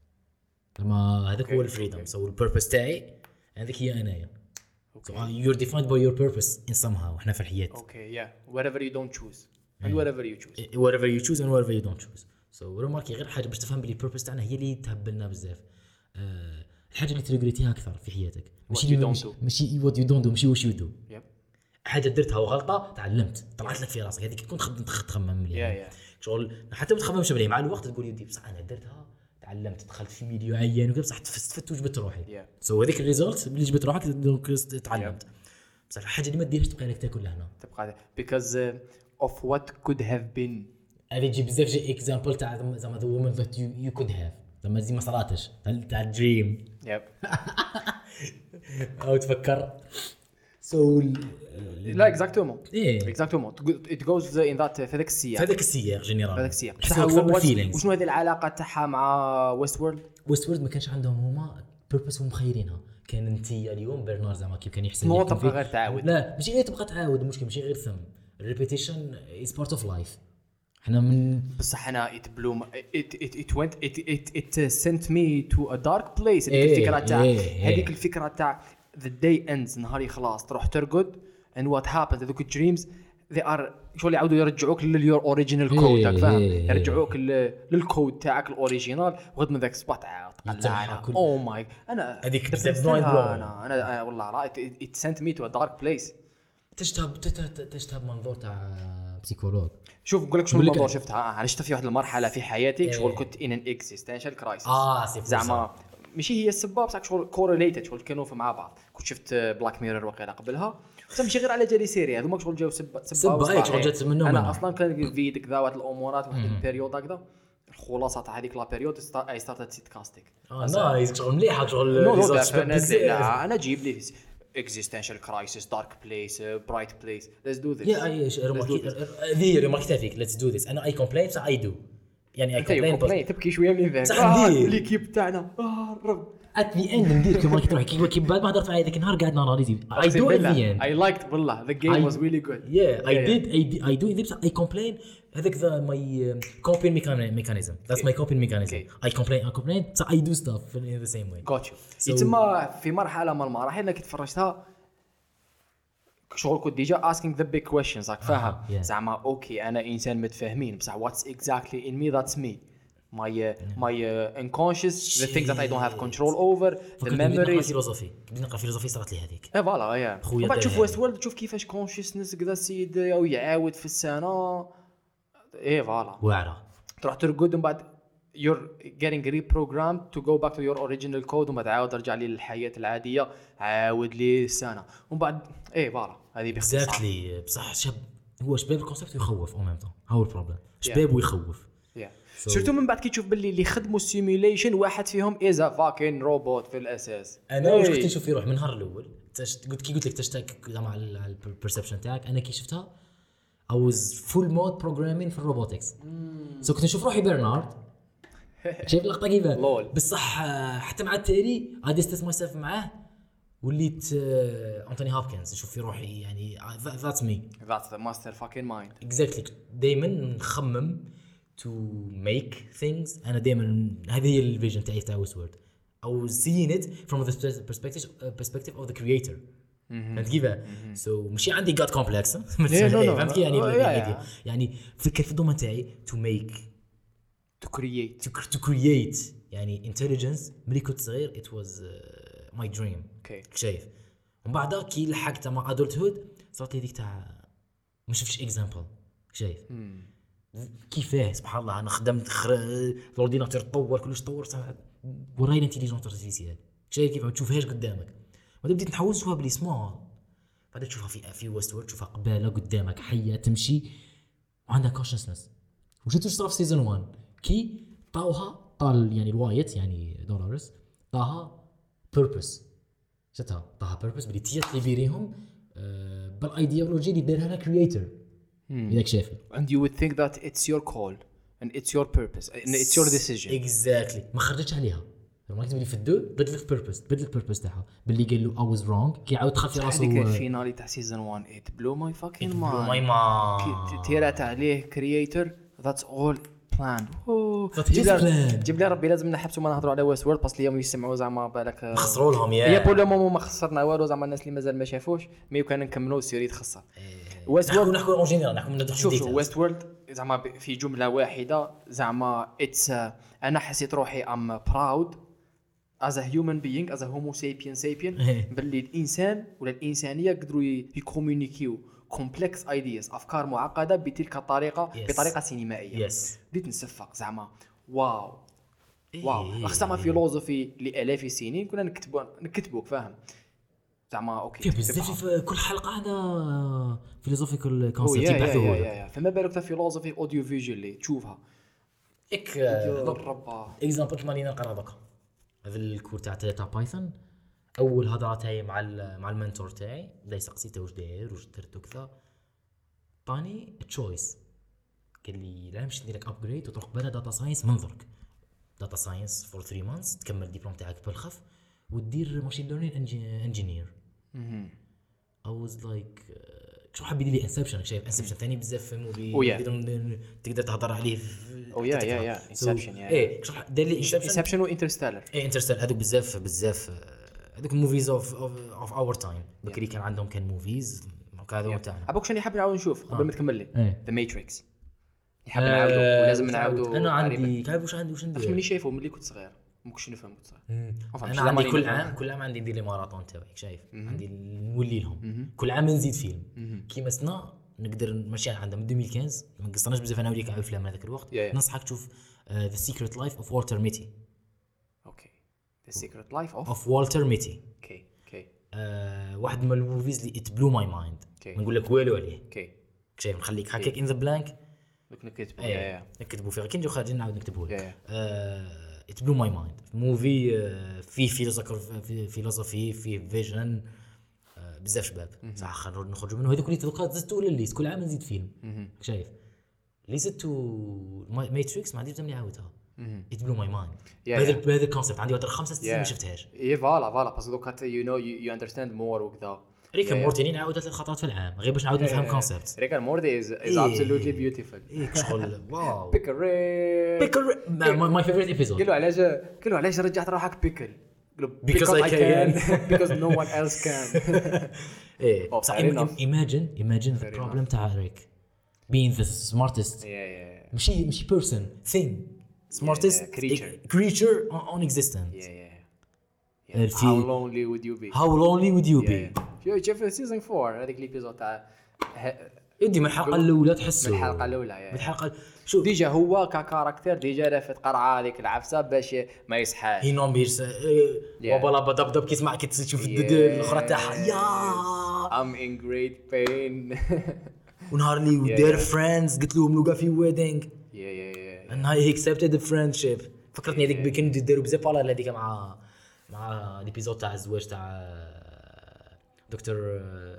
لما هذاك هو الفريدم. سو البيربس تاعي هذيك هي انايا. So you're defined by your purpose in somehow. احنا في الحياة. Okay, yeah. Whatever you don't choose and whatever you choose. whatever you choose and whatever you don't choose. So رماركي غير حاجة باش تفهم بلي البيربس تاعنا هي اللي تهبلنا بزاف. أه الحاجة اللي تريغريتيها أكثر في حياتك. ماشي ماشي what you don't do ماشي what you do. Yep. حاجة درتها وغلطة تعلمت طلعت لك في راسك هذيك تكون تخدم تخمم مليح. Yeah, yeah. شغل حتى ما تخممش مليح مع الوقت تقول يدي بصح أنا درتها تعلمت دخلت في ميديو عيان وكذا بصح استفدت وجبت روحي. Yeah. سو so هذيك الريزولت اللي جبت روحك دونك تعلمت. بصح الحاجة اللي ما ديرش تبقى لك تاكل لهنا. تبقى because uh, of what could have been. هذه تجي بزاف جي اكزامبل تاع زعما the woman that you you could have زعما زي ما صراتش تاع دريم. يب. أو تفكر. so لا اكزاكتومون. إيه. اكزاكتومون. it goes in that في هذاك السياق. في هذاك السياق جينيرال. في هذاك السياق. بصح وشنو هذه العلاقة تاعها مع ويست وورلد؟ ويست وورلد ما كانش عندهم هما بيربس هم مخيرينها. كان انت اليوم برنار زعما كيف كان يحسن مو تبقى غير تعاود. لا ماشي غير تبقى تعاود المشكل ماشي غير ثم الريبيتيشن از بارت اوف لايف. احنا من بصح انا it blew my, it it it went it it it sent me to a dark place. هذيك إيه الفكرة تاع إيه هذيك الفكرة تاع the day ends نهار يخلص تروح ترقد and what happens هذوك dreams they are شغل يعاودوا يرجعوك لليور اوريجينال كود تاعك فاهم إيه يرجعوك للكود تاعك الاوريجينال وغد من ذاك السبوت عاود طلعنا او ماي انا هذيك بزاف مايند بلوين. انا انا والله راه it sent me to a dark place. تشتهب تشتهب منظور تاع بسيكولوج. شوف نقول لك شنو الموضوع شفتها انا شفت في واحد المرحله في حياتي شغل كنت in an existential crisis. اه سي زعما ماشي هي السبب بصح شغل كورليتد شغل كانوا في مع بعض. كنت شفت بلاك ميرور وقيله قبلها بس ماشي غير على جالي سيري هذوما شغل جاو سب سب هيك شغل جات منهم. انا اصلا كان في ديك ذوات الامورات واحد البيريود هكذا الخلاصه تاع هذيك لا بيريود اي ستارت سيت كاستيك. اه نايس شغل مليحه شغل لا انا جيب لي existential crisis dark place uh, bright place let's do this. يا ايش ذي ريمارك فيك let's do this انا اي كومبلين بصح اي دو يعني اي كومبلين تبكي شويه من ذاك آه ليكيب تاعنا اه رب ات ذا اند ندير كيما راك تروح كي بعد ما هضرت معايا ذاك النهار قاعد ناناليزي اي دو ات ذا اند اي لايكت والله ذا جيم واز ريلي جود يا اي ديد اي دو ذي اي كومبلين هذاك ذا ماي كوبين ميكانيزم ذاتس ماي كوبين ميكانيزم اي كومبلين اي كومبلين بصح اي دو ستاف ان ذا سيم واي جوت يو يتما في مرحله من المراحل انك تفرجتها شغل كنت ديجا asking the big questions راك فاهم زعما اوكي انا انسان متفاهمين بصح what's exactly in me that's me my uh, my uh, unconscious the things that I don't have control over the memories. فيلوزوفي بديت نقرا فيلوزوفي صارت لي هذيك اي فوالا يا بعد تشوف ويست وورلد تشوف كيفاش consciousness كذا السيد او يعاود في السنه اي فوالا واعره تروح ترقد ومن بعد you're getting reprogrammed to go back to your original code وما تعاود ترجع لي للحياه العاديه عاود لي السنه ومن بعد اي فوالا هذه باختصار اكزاكتلي بصح شاب هو شباب الكونسيبت يخوف او ميم طون هاو البروبليم شباب ويخوف سيرتو من بعد كي تشوف باللي اللي خدموا السيميوليشن واحد فيهم ايزا فاكين روبوت في الاساس. انا واش كنت نشوف في روح من النهار الاول قلت كي قلت لك تشتاك مع البرسبشن تاعك انا كي شفتها I was full mode programming في الروبوتكس سو كنت نشوف روحي برنارد شايف اللقطه كيفاه بصح حتى مع التالي I distance myself معاه وليت أنتوني هوبكنز نشوف في روحي يعني that's me that's the master fucking mind exactly دائما نخمم to make things أنا دائما هذه هي الفيجن تاعي تاع ويستورد أو seeing it from the perspective perspective of the creator فهمت كيفاه so ماشي عندي god complex فهمت كي يعني يعني فكر في الدومين تاعي to make to create to, to create يعني intelligence ملي كنت صغير it was uh, my dream okay. شايف ومن بعدها كي لحقت مع adulthood صارت لي ديك تاع ما شفتش example شايف hmm. كيفاه سبحان الله انا خدمت خر... الاورديناتور تطور كلش تطور وراي الانتيليجنس ارتفيسيال شايف كيف ما تشوفهاش قدامك بعد بديت نحاول نشوفها بلي سمول بعد تشوفها في في ويستورد تشوفها قباله قدامك حيه تمشي وعندها كونشسنس وجيت صار في سيزون واحد كي طاوها طال يعني الوايت يعني دولارز طاها بيربس شتها طاها بيربس بلي تيات اللي بيريهم أه بالايديولوجي اللي دارها لها كرييتور إذاك شافي and you would think that it's your call and it's your purpose and it's your decision exactly ما خرجتش عليها ما كتب لي في الدو بدلت بيربس بدلت بيربس تاعها باللي قال له I was wrong كي عاود خاف راسو هذيك الفينالي تاع سيزون واحد it blew my fucking mind blew my mind تيرات عليه creator that's all بلاند Just planned. جيب لي ربي لازم نحبسوا ما نهضروا على ويست وورد باسكو اليوم يسمعوا زعما بالك خسروا لهم هي يا بول لو مومون ما خسرنا والو زعما الناس اللي مازال ما شافوش مي كان نكملوا السيري تخسر ويست نحكوا وورد نحكوا اون جينيرال نحكوا من شوف شوف ويست وورد زعما ب- في جمله واحده زعما اتس انا حسيت روحي ام براود از ا هيومن بينج از ا هومو سابين سابين باللي الانسان ولا الانسانيه قدروا يكومونيكيو كومبلكس ايدياز افكار معقده بتلك الطريقه Yes. بطريقه سينمائيه يس بديت نصفق زعما واو واو خصنا فيلوزوفي لالاف السنين كنا نكتبوا نكتبوا فاهم زعما اوكي كيف بزاف في كل حلقه هذا فيلوزوفيكال يا كونسيبت يا يبعثوه يا لك يا فما بالك فيلوزوفي اوديو فيجوالي تشوفها اك الربا اكزامبل كيما راني نقرا دوكا هذا الكور تاع تاع بايثون اول هضره تاعي مع ال- مع المنتور تاعي بدا يسقسي واش داير واش درت وكذا طاني تشويس قال لي لا نمشي ندير لك ابجريد وتروح بلا داتا ساينس من درك داتا ساينس فور ثلاثة مانثs تكمل الدبلوم تاعك بالخف ودير ماشين ليرنين انجينير I was like شو حاب يدير لي انسبشن شايف انسبشن ثاني بزاف في موفي Oh yeah. تقدر تقدر تهضر عليه في- Oh yeah, yeah, yeah. So, Inception, yeah. ايه شو دار لي انسبشن انسبشن وانترستيلر ايه انترستيل هذوك بزاف بزاف آه، هذوك موفيز اوف اوف اور تايم بكري كان عندهم كان موفيز هذا تاعنا ابوك شنو حاب نعاود نشوف قبل ما تكمل لي ايه. ذا ماتريكس نحب نعاودو ولازم نعاودو انا قريباً. عندي تعرف واش عندي واش عرفت ندير مني شايفه ملي كنت صغير ما كنتش نفهم كنت صغير Enfin, انا مش عندي زعما كل نفهم. عام كل عام عندي ندير لي ماراثون تاعي شايف عندي نولي لهم كل عام نزيد فيلم كيما سنا نقدر نمشي عندها من ألفين وخمسة عشر ما قصرناش بزاف انا وليك على الافلام هذاك الوقت Yeah, yeah. ننصحك تشوف ذا سيكريت لايف اوف والتر ميتي اوكي ذا سيكريت لايف اوف اوف والتر ميتي اوكي اوكي واحد من الموفيز اللي ات بلو ماي مايند Okay. ما نقول لك والو عليه اوكي شايف نخليك هكاك ان ذا بلانك دوك نكتب يا ايه يا نكتبوا فيه كي نجيو خارجين نعاود نكتبوا Yeah, لك ات بلو ماي مايند موفي فيه فيلوزوفي فيلوزوفي فيه فيجن بزاف شباب صح خلينا نخرجوا منه هذوك اللي دوكا زدتوا للليست كل عام نزيد فيلم شايف اللي زدتوا ماتريكس ما عنديش زعما نعاودها ات بلو ماي مايند Yeah, بهذا yeah. بهذا الكونسيبت عندي واحد خمسة ست سنين ما شفتهاش اي فوالا فوالا باسكو دوك يو نو يو اندرستاند مور وكذا ريك مورتيني نعاودها ثلاث خطرات في العام غير باش نعاود نفهم كونسيبت ريك اند مورتي از از إيه. ابسولوتلي بيوتيفول ايه شغل واو بيكل بيكر ماي فيفورت ايبيزود قالوا علاش قالوا علاش رجعت روحك بيكل قالوا Because I can. because no one else can ايه Oh, بصح fair enough. imagine imagine the Fair problem تاع ريك being the smartest yeah yeah ماشي ماشي person thing smartest yeah, creature. creature on, on existence yeah yeah Uh, how في- lonely would you be how lonely would you be شوف شوف سيزون فور هذيك ليبيزود تاع يدي من الحلقه الاولى تحسوا من الحلقه الاولى من يعني الحلقه شوف ديجا هو ككاركتير ديجا لافت قرعه هذيك العفسه باش ما يصحاش هي نون بيرس وبلا بدب دب كيسمع كي تشوف الدد الاخرى تاعها يا I'm in great pain ونهار اللي ودار فريندز قلت لهم لوكا في ويدينغ yeah yeah yeah and I accepted the friendship فكرتني هذيك بكن داروا بزاف على هذيك مع مع ليبيزود تاع الزواج تاع دكتور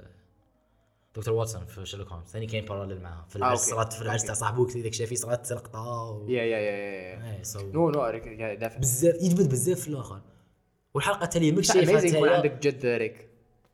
دكتور واتسون في شيرلوك هولمز ثاني كاين باراليل معها في العرس أوكي. صارت في العرس تاع صاحبو داك شافي صارت سرقطه و... yeah yeah yeah yeah ايه سو نو نو ريك دافع بزاف يجبد بزاف في الاخر والحلقه التاليه مش شايفها اميزينغ يكون تاعي عندك جد ريك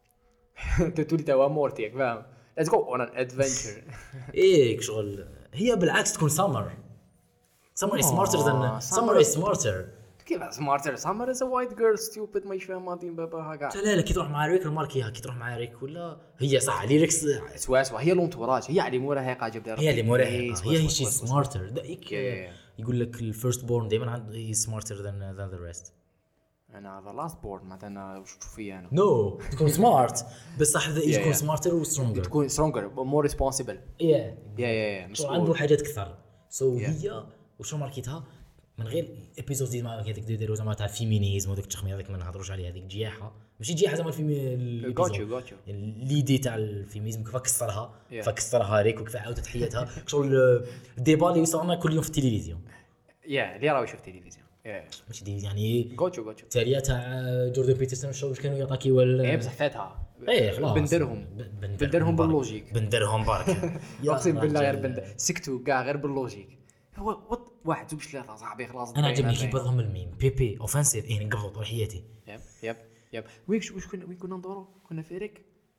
تولي توا مورتيك فاهم let's go on an adventure ايه شغل هي بالعكس تكون سمر سمر is smarter than summer is smarter كيف سمارتر سمر از ا وايت جيرل ستوبد ما يفهم ماضي باباها كاع لا لا كي تروح مع ريك ماركيها كي تروح مع ريك ولا هي صح لي ريكس سوا سوا هي لونتوراج هي اللي موراها جاب دار هي اللي موراها هي هي شي سمارتر Yeah, yeah, يقول لك الفيرست بورن دائما عنده سمارتر ذان ذان ذا ريست انا ذا لاست بورد معناتها انا واش تشوف فيا انا نو تكون سمارت بصح Yeah, تكون yeah. سمارتر وسترونجر تكون سترونجر مور ريسبونسبل يا يا يا شو عنده حاجات كثر سو Yeah. هي وشو ماركيتها من غير ايبيزود ديما هذيك ديروا زعما تاع الفيمينيزم وداك التخمير هذاك ما نهضروش عليه هذيك جياحه ماشي جياحه زعما الفيمي غاتشو غاتشو ليدي تاع الفيمينيزم كيف كسرها Yeah. فكسرها ريك وكيف عاود تحياتها شغل الديبا اللي يصير لنا كل يوم في التلفزيون يا اللي راه يشوف تلفزيون ماشي دي يعني غاتشو غاتشو التاليه تاع جوردن بيترسون شو واش كانوا يعطاكيو ايه بصح فاتها ايه خلاص بندرهم ب- بندرهم برك. باللوجيك بندرهم برك اقسم بالله غير بند سكتوا كاع غير باللوجيك هو وات واحد زوج ثلاثه صاحبي خلاص انا عجبني كيف بعضهم الميم بي بي اوفنسيف ايه نقبض روحياتي يب يب يب وين واش كنا وين كنا ندورو كنا في ريك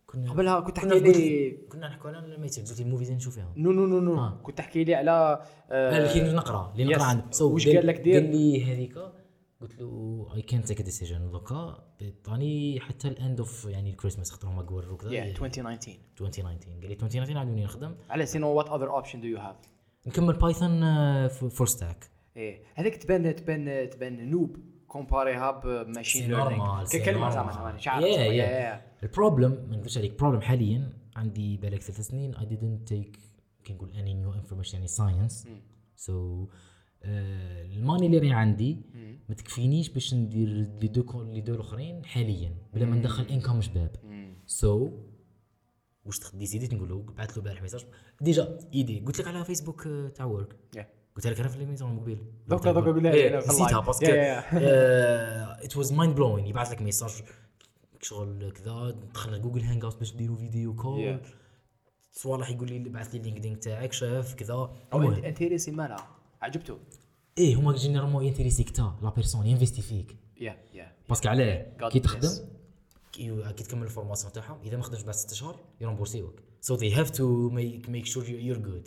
كنا قبلها كنت كنا تحكي لي كنا نحكوا على الميتين قلت لي الموفيز نشوف فيهم نو نو نو نو آه. كنت تحكي لي على آه، اللي كي نقرا اللي نقرا yes. عنده so وش قال لك دير؟ قال لي هذيك قلت له اي كانت تيك ديسيجن دوكا بيطاني حتى الاند اوف يعني الكريسماس خاطر هما قولوا كذا yeah twenty nineteen ألفين وتسعطاش قال لي ألفين وتسعطاش عاودوني نخدم على سينو وات اذر اوبشن دو يو هاف نكمل بايثون فور ستاك ايه هذيك تبان تبان تبان نوب كومباريها بماشين سي ليرنينغ نورمال، سي كلمه زعما نورمال. زعما شعر Yeah, زعما. yeah. Yeah, yeah. البروبلم ما نقدرش عليك بروبلم حاليا عندي بالك ثلاث سنين I didn't take كي نقول اني نيو انفورميشن يعني ساينس سو الماني اللي راهي عندي ما تكفينيش باش ندير لي دو لي دو الاخرين حاليا بلا ما ندخل انكم شباب سو واش ديسيديت نقول له بعثت له بارح ميساج ديجا ايدي قلت لك على فيسبوك تاع ورك Yeah. قلت لك انا في الميزون الموبيل دوكا دوكا قول لها إيه، أنا في نسيتها اللايف. باسكو Yeah, yeah. ات واز مايند بلوين يبعث لك ميساج شغل كذا دخلنا جوجل هانج اوت باش نديروا فيديو كول Yeah. صوالح يقول لي بعث لي اللينكدين تاعك شاف كذا او المهم. انت انتريسي مالها عجبته ايه هما جينيرالمون ينتريسيك تا لا بيرسون ينفيستي فيك يا يا باسكو علاه God كي bless. تخدم كي كي تكمل الفورماسيون تاعهم اذا ما خدمتش بعد ستة شهور يرمبورسيوك سو ذي هاف تو ميك ميك شور يور جود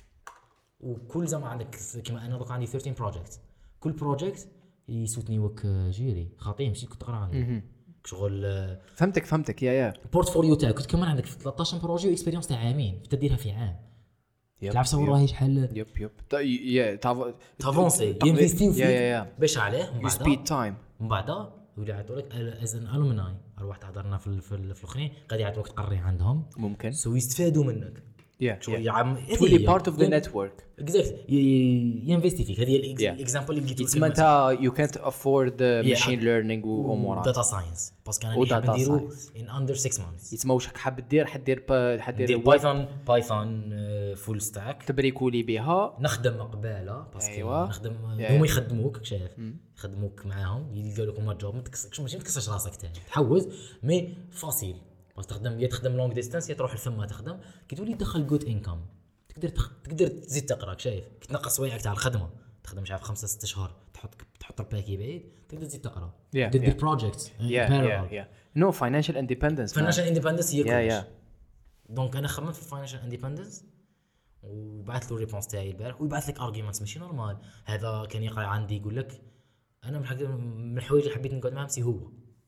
وكل زعما عندك كيما انا دوك عندي ثلاثة عشر بروجيكت كل بروجيكت يسوتني وك جيري خاطيه مشيت كنت تقرا عنه شغل فهمتك فهمتك يا يا البورتفوليو تاعك كنت كمان عندك ثلاثة عشر بروجي اكسبيريونس تاع عامين تديرها في عام يب، تعرف صور يب. راهي شحال يب يب تا- يا تاف- تافونسي تقدر- ينفيستيو يا يا يا فيك باش عليه من يو سبيد بعد تايم من بعد يولي يعطوا لك از ان الومناي ارواح تحضرنا في ال- في ال- في الاخرين قاعد يعطوك تقري عندهم ممكن سو يستفادوا منك يا شغل يا عم تولي بارت اوف ذا نتورك اكزاكت ينفيستي فيك هذه Yeah. الاكزامبل اللي لقيت تسمى انت يو كانت افورد ماشين ليرنينغ وامورات داتا ساينس باسكو انا و اللي حاب data نديرو science. ان اندر ستة مانثs يتسمى واش راك حاب دير حدير با- حدير ندير ويب بايثون بايثون فول ستاك تبريكولي بها نخدم قباله باسكو أيوة. نخدم Yeah. هما يخدموك شايف يخدموك معاهم يلقاو لك هما جوب ما تكسرش ماشي ما تكسرش راسك تاني تحوز مي فاسيل بس تخدم يا تخدم لونغ ديستانس يا تروح لثما تخدم كي تولي تدخل جود انكم تقدر تخ... تقدر تزيد تقرا شايف كي تنقص سوايعك تاع الخدمه تخدم مش عارف خمسة ستة شهور تحط تحط الباكي بعيد تقدر تزيد تقرا Yeah, تقدر دير yeah. بروجيكت يا يا يا نو فاينانشال اندبندنس فاينانشال اندبندنس هي يا كلش يا دونك انا خممت في الفاينانشال اندبندنس وبعث له الريبونس تاعي البارح ويبعث لك ارجيومنتس ماشي نورمال هذا كان يقرا عندي يقول لك انا من الحاجات من الحوايج اللي حبيت نقعد معاهم سي هو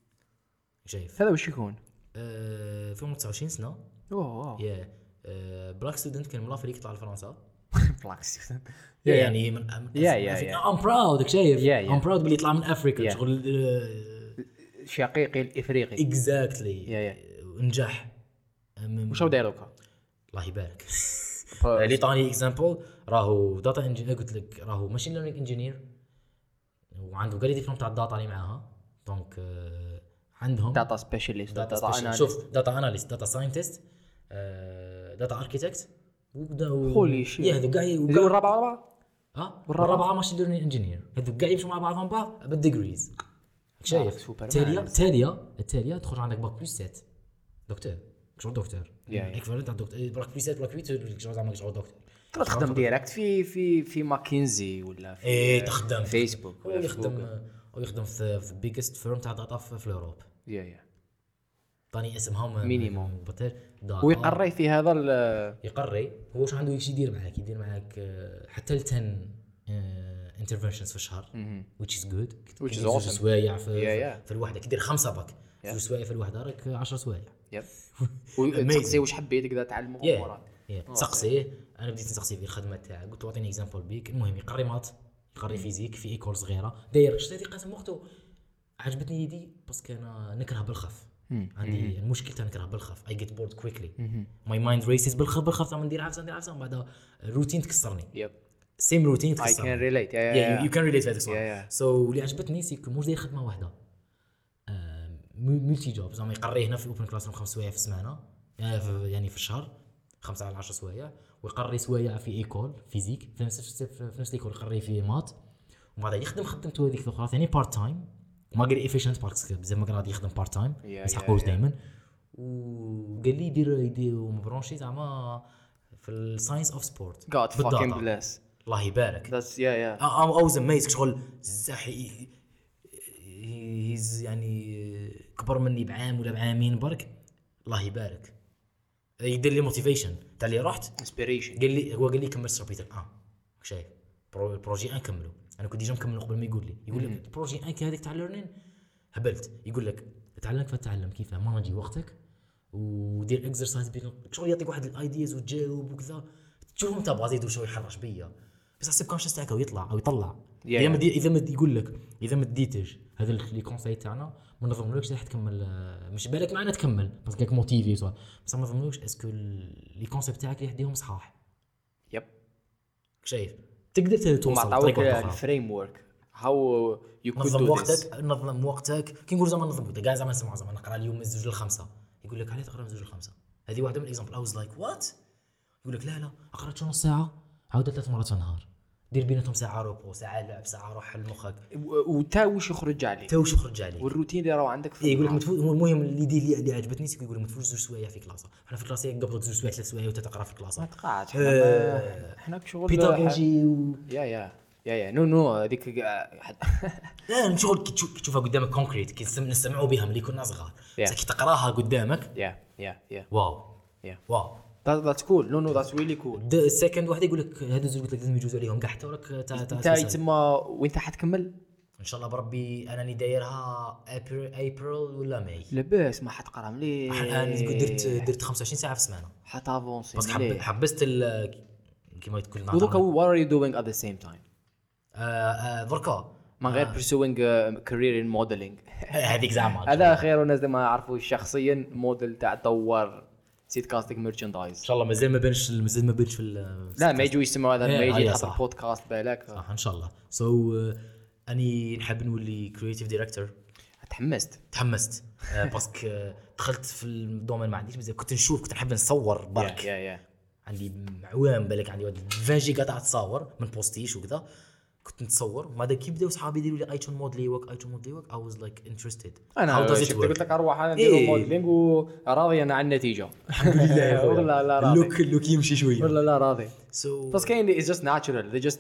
شايف هذا واش يكون أه في تسعة وعشرين سنه اوه يا أه بلاك ستودنت كان ملافريك يطلع لفرنسا بلاكس يعني من يا يا يا ام براود شايف يا يا. ام براود بلي يطلع من افريكا يا. شغل شقيقي الافريقي اكزاكتلي يا يا نجح من- واش هو داير دوكا الله يبارك اللي طاني اكزامبل راهو داتا انجينير قلت لك راهو ماشين ليرنينغ انجينير وعنده قال لي ديبلوم تاع الداتا اللي معاها دونك آه، عندهم داتا سبيشاليست داتا داتا سبيشال شوف داتا اناليست داتا ساينتست داتا اركيتكت Holy shit. يا هذو كاع هذو وكاع- الرابعه رابعه اه والرابعة؟ والرابعه ماشين ليرنينغ انجينير هذو كاع يمشوا مع بعضهم بعض بالديجريز شايف سوبر التاليه مان. التاليه التاليه تخرج عندك باك بلس سبعة دكتور شغل دكتور يا يا. اكفالنت تاع دكتور باك بلس سبعة باك ثمانية شغل زعما شغل دكتور تقدر تخدم ديريكت في في في ماكنزي ولا في ايه تخدم فيسبوك هو ولا في يخدم جوجل. هو يخدم في في بيجست فيرم تاع داتا في في الاوروب يا يا طاني اسمهم مينيموم. بطل داتا ويقري في هذا ال- يقري هو واش عنده يجي يدير معاك يدير معاك آه، حتى ل عشرة انترفنشنز في الشهر which is good Which is كي دير awesome. سوايع في, Yeah, yeah. في الوحده كي دير خمسه باك في سوايع في الوحده راك عشرة سوايع يب وتسقسي واش حبيت تقدر تعلم امورات يا تسقسيه انا بديت نسقسيه في الخدمه تاعي قلت له اعطيني اكزامبل بيك المهم يقري مات يقري فيزيك في ايكول صغيره داير شتي قاسم وقته عجبتني يدي باسكو انا نكره بالخف عندي المشكل تاع نكره بالخف اي جيت بورد كويكلي ماي مايند ريسز بالخف بالخف زعما ندير عفسه ندير عفسه من بعد روتين تكسرني يب سيم روتين اي تكسرني كان ريليت يا يو كان ريليت هذاك Yeah, الصوالح yeah. سو اللي عجبتني سي موش داير خدمه واحده ملتي جوب زعما يقري هنا في اوبن كلاس روم خمس سوايع في السمانه يعني في, يعني في الشهر خمسة على عشرة سوايع ويقري سوايع في ايكول فيزيك في نفس في نفس الايكول يقري في مات ومن بعد يخدم خدمته هذيك الاخرى ثاني بارت تايم ما قال ايفيشنت باركس بزاف ما قال يخدم بارت تايم Yeah, ما yeah, يسحقوش yeah. دائما وقال لي يدير يدير مبرونشي زعما في الساينس اوف سبورت God fucking bless الله يبارك that's yeah yeah ام اوز اميز شغل زحي هيز يعني كبر مني بعام ولا بعامين برك الله يبارك يدير لي موتيفيشن تاع اللي رحت انسبيريشن. قال لي هو قال لي كمل سبيتر اه شايف برو البروجي ان كملوا. انا كنت ديجا مكمل قبل ما يقول لي يقول لك البروجي ان هذيك تاع ليرنين هبلت. يقول لك تعلم كيف تتعلم كيف مانجي وقتك ودير اكسرسايز بين شغل يعطيك واحد الايدياز وتجاوب وكذا تشوفهم انت بغا يدير شويه يحرش بيا بس حسب كونشس تاعك ويطلع او يطلع Yeah, اذا ما yeah. دي- اذا ما يقول لك اذا ما ديتش هذا لي كونساي تاعنا ما نظنلكش راح تكمل آه، مش بالك معنا تكمل بس كاك موتيفي سوا بس ما نظنلكش اسكو لي كونسيبت تاعك اللي يهديهم صحاح يب شايف تقدر توصل ما بطريقه عطاوك أخرى. الفريم ورك هاو يو كود نظم دو ذس. وقتك نظم وقتك كي نقول زعما نظم وقتك كاع زعما نسمع زعما نقرا اليوم من زوج لخمسة يقول لك علاه تقرا من زوج لخمسة هذه واحده من الاكزامبل اي واز لايك وات يقول لك لا لا اقرا شو نص ساعه عاود ثلاث مرات في النهار دير بيناتهم ساعه روبو ساعه لعب ساعه روح لمخك وتا واش يخرج عليه تا واش يخرج عليك والروتين اللي راهو عندك في إيه يقول لك النهار. متفوت هو المهم اللي دي اللي, اللي عجبتني سي يقول لك متفوتش زوج سوايع في كلاسه احنا في كلاسه قبل زوج سوايع ثلاث سوايع وتتقرا في كلاسه ما تقعدش احنا آه، ما- احنا شغل بيداغوجي و يا يا يا يا نو نو هذيك لا شغل كي تشوف- كي تشوفها قدامك كونكريت كي نسم- نسمعوا بها ملي كنا صغار Yeah. بس كي تقراها قدامك يا يا يا واو يا واو ذاتس كول نو نو ذاتس ريلي كول. السكند واحد يقول لك هذو زوج قلت لك لازم يجوزوا عليهم كاع حتى وراك تا تا انت تا- يتسمى وانت حتكمل ان شاء الله بربي انا اللي دايرها ابريل ابريل ولا ماي لاباس ما حتقرا مليح انا درت درت خمسة وعشرين ساعه في السمانه حتافونسي بس حب حبست ال كيما تقول ودوكا what are you doing at the same time آه، آه، دركا من غير pursuing a career in modeling. هذيك زعما هذا خير الناس اللي ما يعرفوش شخصيا موديل تاع دوار سيت كاستنج ان ميرشاندايز. شاء الله مازال ما بانش مازال ما بانش في ال- لا ما يجوا يسمعوا هذا إيه، ما يجي أيوة يحط صح. البودكاست بالك صح ان شاء الله سو so, uh, اني نحب نولي كرييتيف دايركتور تحمست. تحمست آه، باسكو آه، دخلت في الدومين ما عنديش بزاف كنت نشوف كنت نحب نصور برك يا يا عندي عوام بالك عندي واحد عشرين جيجا تاع تصاور من بوستيش وكذا كنت نتصور بعد كي بداو صحابي يديروا لي ايتون مودلي وك ايتون مودلي وك اي واز لايك انترستد انا شفت قلت لك اروح انا نديرو إيه. موديلينغ وراضي انا على النتيجه. الحمد لله يا خويا. والله لا راضي. اللوك اللوك يمشي شويه ولا لا راضي. سو بس كاين is just natural they just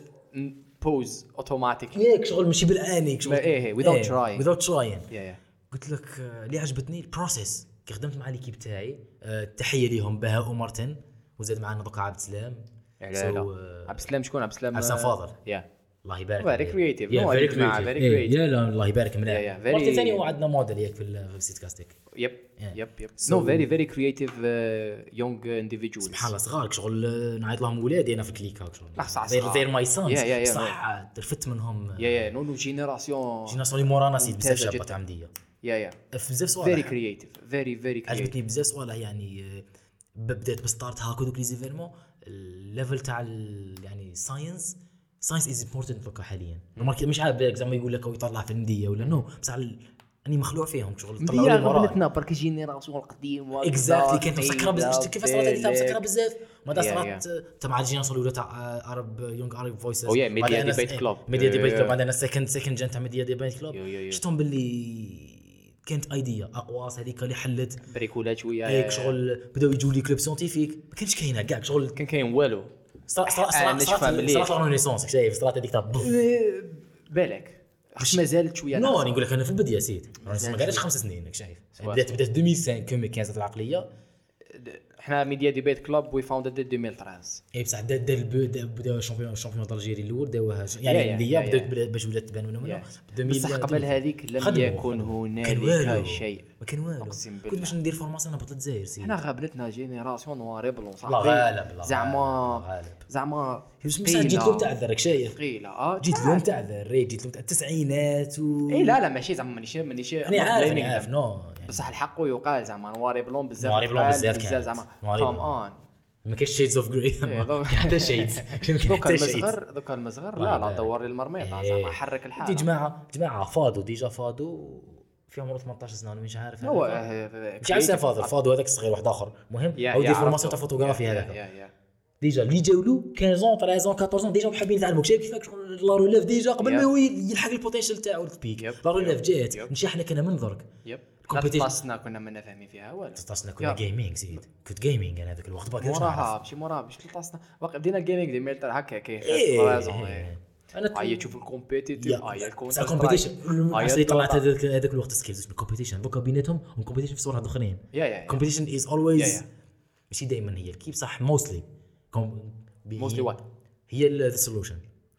pose automatically. ياك شغل ماشي بالاني شغل لا، إيه، without trying. without trying يا يا قلت لك آه، اللي عجبتني البروسيس كي خدمت مع ليكيب تاعي آه، تحيه ليهم بهاء ومرتن وزاد معنا دوكا عبد السلام لا So, لا آه، عبد السلام شكون عبد السلام؟ عبد السلام فاضل. يا الله يبارك Very creative. Yeah, No, very I جماعة, creative. very إيه، creative. يا لا الله يبارك من Yeah, yeah, very- مرة ثانية هو عندنا موديل ياك في ال- في السيت كاستيك يب Yeah. يب يب So- no very very creative uh, young individuals. سبحان الله صغار شغل آه، نعيط لهم ولادي انا في الكليكا شغل لا، صح، غير صح. غير ماي سانز Yeah, yeah, yeah. صح رفدت منهم يا يا نو نو جينيراسيون جينيراسيون اللي مورانا سيد بزاف ممتازة شابات جداً. عمديه يا يا في بزاف very صوالح creative very very creative. عجبتني بزاف صوالح يعني آه، ب- بدات بستارت هاكا دوك لي زيفيرمون الليفل تاع ال- يعني ساينس ساينس از امبورتنت دوكا حاليا نورمال مش عارف بالك زعما يقول لك هو يطلع في النديه ولا نو بس على ال- اني مخلوع فيهم شغل طلعوا مديا لي موراي قبلتنا برك جينيراسيون القديم اكزاكتلي كانت مسكره بزاف كيف صارت هذيك مسكره بزاف ما Yeah, صارت تبع الجينيراسيون الاولى تاع عرب يونغ عرب فويسز Oh yeah, Media Debate Club. ميديا Yeah, ديبيت yeah, كلوب yeah. عندنا سكند سكند جن تاع ميديا ديبيت كلوب Yeah, yeah, yeah. شفتهم باللي كانت ايديا اقواس هذيك اللي حلت بريكولات شويه هيك شغل بداو يجوا لي كلوب سيونتيفيك ما كانش كاينه كاع شغل كان كاين والو صرا صرا أنا صرا نشوفها مليح. صرا رينيسونس شايف صرات هذيك تاع بف. بالك واش ما زالت شويه نو ناقصة. انا نقول لك انا في البدايه سيت ما قالش خمس سنين راك شايف بدات بدات ألفين وخمسة كومي كانت العقليه احنا ميديا ديبيت كلوب وي فاوندد ألفين وثلاثة. اي بصح دا دا البو دا بدا الشامبيون الشامبيون الجيري الاول داوها يا- يعني يا- اللي يا- بدات يا. بدا- باش ولات تبان منهم يا. هنا بصح قبل هذيك لم خدموا، يكن خدموا. كان هنالك والو. شيء. ما كان والو أقسم كنت بالله. باش ندير فورماسيون هبط للجزائر سي احنا غابنتنا جينيراسيون نوار بلون لا صاحبي غالب لا زعما غالب، غالب زعما بس جيت اليوم تعذر راك شايف ثقيله اه جيت اليوم تعذر ريت جيت اليوم تاع التسعينات و اي لا لا ماشي زعما مانيش مانيش انا عارف انا عارف نو يعني بصح الحق يقال زعما نوار بلون بزاف نوار بلون قال بزاف كانت. زعما نوار كوم بلون. اون ما كاينش شيدز اوف جراي دوك- حتى شيدز دوكا المصغر دوكا المصغر لا لا والله. دور لي المرميطه إيه. زعما حرك دي الحال جماعه جماعه فادو ديجا فادو فيهم عمره ثمانية عشر سنه انا مش عارف هو هذاك. مش عارف سين فاضل فادو هذاك الصغير واحد اخر المهم يا- هو يا يدير فورماسيون عرفته. تاع فوتوغرافي يا- هذاك يا- يا. ديجا اللي جاو له خمسة عشر ثلاثة عشر أربعطاش ديجا حابين يتعلموا شايف كيفاش لا روليف ديجا قبل يب. ما هو يلحق البوتنشال تاعو البيك يب. لا روليف جات يب. ماشي احنا كنا من درك يب Competition. لا تصنا كنا منا فاهمين فيها والو تصلنا كنا يا. جيمنج زيد كنت جيمنج انا هذاك الوقت باقي موراها ماشي موراها باش تصنا واقع بدينا الجيمنج دي ميلتر هكا كي إيه. فرازون أنا هيا تشوف الكومبيتيتيف هيا الكونتر كومبيتيشن اللي طلعت هذاك هذاك الوقت سكيلز بالكومبيتيشن دوكا بيناتهم والكومبيتيشن في صورة اخرين يا يا كومبيتيشن از اولويز ماشي دائما هي الكيب صح موستلي موستلي وات هي السولوشن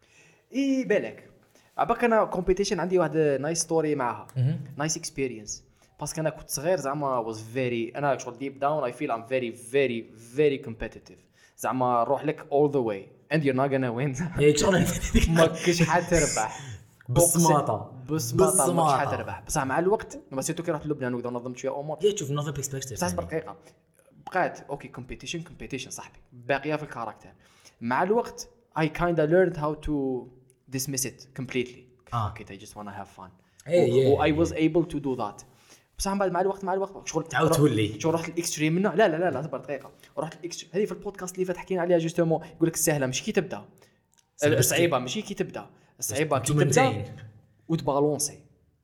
اي بالك عباك انا كومبيتيشن عندي واحد نايس ستوري معها نايس اكسبيرينس باسكو انا كنت صغير زعما واز فيري انا شغل ديب داون اي فيل ام فيري فيري فيري كومبيتيتيف زعما نروح لك all the way and you're not gonna win ما كاش حتربح بالسماطه بالسماطه ما كاش حتربح بصح مع الوقت لما سيتو كي رحت لبنان وكذا نظمت شويه امور يا تشوف نظم بيرسبكتيف بصح دقيقه بقات اوكي كومبيتيشن كومبيتيشن صاحبي باقيه في الكاركتر مع الوقت I kind of learned how to dismiss it completely آه. okay I just want to have fun hey, و yeah, I was yeah. able to do that بصح بعد مع الوقت مع الوقت شغل تعاود تولي شغل رحت الاكستريم منه لا لا لا لا صبر دقيقه رحت الاكستريم هذه في البودكاست اللي فات حكينا عليها جوستومون يقول لك السهله مش كي تبدا الصعيبه ماشي كي تبدا الصعيبه كي تبدا وتبالونسي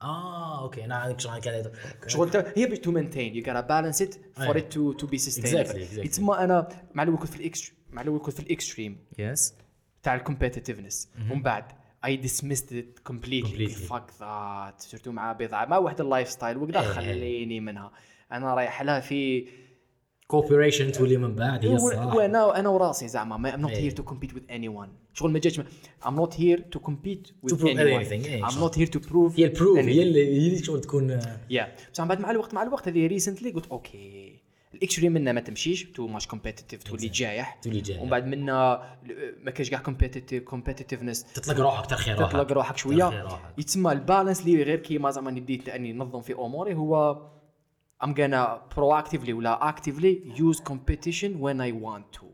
اه اوكي انا عندك شغل كذا شغل هي باش تو مينتين يو gotta بالانس ات فور ات تو تو بي سستينبل يتسمى انا مع الاول كنت في الاكستريم مع الاول كنت في الاكستريم يس تاع الكومبيتيتيفنس ومن بعد I dismissed it completely, completely. fuck that صرتو مع بضاعة ما واحد اللايف ستايل وكذا خليني منها أنا رايح لها في كوبريشن تولي من بعد هي الصراحة وأنا أنا وراسي زعما I'm not here to compete with anyone شغل ما جاتش I'm not here to compete with to anyone anything. I'm not here to prove هي البروف هي اللي هي اللي شغل تكون yeah بس بعد مع الوقت مع الوقت هذه ريسنتلي قلت أوكي الاكستريم منا ما تمشيش تو ماش كومبيتيتيف تولي جايح تولي جايح ومن بعد منا ما كاش كاع كومبيتيتيف كومبيتيتيفنس تطلق روحك ترخي روحك تطلق روحك شويه يتسمى البالانس اللي غير كيما زعما نديت اني ننظم في اموري هو I'm gonna proactively ولا actively use competition when I want to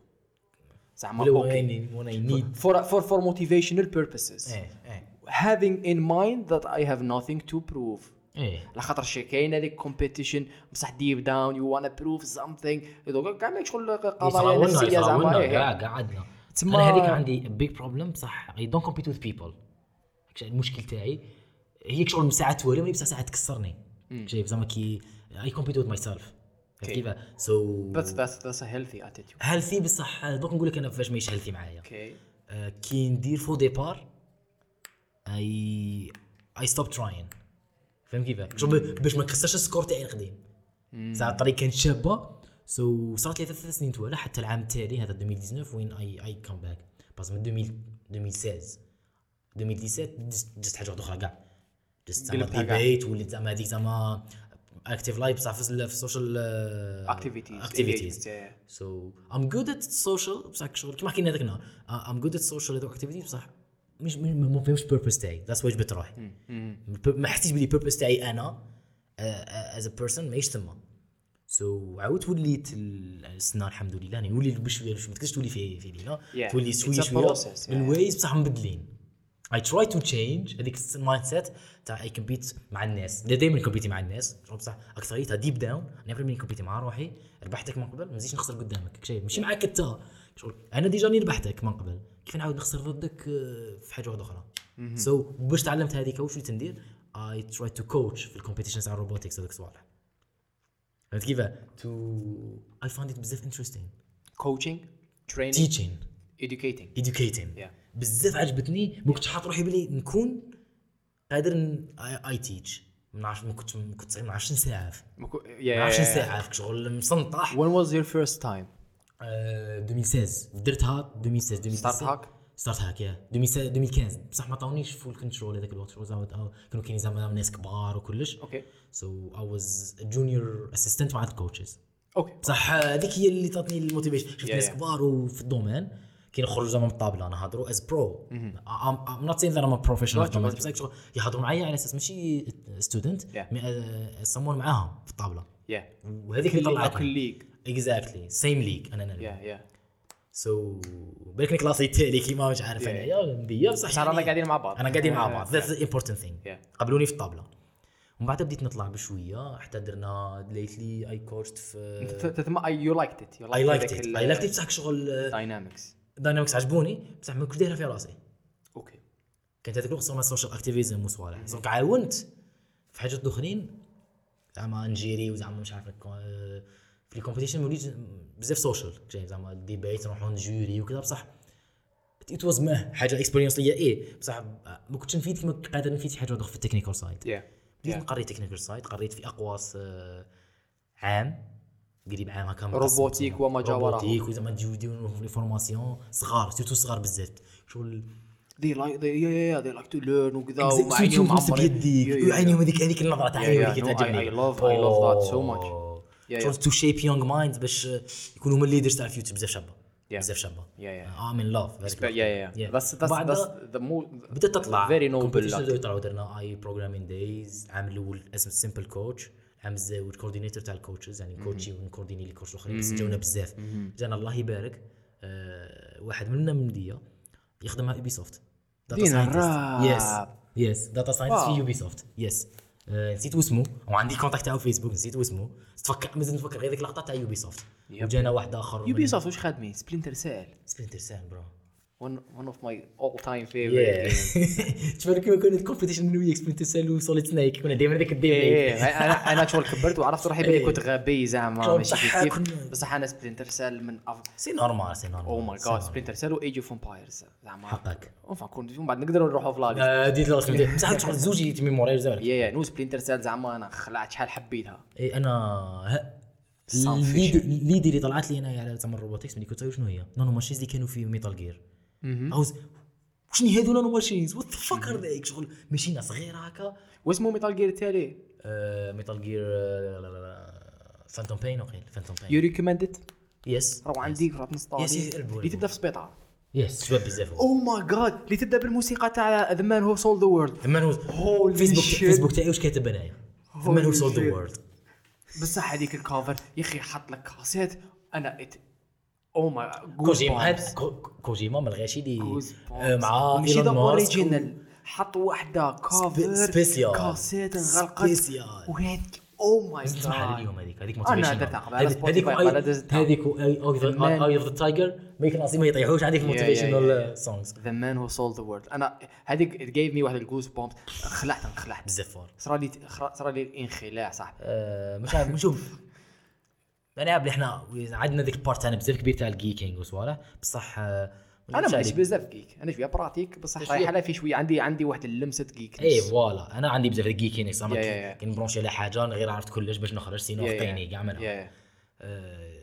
زعما اوكي when I need for for for motivational purposes ايه ايه having in mind that I have nothing to prove ايه لخاطر شي كاين هذيك كومبيتيشن بصح ديب داون يو وانا بروف سامثينغ دوكا كاع ماك شغل قضايا نفسيه زعما كاع قعدنا انا هذيك عندي بيج بروبليم بصح اي دونت كومبيت وذ بيبل المشكل تاعي هي شغل ساعات توريني بصح ساعات تكسرني شايف زعما كي اي كومبيت وذ ماي سيلف كيف سو بس بس بس هيلثي اتيتيود هيلثي بصح دوك نقول لك انا فاش ماشي هيلثي معايا اوكي كي ندير فو ديبار اي اي ستوب تراين فهم كيف باش ما نكسرش السكور تاعي القديم ساعه الطريق كانت شابه سو so, صارت لي ثلاث سنين توالى حتى العام التالي هذا ألفين وتسعطاش وين اي اي كم باك بس من ألفين وستة عشر ألفين وسبعطاش جست حاجه واحده اخرى كاع جست زعما ديبيت وليت زعما هذيك زعما اكتيف لايف بصح في السوشيال اكتيفيتيز اكتيفيتيز سو ام جود ات سوشيال بصح شغل كيما حكينا هذاك النهار ام جود ات سوشيال اكتيفيتيز بصح مش ما فهمش بيربس تاعي ذاتس واش جبت روحي ما حسيتش بلي بيربس تاعي انا از ا بيرسون ماهيش تما سو عاودت وليت السنه الحمد لله يعني نولي بشويه بشويه ما تقدرش تولي في في ليله تولي شويه شويه الويز بصح مبدلين اي تراي تو تشينج هذيك المايند سيت تاع اي كومبيت مع الناس دائما كومبيتي مع الناس بصح اكثريتها ديب داون نيفر مين كومبيتي مع روحي ربحتك من قبل ما نزيدش نخسر قدامك شايف ماشي معاك انت شغل انا ديجا راني ربحتك من قبل كيف نعاود نخسر ضدك في حاجه واحده اخرى سو so, باش تعلمت هذيك واش وليت ندير اي تراي تو كوتش في الكومبيتيشن تاع الروبوتكس هذوك الصوالح فهمت كيف تو اي فايند ات بزاف انتريستين كوتشينغ ترينينغ تيتشين educating educating بزاف عجبتني ما كنتش حاط روحي بلي نكون قادر اي تيتش ما نعرفش ما كنت كنت ما نعرفش نساعف ما نعرفش نساعف شغل مسنطح when was your first time ألفين وستة عشر درتها ألفين وستة عشر ستارت هاك ستارت هاك يا ألفين وخمسطاش بصح ما عطاونيش فول كنترول هذاك الوقت زعما كانوا كاينين زعما ناس كبار وكلش اوكي سو اي واز جونيور اسيستنت مع الكوتشز اوكي بصح هذيك هي اللي تعطيني الموتيفيشن شفت ناس كبار وفي الدومين كي نخرجوا زعما من الطابله نهضروا از برو ام نوت سين ذات ام بروفيشنال بصح يهضروا معايا على اساس ماشي ستودنت سمون معاهم في الطابله وهذيك اللي طلعتني اكزاكتلي سيم ليج انا انا يا يا سو بالك كلاسي التالي كيما مش عارف انا يا ندير بصح انا قاعدين مع بعض انا قاعدين مع بعض ذاتس ذا امبورتانت ثينج قبلوني في الطابله ومن بعد بديت نطلع بشويه حتى درنا ليتلي اي كوتشت في تتما يو لايكت ات اي لايكت ات اي لايكت ات بصح شغل داينامكس داينامكس عجبوني بصح ما كنتش دايرها في راسي اوكي كانت هذيك الوقت صار سوشيال اكتيفيزم وصوالح دونك عاونت في حاجات اخرين زعما نجيري وزعما مش عارف في الكومبيتيشن وليت بزاف سوشيال زعما الديبيت نروحوا نجوري وكذا بصح ات واز ما حاجه اكسبيرينس ليا ايه بصح ما كنتش نفيد كما قادر نفيد شي حاجه واحده في التكنيكال سايد yeah بديت نقري تكنيكال سايد قريت في اقواس آه، عام قريب عام هكا روبوتيك وما جاوره روبوتيك وزعما تجيو يديروا لي فورماسيون صغار سيرتو صغار بزاف شغل they like they yeah yeah they like to learn وكذا سيرتو ومعينهم تمسك معمرين بيديك وعينيهم هذيك هذيك النظره تاع عينيهم اللي yeah, no, كتعجبني I- I love- I love that so much. Yeah, شغل yeah. تو شيب يونغ مايند باش يكونوا هما الليدرز تاع الفيوتشر بزاف شابه Yeah. بزاف شابه yeah yeah ام ان لاف But yeah yeah yeah that's that's بعد that's the more بدات تطلع very noble competition luck. بداو يطلعوا درنا اي بروجرامين دايز العام الاول اسمه سيمبل كوتش العام الزاوج كوردينيتور تاع الكوتشز يعني كوتشي ونكورديني لي كوتش الاخرين بس جاونا بزاف جانا الله يبارك آه واحد منا من مديه يخدم مع يوبي سوفت دينا الراب. يس يس داتا ساينس في واو. يوبي سوفت يس آه، نسيت اسمه وعندي كونتاكت تاعو في فيسبوك نسيت اسمه تفكر مازال نفكر غير ديك اللقطه تاع يوبي سوفت وجانا واحد اخر يوبي سوفت واش خادمين سبلينتر سيل سبلينتر سيل برو one one of my all time favorite games. تفكر كيما كانت الكومبيتيشن من وياك سبلينتر سيل وسوليد سنايك كنا دائما ذاك الديبيت ايه انا انا شغل كبرت وعرفت روحي بلي إيه. كنت غبي زعما شغل ماشي بصح كيف كنا- بصح انا سبلينتر سيل من سي نورمال سي نورمال او ماي جاد سبلينتر سيل وايج اوف امبايرز زعما حقك اونفا كنت من بعد نقدروا نروحوا في لاجي آه، ديت الرسم بصح شغل زوج يتميموري زعما يا يا نو سبلينتر سيل زعما انا خلعت شحال حبيتها اي انا ه- Sunfish. الليد الليد اللي طلعت لي انا على زعما الروبوتكس ملي كنت شنو هي نانو ماشينز اللي كانوا في ميتال جير عاوز شنو هادو نانو ماشينز وات ذا فاك ار ذيك شغل ماشينه صغيره هكا واسمه ميتال جير التالي ميتال جير فانتوم بين وقيل فانتوم يو بين ريكومند ات يس راهو عندي راه نسطالي Yes, yes, البو- اللي تبدا في سبيطار يس شباب بزاف او ماي جاد اللي تبدا بالموسيقى تاع ذا مان هو سول ذا وورلد ثمان هو Holy فيسبوك shit. فيسبوك تاعي واش كاتب انايا ثمان هو Holy سولد ذا shit. وورلد بصح هذيك الكافر يا اخي حط لك كاسيت انا ات او ماي كوجيما هاد كو- كوجيما ما لغاش يدي آه، مع ماشي ذا ايلون ماسك اوريجينال حط وحده كافر سبيسيال. كاسيت انغلقت سبيسيال. وهذيك او ماي نسمع على جاد اليوم هذيك هذيك أنا موتيفيشن درتها قبل على Spotify، قبل دزتها. هذيك اي اوف ذا تايجر ما يكون ما يطيحوش عندك yeah, موتيفيشنال سونغز ذا مان هو سول ذا وورلد انا هذيك ات جيف مي واحد الجوز بومبس خلعت انخلعت بزاف فور صرا لي صرا لي انخلاع صح آه، مش عارف نشوف انا بلي احنا عندنا ديك البارت تاعنا بزاف كبير تاع الجيكينغ وصوالح بصح آه، انا مش ماشي عليك. بزاف جيك انا شويه براتيك بصح شوية. رايح على في شويه عندي عندي واحد اللمسه جيك اي فوالا انا عندي بزاف الجيكينغ زعما Yeah, yeah, yeah. كي نبرونشي على حاجه انا غير عرفت كلش باش نخرج سينو Yeah, yeah. فقيني كاع منها يا آه،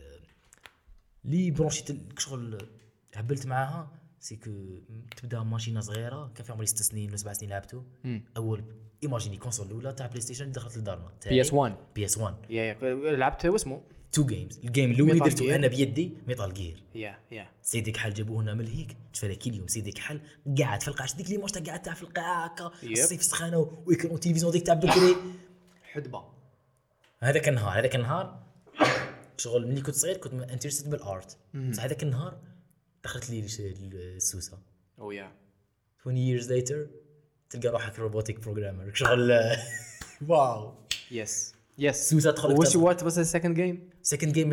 لي برونشيت شغل هبلت معاها سي كو تبدا ماشينه صغيره كان فيها عمري ست سنين ولا سبع سنين لعبتو اول ايماجيني كونسول الاولى تاع بلاي ستيشن اللي دخلت لدارنا بي اس واحد بي اس واحد يا لعبت واسمه تو جيمز الجيم الاول اللي Metal درتو Gear. انا بيدي ميتال جير يا يا سيدي كحل جابوه لنا من الهيك تفرا كي اليوم سيدي كحل قاعد في القاعه ديك لي موش قاعد تاع في القاعه هكا Yep. الصيف سخانه ويكون تلفزيون ديك تاع بكري حدبه هذاك النهار هذاك النهار شغل ملي كنت صغير كنت انترستد بالارت بس هذاك النهار دخلت لي الش- السوسه او يا عشرين years later تلقى روحك روبوتيك بروجرامر شغل واو يس يس سوسه تدخل وش وات واز ذا سكند جيم سكند جيم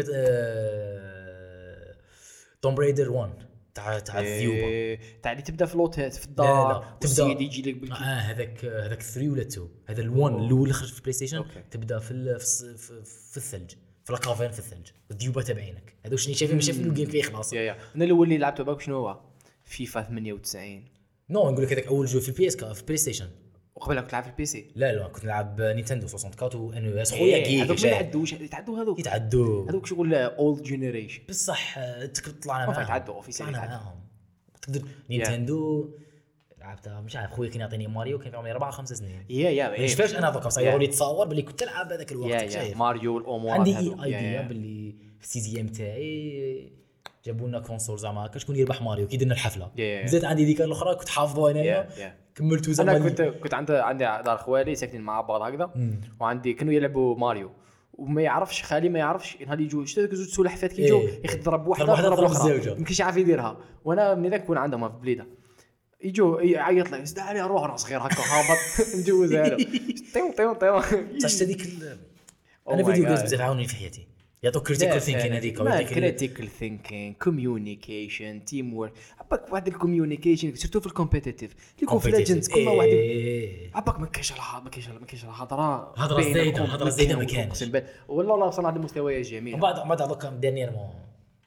توم بريدر واحد تاع تاع الذيوبه تاع اللي تبدا في لوتيت في لا الدار لا والسيد يجي لك اه بالكي هذاك هذاك ثلاثة ولا اثنين هذا الوان الاول اللي خرج في بلاي ستيشن أوكي. تبدا في ال- في الص- في, في الثلج في لاكافين في الثلج الذيوبه تابعينك هذا شنو شايفين مش شايفين الجيم فيه خلاص يا يا انا الاول اللي لعبته باك شنو هو فيفا ثمانية وتسعين نو نقول لك هذاك اول جو في البي اس في بلاي ستيشن وقبلها كنت لعب في البي سي لا لا كنت نلعب نينتندو أربعة وستين وان او اس خويا إيه، هذوك جيك ما جاي. يعدوش يتعدوا هذوك يتعدوا هذوك شغل اولد جينيريشن بصح آه، تك- طلعنا ما معاهم يتعدوا، اوفيسيال طلعنا يتعدوا. معاهم تقدر نينتندو لعبتها مش عارف خويا كان يعطيني ماريو كان في عمري أربعة خمسة سنين يا يا ما شفاش انا دوكا صاير لي تصور باللي كنت نلعب هذاك الوقت يا يا شايف ماريو الامور عندي ايديا باللي في السيزيام تاعي جابوا لنا كونسول زعما هكا شكون يربح ماريو كي درنا الحفله Yeah. زاد عندي ديك الاخرى كنت حافظه انايا يا يا كملتو زعما انا كنت كنت عند عندي دار خوالي ساكنين مع بعض هكذا وعندي كانوا يلعبوا ماريو وما يعرفش خالي ما يعرفش نهار يجوا شتا ذوك زوج سلحفات كي يجوا إيه. ياخذ ضرب واحده ضرب واحدة، ضرب ضرب الاخرى الزوجة. ما كاينش عارف يديرها وانا من ذاك كون عندهم في بليده يجوا يعيط لي سد علي روح انا صغير هكا هابط نجوزها له طيو طيو طيو بصح هذيك ال- Oh انا my فيديو جيمز God. بزاف عاونوني في حياتي يعطوك كريتيكال ثينكين هذيك ويعطيك ال- كريتيكال ثينكينغ كوميونيكيشن تيم وورك عباك واحد الكوميونيكيشن سيرتو في الكومبيتيتيف ليكو في ليجندز كل واحد إيه. عباك ما كاينش ما كاينش ما كاينش هضره هضرة بينكم، زايدة، هضرة زايدة ما كانش. أقسم بالله. والله لا وصلنا لهاد المستويات جميله ومن بعد من بعد دوكا ديرنييرمون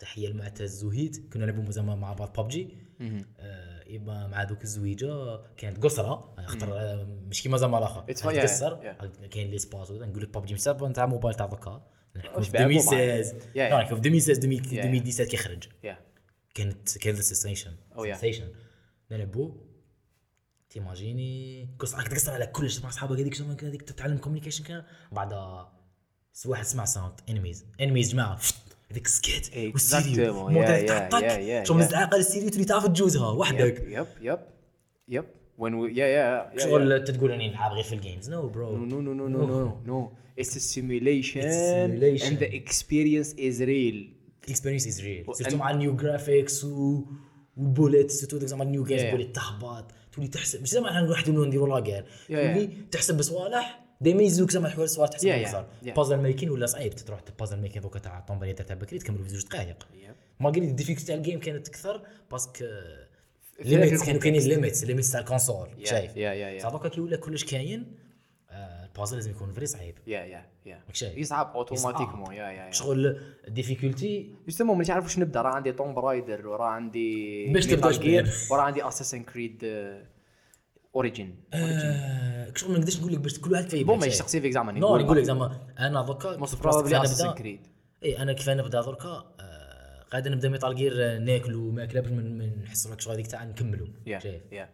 تحيه المعتز وهيت كنا نلعبوا زعما مع بعض ببجي آه يبقى مع دوك الزويجه كانت قصره خاطر آه مش كيما زعما الاخر تقصر كاين لي سباس نقول لك ببجي مسابه نتاع موبايل تاع دوكا في ألفين وستة عشر في ألفين وستة عشر ألفين وسبعة عشر كي خرج كانت كانت سيستيشن سيستيشن نلعبوا تيماجيني قصه راك تقصر على كلش مع اصحابك هذيك شنو هذيك تتعلم كوميونيكيشن كان بعد واحد سمع ساوند انميز انميز جماعه هذيك سكيت والسيريو موديل تاعك شو مزعقه السيريو تريد تعرف تجوزها وحدك يب يب يب when we yeah yeah شغل تقول اني نلعب غير في الجيمز نو برو no no no no no no it's a simulation and the experience is real experience is real سيرتو مع النيو جرافيكس و والبوليت سيرتو ديك زعما النيو جيمز بوليت تهبط تولي تحسب مش زعما احنا نحن نديروا لاكير تولي تحسب بصوالح ديما يزوك زعما الحوار الصوالح تحسب اكثر بازل ميكين ولا صعيب تروح بازل ميكين دوكا تاع طومبري تاع بكري تكملوا في زوج دقائق ما قلت الديفيكولتي تاع الجيم كانت اكثر باسكو ليميتس كانوا كاينين ليميتس ليميتس تاع الكونسول شايف صح دوكا كي ولا كلش كاين البازل لازم يكون فري صعيب يا يا يا يصعب اوتوماتيكمون يا يا شغل الديفيكولتي يسمو ما نعرف واش نبدا راه عندي توم برايدر وراه عندي باش تبدا وراه عندي اساسن كريد اوريجين شغل ما نقدرش نقول لك باش كل واحد فيه بون ماشي شخصي فيك زعما نقول لك زعما انا دوكا بروبلي اساسن كريد اي انا كيف نبدا دركا قاعد نبدا ميتال جير ناكلوا ماكله باش من نحسوا لك شغل هذيك تاع نكملوا شايف يا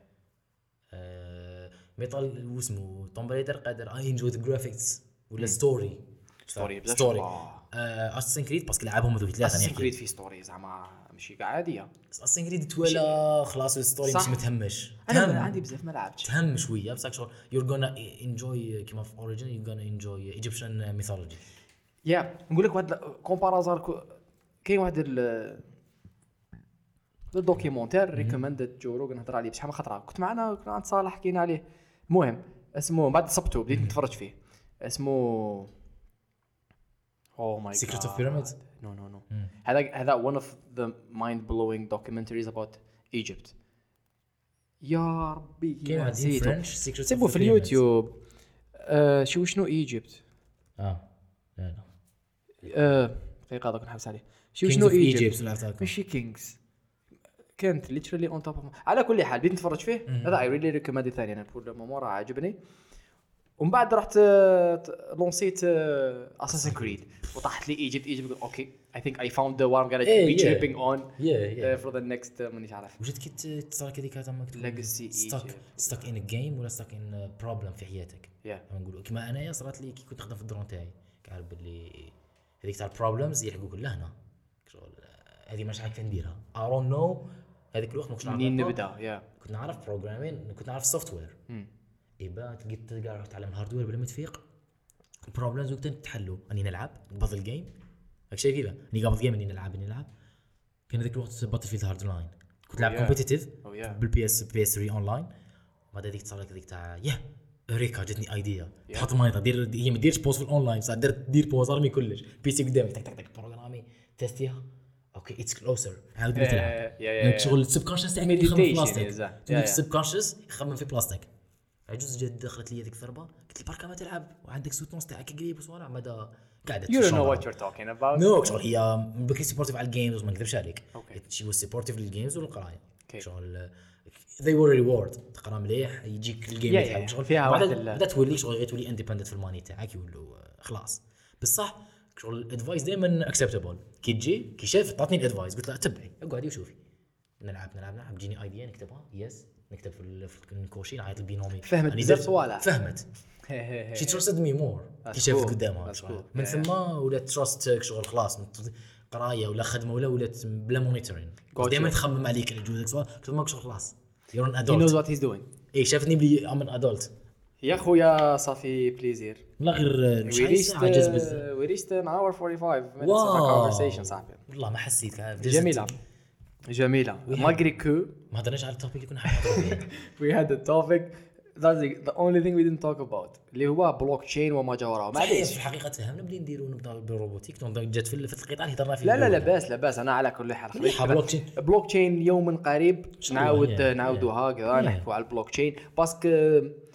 ميتال واسمه توم رايدر قادر اي انجوي ذا جرافيكس ولا ستوري ستوري ستوري اساسن كريد باسكو لعبهم هذوك ثلاثه اساسن كريد في ستوري زعما ماشي كاع عاديه اساسن كريد تولا خلاص الستوري مش متهمش انا عندي بزاف ما لعبتش تهم شويه بصح شغل يور غونا انجوي كيما في اوريجين يور غونا انجوي ايجيبشن ميثولوجي يا نقول لك واحد كومبارازار كاين واحد ال الدوكيومونتير ريكومندد جو روغن هضر عليه بشحال من خطره كنت معنا كنا عند صالح حكينا عليه المهم اسمه بعد صبته بديت نتفرج فيه اسمه او ماي جاد Secret of Pyramids نو نو نو هذا هذا one of the mind blowing documentaries about Egypt يا ربي كاين واحد فرنش Secret of سيبوا في اليوتيوب آه شو شنو ايجيبت اه لا لا آه دقيقه هذاك نحبس عليه شو شنو ايجيبت ماشي كينجز كانت literally on top of على كل حال بديت نتفرج فيه هذا I really recommend ثاني انا بقول مورا عجبني ومن بعد رحت لونسيت اساسن كريد وطاحت لي ايجيبت ايجيبت اوكي I think I found the one I'm gonna be tripping on for the next مانيش عارف واش كي تصرك هذيك تاع مكتوب legacy ستك ستك ان جيم ولا ستك ان بروبلم في حياتك نقولوا كيما انايا صرات لي كي كنت نخدم في الدرون تاعي كعرف باللي هذيك تاع البروبلمز يلحقوك لهنا شغل هذه مش عارف نديرها I don't know هذيك الوقت ما كنتش نعرف منين نبدا يا كنت نعرف بروجرامين كنت نعرف سوفت وير ايبا تلقيت تلقى تعلم الهاردوير بلا ما تفيق بروبلمز وقت تحلوا اني نلعب باتل جيم راك شايف كيفاه اني قبل جيم اني نلعب اني نلعب كان هذاك الوقت باتل فيلد هارد لاين كنت نلعب كومبيتيتيف بالبي اس بي اس ثلاثة اونلاين بعد هذيك تصير لك هذيك تاع يا ريكا جاتني ايديا تحط مايطه دير هي ما ديرش بوز في الاونلاين صح درت دير بوز ارمي كلش بي سي قدامي تك تك تك بروغرامي تيستيها اوكي اتس كلوزر عاود تلعب شغل السبكونشس تاعك يخمم في بلاستيك السبكونشس يخمم في بلاستيك عجوز جد دخلت لي هذيك الضربه قلت لي بركه ما تلعب وعندك سوتونس تاعك قريب وصوالح مدى قاعده you don't know what you're talking about نو شغل هي بكري سبورتيف على الجيمز ما نكذبش عليك شي هو سبورتيف للجيمز والقرايه شغل they were reward تقرا مليح يجيك الجيم تاعك شغل فيها واحد بدا تولي شغل غير تولي انديبندنت في الماني تاعك يولوا خلاص بصح شغل الادفايس دائما اكسبتابل كي تجي كي شاف عطاتني الادفايس قلت له تبعي اقعدي وشوفي نلعب نلعب نلعب تجيني ايديا نكتبها يس نكتب في الكوشي نعيط البينومي فهمت بزاف صوالح فهمت شي ترستد مي مور كي شافت قدامها من ثم ولات تراست شغل خلاص قرايه ولا خدمه ولا ولات بلا مونيتورين دائما تخمم عليك اللي جوزك سواء قلت لهم شغل خلاص يور ان ادولت he knows what he's doing اي شافتني بلي ام ان ادولت يا خويا صافي بليزير لا غير مش عاجز بزاف we reached an hour forty-five minutes of a conversation صاحبي والله ما حسيت جميله جميله ماغري كو ما هضرناش على التوبيك اللي كنا حاطين we had a topic that's the only thing we didn't talk about اللي هو بلوك تشين وما جا وراه معليش في الحقيقه تفهمنا بلي نديروا نبدا بالروبوتيك جات في القطاع اللي هضرنا فيه لا لا لا باس لا باس انا على كل حال بلوك تشين بلوك تشين يوم قريب نعاود نعاودوها كذا نحكوا على البلوك تشين باسكو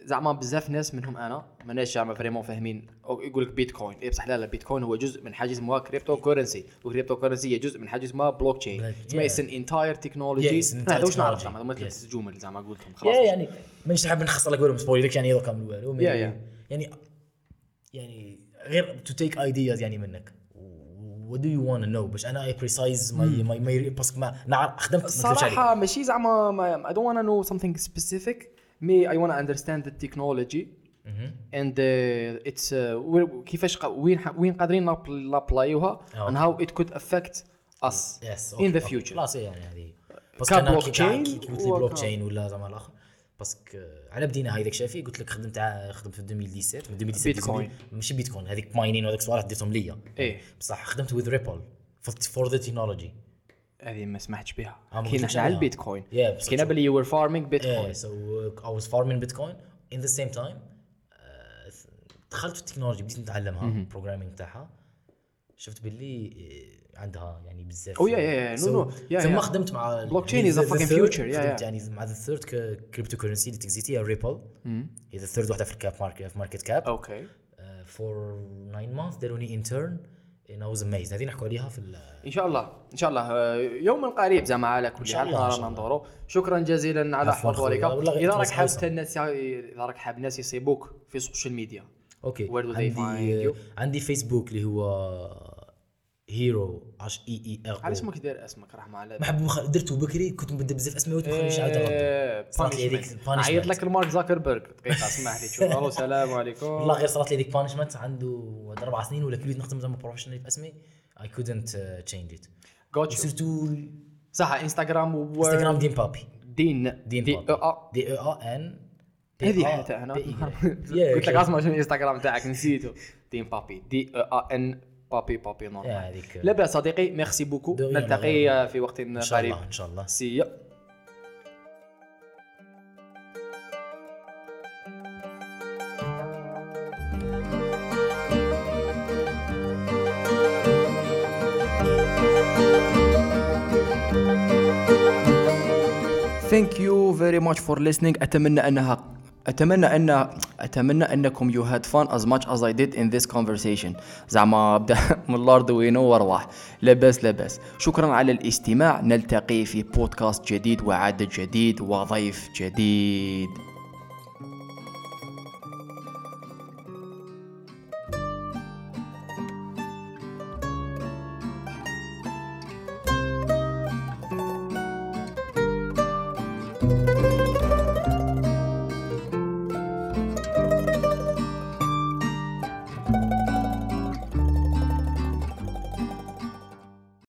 زعما بزاف ناس منهم انا ماناش زعما فريمون فاهمين يقول لك بيتكوين اي بصح لا لا بيتكوين هو جزء من حاجه اسمها كريبتو كورنسي وكريبتو كورنسي هي جزء من حاجه اسمها بلوك تشين تسمى اتس ان انتاير تكنولوجي ما هذوش نعرف زعما ما ثلاث جمل زعما قلتهم خلاص يعني مانيش حاب نخسر لك والو سبويل لك يعني كامل والو يعني يعني غير تو تيك ايدياز يعني منك what do you want to know باش انا I precise my my my باسكو ما نعرف خدمت صراحه ماشي زعما I don't want to know something specific me I want to understand the technology and uh, it's uh, كيفاش وين وين قادرين نابلايوها and how it could affect us yes, okay, in the okay. future خلاص يعني هذه بس كان بلوك تشين قلت لي بلوك تشين ولا زعما الاخر باسكو على بدينا هاي داك شافي قلت لك خدمت خدمت في ألفين وسبعطاش من ألفين وسبعطاش بيتكوين ماشي بيتكوين هذيك ماينين وهذاك الصوالح درتهم ليا ايه بصح خدمت with ريبل for the technology هذه ما سمعتش بها آه كاين على البيتكوين yeah, كاين باللي you were farming bitcoin yeah, so uh, I was farming bitcoin in the same time uh, دخلت في التكنولوجيا بديت نتعلمها programming تاعها شفت باللي عندها يعني بزاف او يا يا نو نو ثم خدمت مع بلوك تشين از ا فاكين فيوتشر يا يعني مع ذا ثيرد كريبتو كورنسي اللي تكزيتي ريبل هي ذا ثيرد واحده في الكاب ماركت في ماركت كاب اوكي فور ناين مانث داروني انترن ان اي واز اميزد هذه نحكوا عليها في ان شاء الله ان شاء الله يوم قريب زعما على كل حال رانا ندوروا شكرا جزيلا على حضورك اذا راك حاب الناس اذا راك حاب الناس يصيبوك في السوشيال ميديا اوكي عندي عندي فيسبوك اللي هو هيرو اش اي اي ار علاش ما كدير اسمك رحمه على ما حب درتو بكري كنت مبدا بزاف اسماء وتبخليش عاد غلط عيط لك المارك زاكربيرغ دقيقه اسمح لي شوف الو السلام عليكم والله غير صارت لي ديك بانشمنت عنده اربع سنين ولا كليت نخدم زعما بروفيشنال باسمي اي كودنت تشينج ات جوتش سيرتو صح انستغرام و انستغرام دين بابي دين دين دي ا دي او ان هذه حتى انا قلت لك اسمع شنو الانستغرام تاعك نسيته دين بابي دي ا ان بابي بابي نورمال لا بأس صديقي ميرسي بوكو نلتقي في وقت قريب ان شاء الله ان شاء الله سي Thank you very much for listening. أتمنى أنها أتمنى أن أتمنى أنكم you had fun as much as I did in this conversation. زعما أبدأ من الأرض وينو وارواح. لبس لبس. شكرا على الاستماع. نلتقي في بودكاست جديد وعدد جديد وضيف جديد.